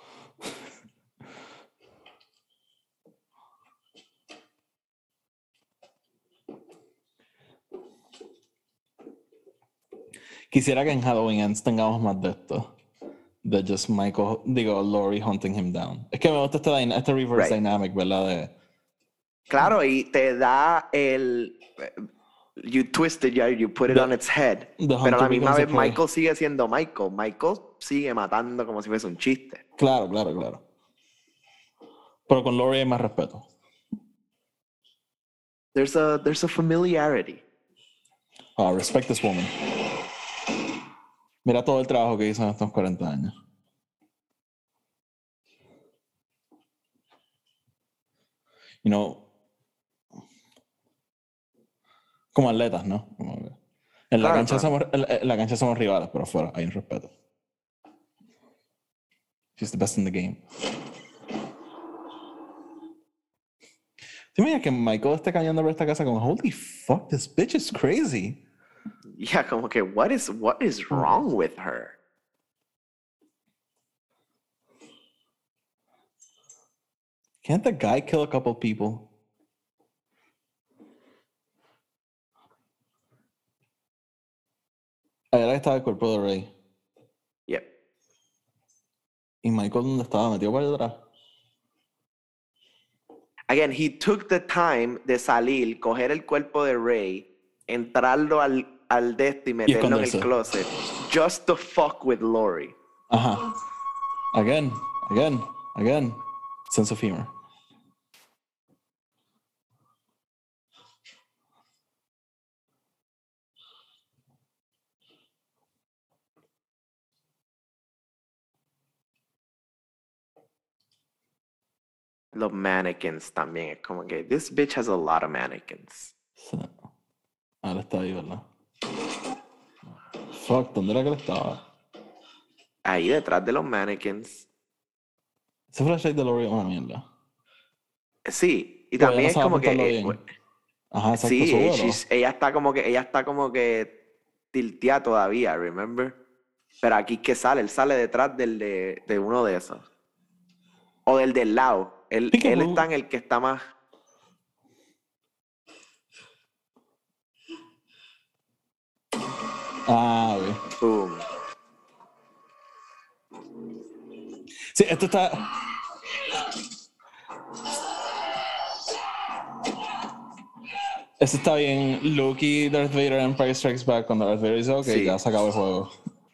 [SPEAKER 1] Quisiera que en Halloween Ends tengamos más de esto. De just Michael, Laurie hunting him down. Es que me gusta este reverse dynamic, ¿verdad?
[SPEAKER 2] Claro, y te da el... You twist it, you put it on its head. Pero a la misma vez Michael sigue siendo Michael. Michael sigue matando como si fuese un chiste.
[SPEAKER 1] Claro. Pero con Laurie hay más respeto.
[SPEAKER 2] There's a familiarity.
[SPEAKER 1] Oh, respect this woman. Mira todo el trabajo que hizo en estos 40 años. You know, como atletas, ¿no? En la cancha somos rivales, pero afuera hay un respeto. She's the best in the game. ¿Te imaginas que Michael esté caminando por esta casa como, holy fuck, this bitch is crazy?
[SPEAKER 2] Yeah, como que, what is wrong with her?
[SPEAKER 1] Can't the guy kill a couple people? Ahí estaba el cuerpo de Ray.
[SPEAKER 2] Yep.
[SPEAKER 1] ¿Y Michael dónde estaba? ¿Metido para atrás?
[SPEAKER 2] Again, he took the time de salir, coger el cuerpo de Ray, entrarlo al de este y meterlo en el closet. Just to fuck with Laurie.
[SPEAKER 1] Ajá. Again. Sense of humor.
[SPEAKER 2] Los mannequins también. Es como que, this bitch has a lot of mannequins.
[SPEAKER 1] Sí. Ahora está ahí, ¿verdad? Fuck, ¿dónde era que él estaba?
[SPEAKER 2] Ahí detrás de los mannequins.
[SPEAKER 1] Ese flashlight de Laurie es una mierda.
[SPEAKER 2] Sí, y también es como que...
[SPEAKER 1] Ajá, exacto,
[SPEAKER 2] sí, ella está como que tilteada todavía, remember? Pero aquí que sale, él sale detrás de uno de esos. O del lado. Él está en el que está más.
[SPEAKER 1] Ah, güey.
[SPEAKER 2] Boom.
[SPEAKER 1] Sí, esto está. Eso está bien. Luke y Darth Vader en Empire Strikes Back cuando Darth Vader dice, ok,
[SPEAKER 2] Sí.
[SPEAKER 1] ya se acabó el juego.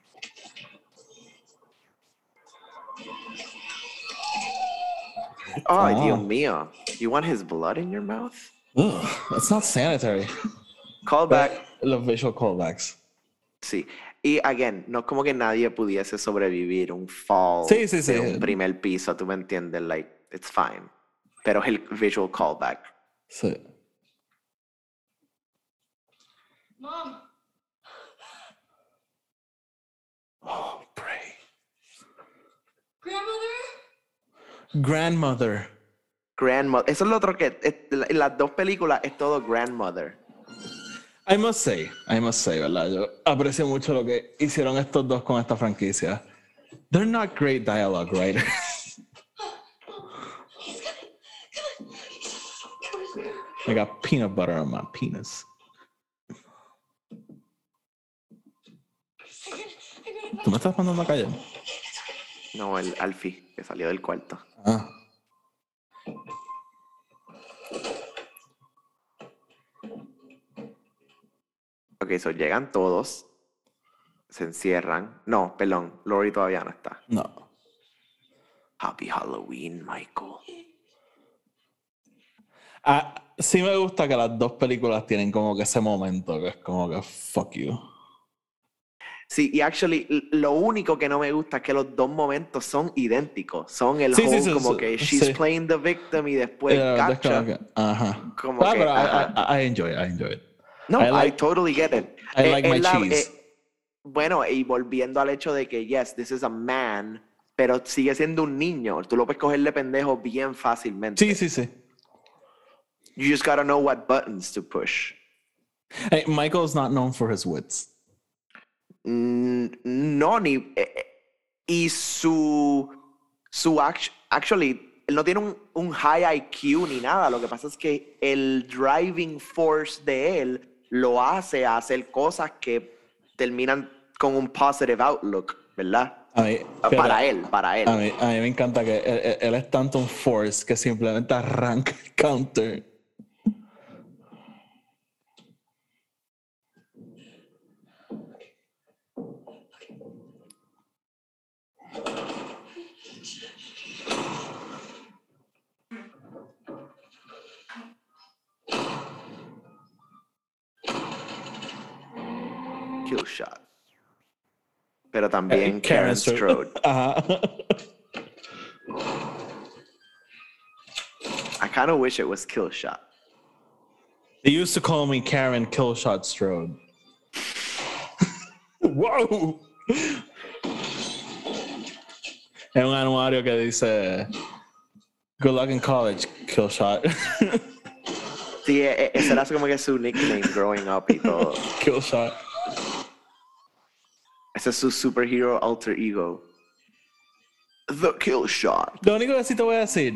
[SPEAKER 2] Ay, Dios mío. You want his blood in your mouth?
[SPEAKER 1] Ugh, that's not sanitary.
[SPEAKER 2] Callback.
[SPEAKER 1] Los visual callbacks.
[SPEAKER 2] Sí. Y, again, no es como que nadie pudiese sobrevivir un fall
[SPEAKER 1] Sí, sí, sí.
[SPEAKER 2] de un primer piso, tú me entiendes, like, it's fine. Pero es el visual callback.
[SPEAKER 1] Sí.
[SPEAKER 10] Mom.
[SPEAKER 1] Oh, pray.
[SPEAKER 10] Grandmother?
[SPEAKER 2] Grandmother. Eso es lo otro que en las dos películas es todo grandmother.
[SPEAKER 1] I must say, ¿verdad? Yo aprecio mucho lo que hicieron estos dos con esta franquicia. They're not great dialogue writers. I got peanut butter on my penis. ¿Tú me estás mandando a callar?
[SPEAKER 2] No, el Alfie, que salió del cuarto.
[SPEAKER 1] Ah.
[SPEAKER 2] Ok, so llegan todos, se encierran. No, perdón, Lori todavía no está.
[SPEAKER 1] No.
[SPEAKER 2] Happy Halloween, Michael.
[SPEAKER 1] Ah, sí me gusta que las dos películas tienen como que ese momento que es como que fuck you.
[SPEAKER 2] Sí, y actually, lo único que no me gusta es que los dos momentos son idénticos. Son el
[SPEAKER 1] Sí, sí,
[SPEAKER 2] whole
[SPEAKER 1] sí,
[SPEAKER 2] como
[SPEAKER 1] sí,
[SPEAKER 2] que she's
[SPEAKER 1] sí.
[SPEAKER 2] playing the victim y después gotcha.
[SPEAKER 1] Ajá.
[SPEAKER 2] Como que,
[SPEAKER 1] Pero
[SPEAKER 2] ajá.
[SPEAKER 1] I enjoy it.
[SPEAKER 2] No, I totally get it.
[SPEAKER 1] I like my
[SPEAKER 2] Es
[SPEAKER 1] cheese.
[SPEAKER 2] Bueno, y volviendo al hecho de que, yes, this is a man, pero sigue siendo un niño. Tú lo puedes cogerle pendejo bien fácilmente.
[SPEAKER 1] Sí, sí, sí.
[SPEAKER 2] You just gotta know what buttons to push.
[SPEAKER 1] Hey, Michael's not known for his wits.
[SPEAKER 2] No, ni... y actually, él no tiene un high IQ ni nada. Lo que pasa es que el driving force de él lo hace a hacer cosas que terminan con un positive outlook, ¿verdad? Para él.
[SPEAKER 1] A mí me encanta que él es tanto un force que simplemente arranca el counter.
[SPEAKER 2] Kill shot. Pero también Karen Strode.
[SPEAKER 1] Ajá.
[SPEAKER 2] I kind of wish it was Kill Shot.
[SPEAKER 1] They used to call me Karen Killshot Strode. ¡Wow! Es un anuario que dice Good luck in college, Killshot.
[SPEAKER 2] Sí, ese era como que su nickname growing up y todo.
[SPEAKER 1] Killshot.
[SPEAKER 2] Ese es su superhero alter ego. The Kill Shot.
[SPEAKER 1] Lo único que sí te voy a decir,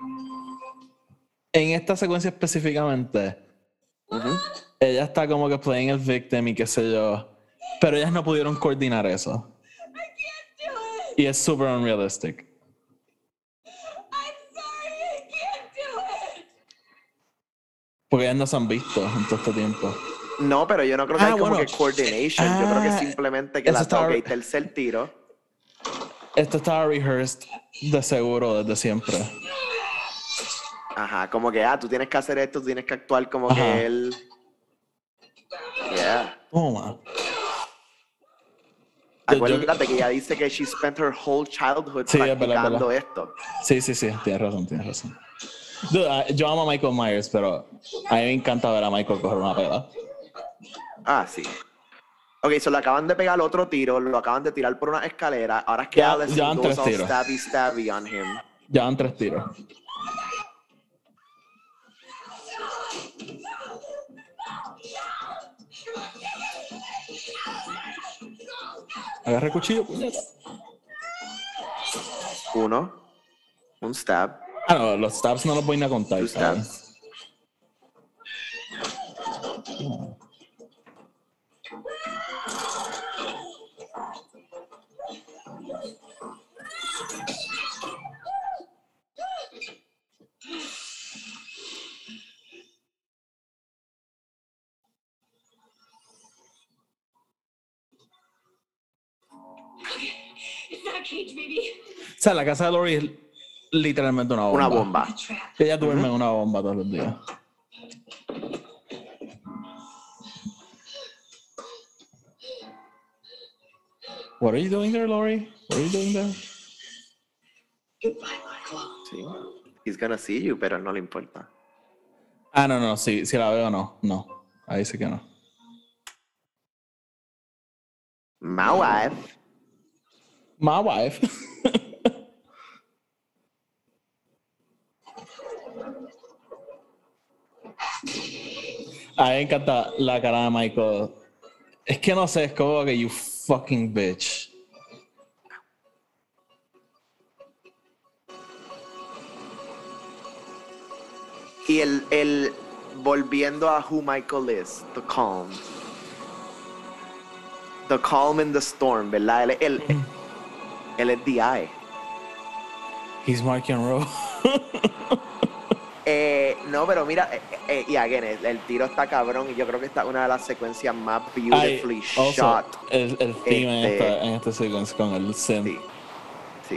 [SPEAKER 1] en esta secuencia específicamente, ella está como que playing el victim y qué sé yo, pero ellas no pudieron coordinar eso. Y es super unrealistic. Porque ellas no se han visto en todo este tiempo.
[SPEAKER 2] No, pero yo no creo que hay como que coordination. Yo creo que simplemente que la toque y tercer tiro.
[SPEAKER 1] Esto estaba rehearsed de seguro desde siempre.
[SPEAKER 2] Ajá, como que, tú tienes que hacer esto, tú tienes que actuar como que él... Yeah.
[SPEAKER 1] Toma.
[SPEAKER 2] Acuérdate que ella dice que she spent her whole childhood practicando esto.
[SPEAKER 1] Sí, tienes razón. Dude, yo amo a Michael Myers, pero a mí me encanta ver a Michael coger una pela.
[SPEAKER 2] Ah, sí. Ok, so le acaban de pegar otro tiro, lo acaban de tirar por una escalera. Ahora es que Allison goes all stabby on him.
[SPEAKER 1] Ya van 3 tiros. Agarra el cuchillo, puñeta.
[SPEAKER 2] 1. Un stab.
[SPEAKER 1] Ah, no, los stabs no los voy a contar.
[SPEAKER 2] 2 stabs.
[SPEAKER 10] It's not a cage, baby.
[SPEAKER 1] O sea, la casa de Lori es literalmente una bomba.
[SPEAKER 2] Una bomba.
[SPEAKER 1] Ella duerme en una bomba todos los días. What are you doing there, Lori? What are you doing there?
[SPEAKER 6] Goodbye, Michael.
[SPEAKER 2] Sí. He's gonna see you, pero no le importa.
[SPEAKER 1] Ah, no, sí, si la veo no. No, ahí sí que no.
[SPEAKER 2] My wife.
[SPEAKER 1] My wife. A mí me encanta la cara de Michael. Es que no sé, es como que you fucking bitch.
[SPEAKER 2] Y el volviendo a who Michael is, the calm. The calm in the storm, ¿verdad? Él es the eye.
[SPEAKER 1] He's Mark and Rowe.
[SPEAKER 2] No, pero mira, y again, el tiro está cabrón y yo creo que esta es una de las secuencias más beautifully shot.
[SPEAKER 1] El theme en esta secuencia con el synth.
[SPEAKER 2] Sí.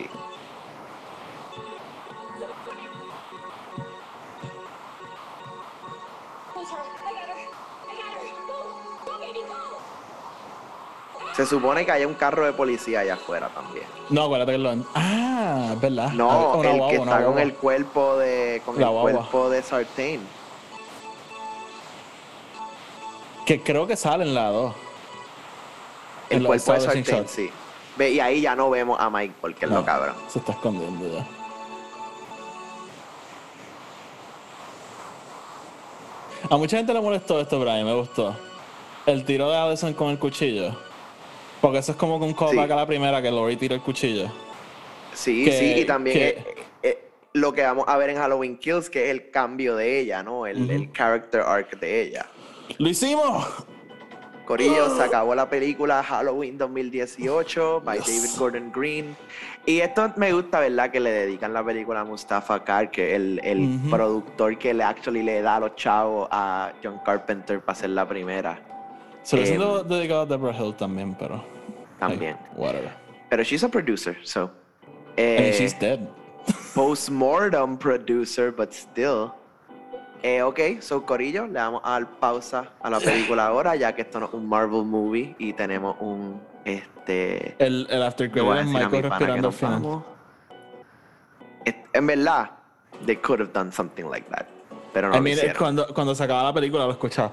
[SPEAKER 2] Se supone que hay un carro de policía allá afuera también.
[SPEAKER 1] No, acuérdate que lo... Ah, es verdad.
[SPEAKER 2] No,
[SPEAKER 1] Una
[SPEAKER 2] el
[SPEAKER 1] guagua,
[SPEAKER 2] que
[SPEAKER 1] una
[SPEAKER 2] está con
[SPEAKER 1] guagua.
[SPEAKER 2] el cuerpo de... Con
[SPEAKER 1] La
[SPEAKER 2] el
[SPEAKER 1] guagua.
[SPEAKER 2] cuerpo de Sartain.
[SPEAKER 1] Que creo que sale en la 2.
[SPEAKER 2] El
[SPEAKER 1] En la
[SPEAKER 2] cuerpo de
[SPEAKER 1] establishing
[SPEAKER 2] Sartain,
[SPEAKER 1] shot.
[SPEAKER 2] sí. Ve, y ahí ya no vemos a Mike porque es
[SPEAKER 1] No,
[SPEAKER 2] lo cabrón.
[SPEAKER 1] se está escondiendo ya. A mucha gente le molestó esto, Brian, me gustó. El tiro de Addison con el cuchillo. Porque eso es como que un callback a la primera que Lori tira el cuchillo.
[SPEAKER 2] Sí,
[SPEAKER 1] Que-
[SPEAKER 2] sí, y también
[SPEAKER 1] que-
[SPEAKER 2] lo que vamos a ver en Halloween Kills, que es el cambio de ella, ¿no? El character arc de ella.
[SPEAKER 1] ¡Lo hicimos!
[SPEAKER 2] Corillo, se acabó la película Halloween 2018 by
[SPEAKER 1] Yes.
[SPEAKER 2] David Gordon Green. Y esto me gusta, ¿verdad? Que le dedican la película a Mustafa Kar, que es el productor que le da a los chavos a John Carpenter para hacer la primera.
[SPEAKER 1] Se lo siento dedicado a Deborah Hill también, pero...
[SPEAKER 2] También.
[SPEAKER 1] Hey, whatever.
[SPEAKER 2] Pero she's a producer, so...
[SPEAKER 1] I mean, she's dead.
[SPEAKER 2] Postmortem producer, but still. Ok, so Corillo, le damos a dar pausa a la película ahora, ya que esto no es un Marvel movie y tenemos un
[SPEAKER 1] El after
[SPEAKER 2] le voy a
[SPEAKER 1] credit es
[SPEAKER 2] decir a mi
[SPEAKER 1] Michael
[SPEAKER 2] pana que
[SPEAKER 1] respirando al
[SPEAKER 2] nos
[SPEAKER 1] final.
[SPEAKER 2] vamos. En verdad, they could have done something like that, pero no
[SPEAKER 1] I
[SPEAKER 2] lo
[SPEAKER 1] mean,
[SPEAKER 2] hicieron.
[SPEAKER 1] cuando se acaba la película lo escuchaba.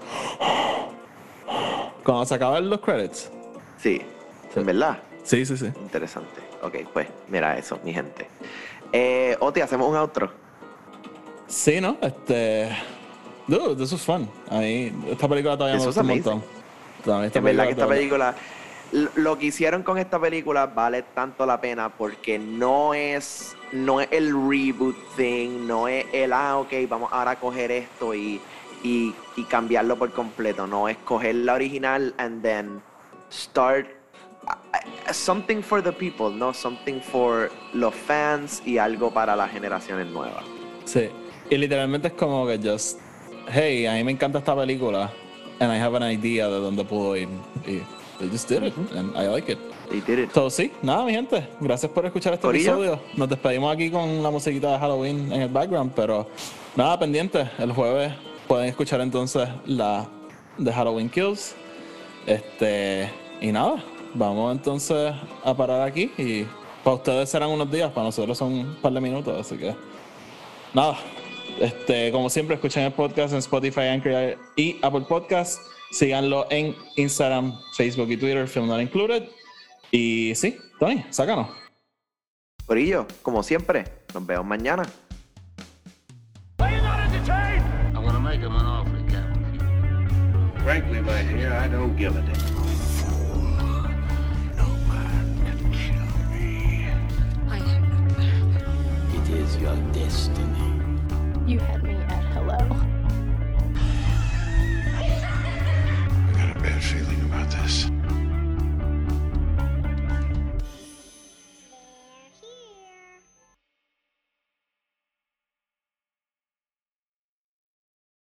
[SPEAKER 1] Cuando se acaban los credits.
[SPEAKER 2] Sí, en verdad.
[SPEAKER 1] Sí.
[SPEAKER 2] Interesante. Ok, pues mira eso, mi gente. Oti, hacemos un outro.
[SPEAKER 1] Sí, ¿no? Dude, this was fun. A mí, esta película todavía me
[SPEAKER 2] This
[SPEAKER 1] gusta un
[SPEAKER 2] was
[SPEAKER 1] montón. Todavía esta
[SPEAKER 2] En verdad que esta
[SPEAKER 1] todavía-
[SPEAKER 2] película, lo que hicieron con esta película vale tanto la pena porque no es el reboot thing, no es el, ok, vamos ahora a coger esto y cambiarlo por completo. No, es coger la original and then start something for the people, no, something for los fans y algo para las generaciones nuevas.
[SPEAKER 1] Sí. Y literalmente es como que just, hey, a mí me encanta esta película and I have an idea de dónde puedo ir. Y they just did it and I like it.
[SPEAKER 2] They did it.
[SPEAKER 1] So, sí, nada, mi gente. Gracias por escuchar este
[SPEAKER 2] Corillo.
[SPEAKER 1] episodio. Nos despedimos aquí con la musiquita de Halloween en el background, pero nada, pendiente. El jueves pueden escuchar entonces la de Halloween Kills. Y nada, vamos entonces a parar aquí y para ustedes serán unos días, para nosotros son un par de minutos, así que nada. Como siempre, escuchen el podcast en Spotify, Anchor y Apple Podcasts. Síganlo en Instagram, Facebook y Twitter, Film Not Included. Y sí, Tony, sácanos.
[SPEAKER 2] Corillo, como siempre, nos vemos mañana.
[SPEAKER 16] I want to make him an offer, Captain.
[SPEAKER 12] Frankly, my dear, I don't give a damn.
[SPEAKER 16] is your destiny.
[SPEAKER 17] You had me at hello.
[SPEAKER 3] I got a bad feeling about this.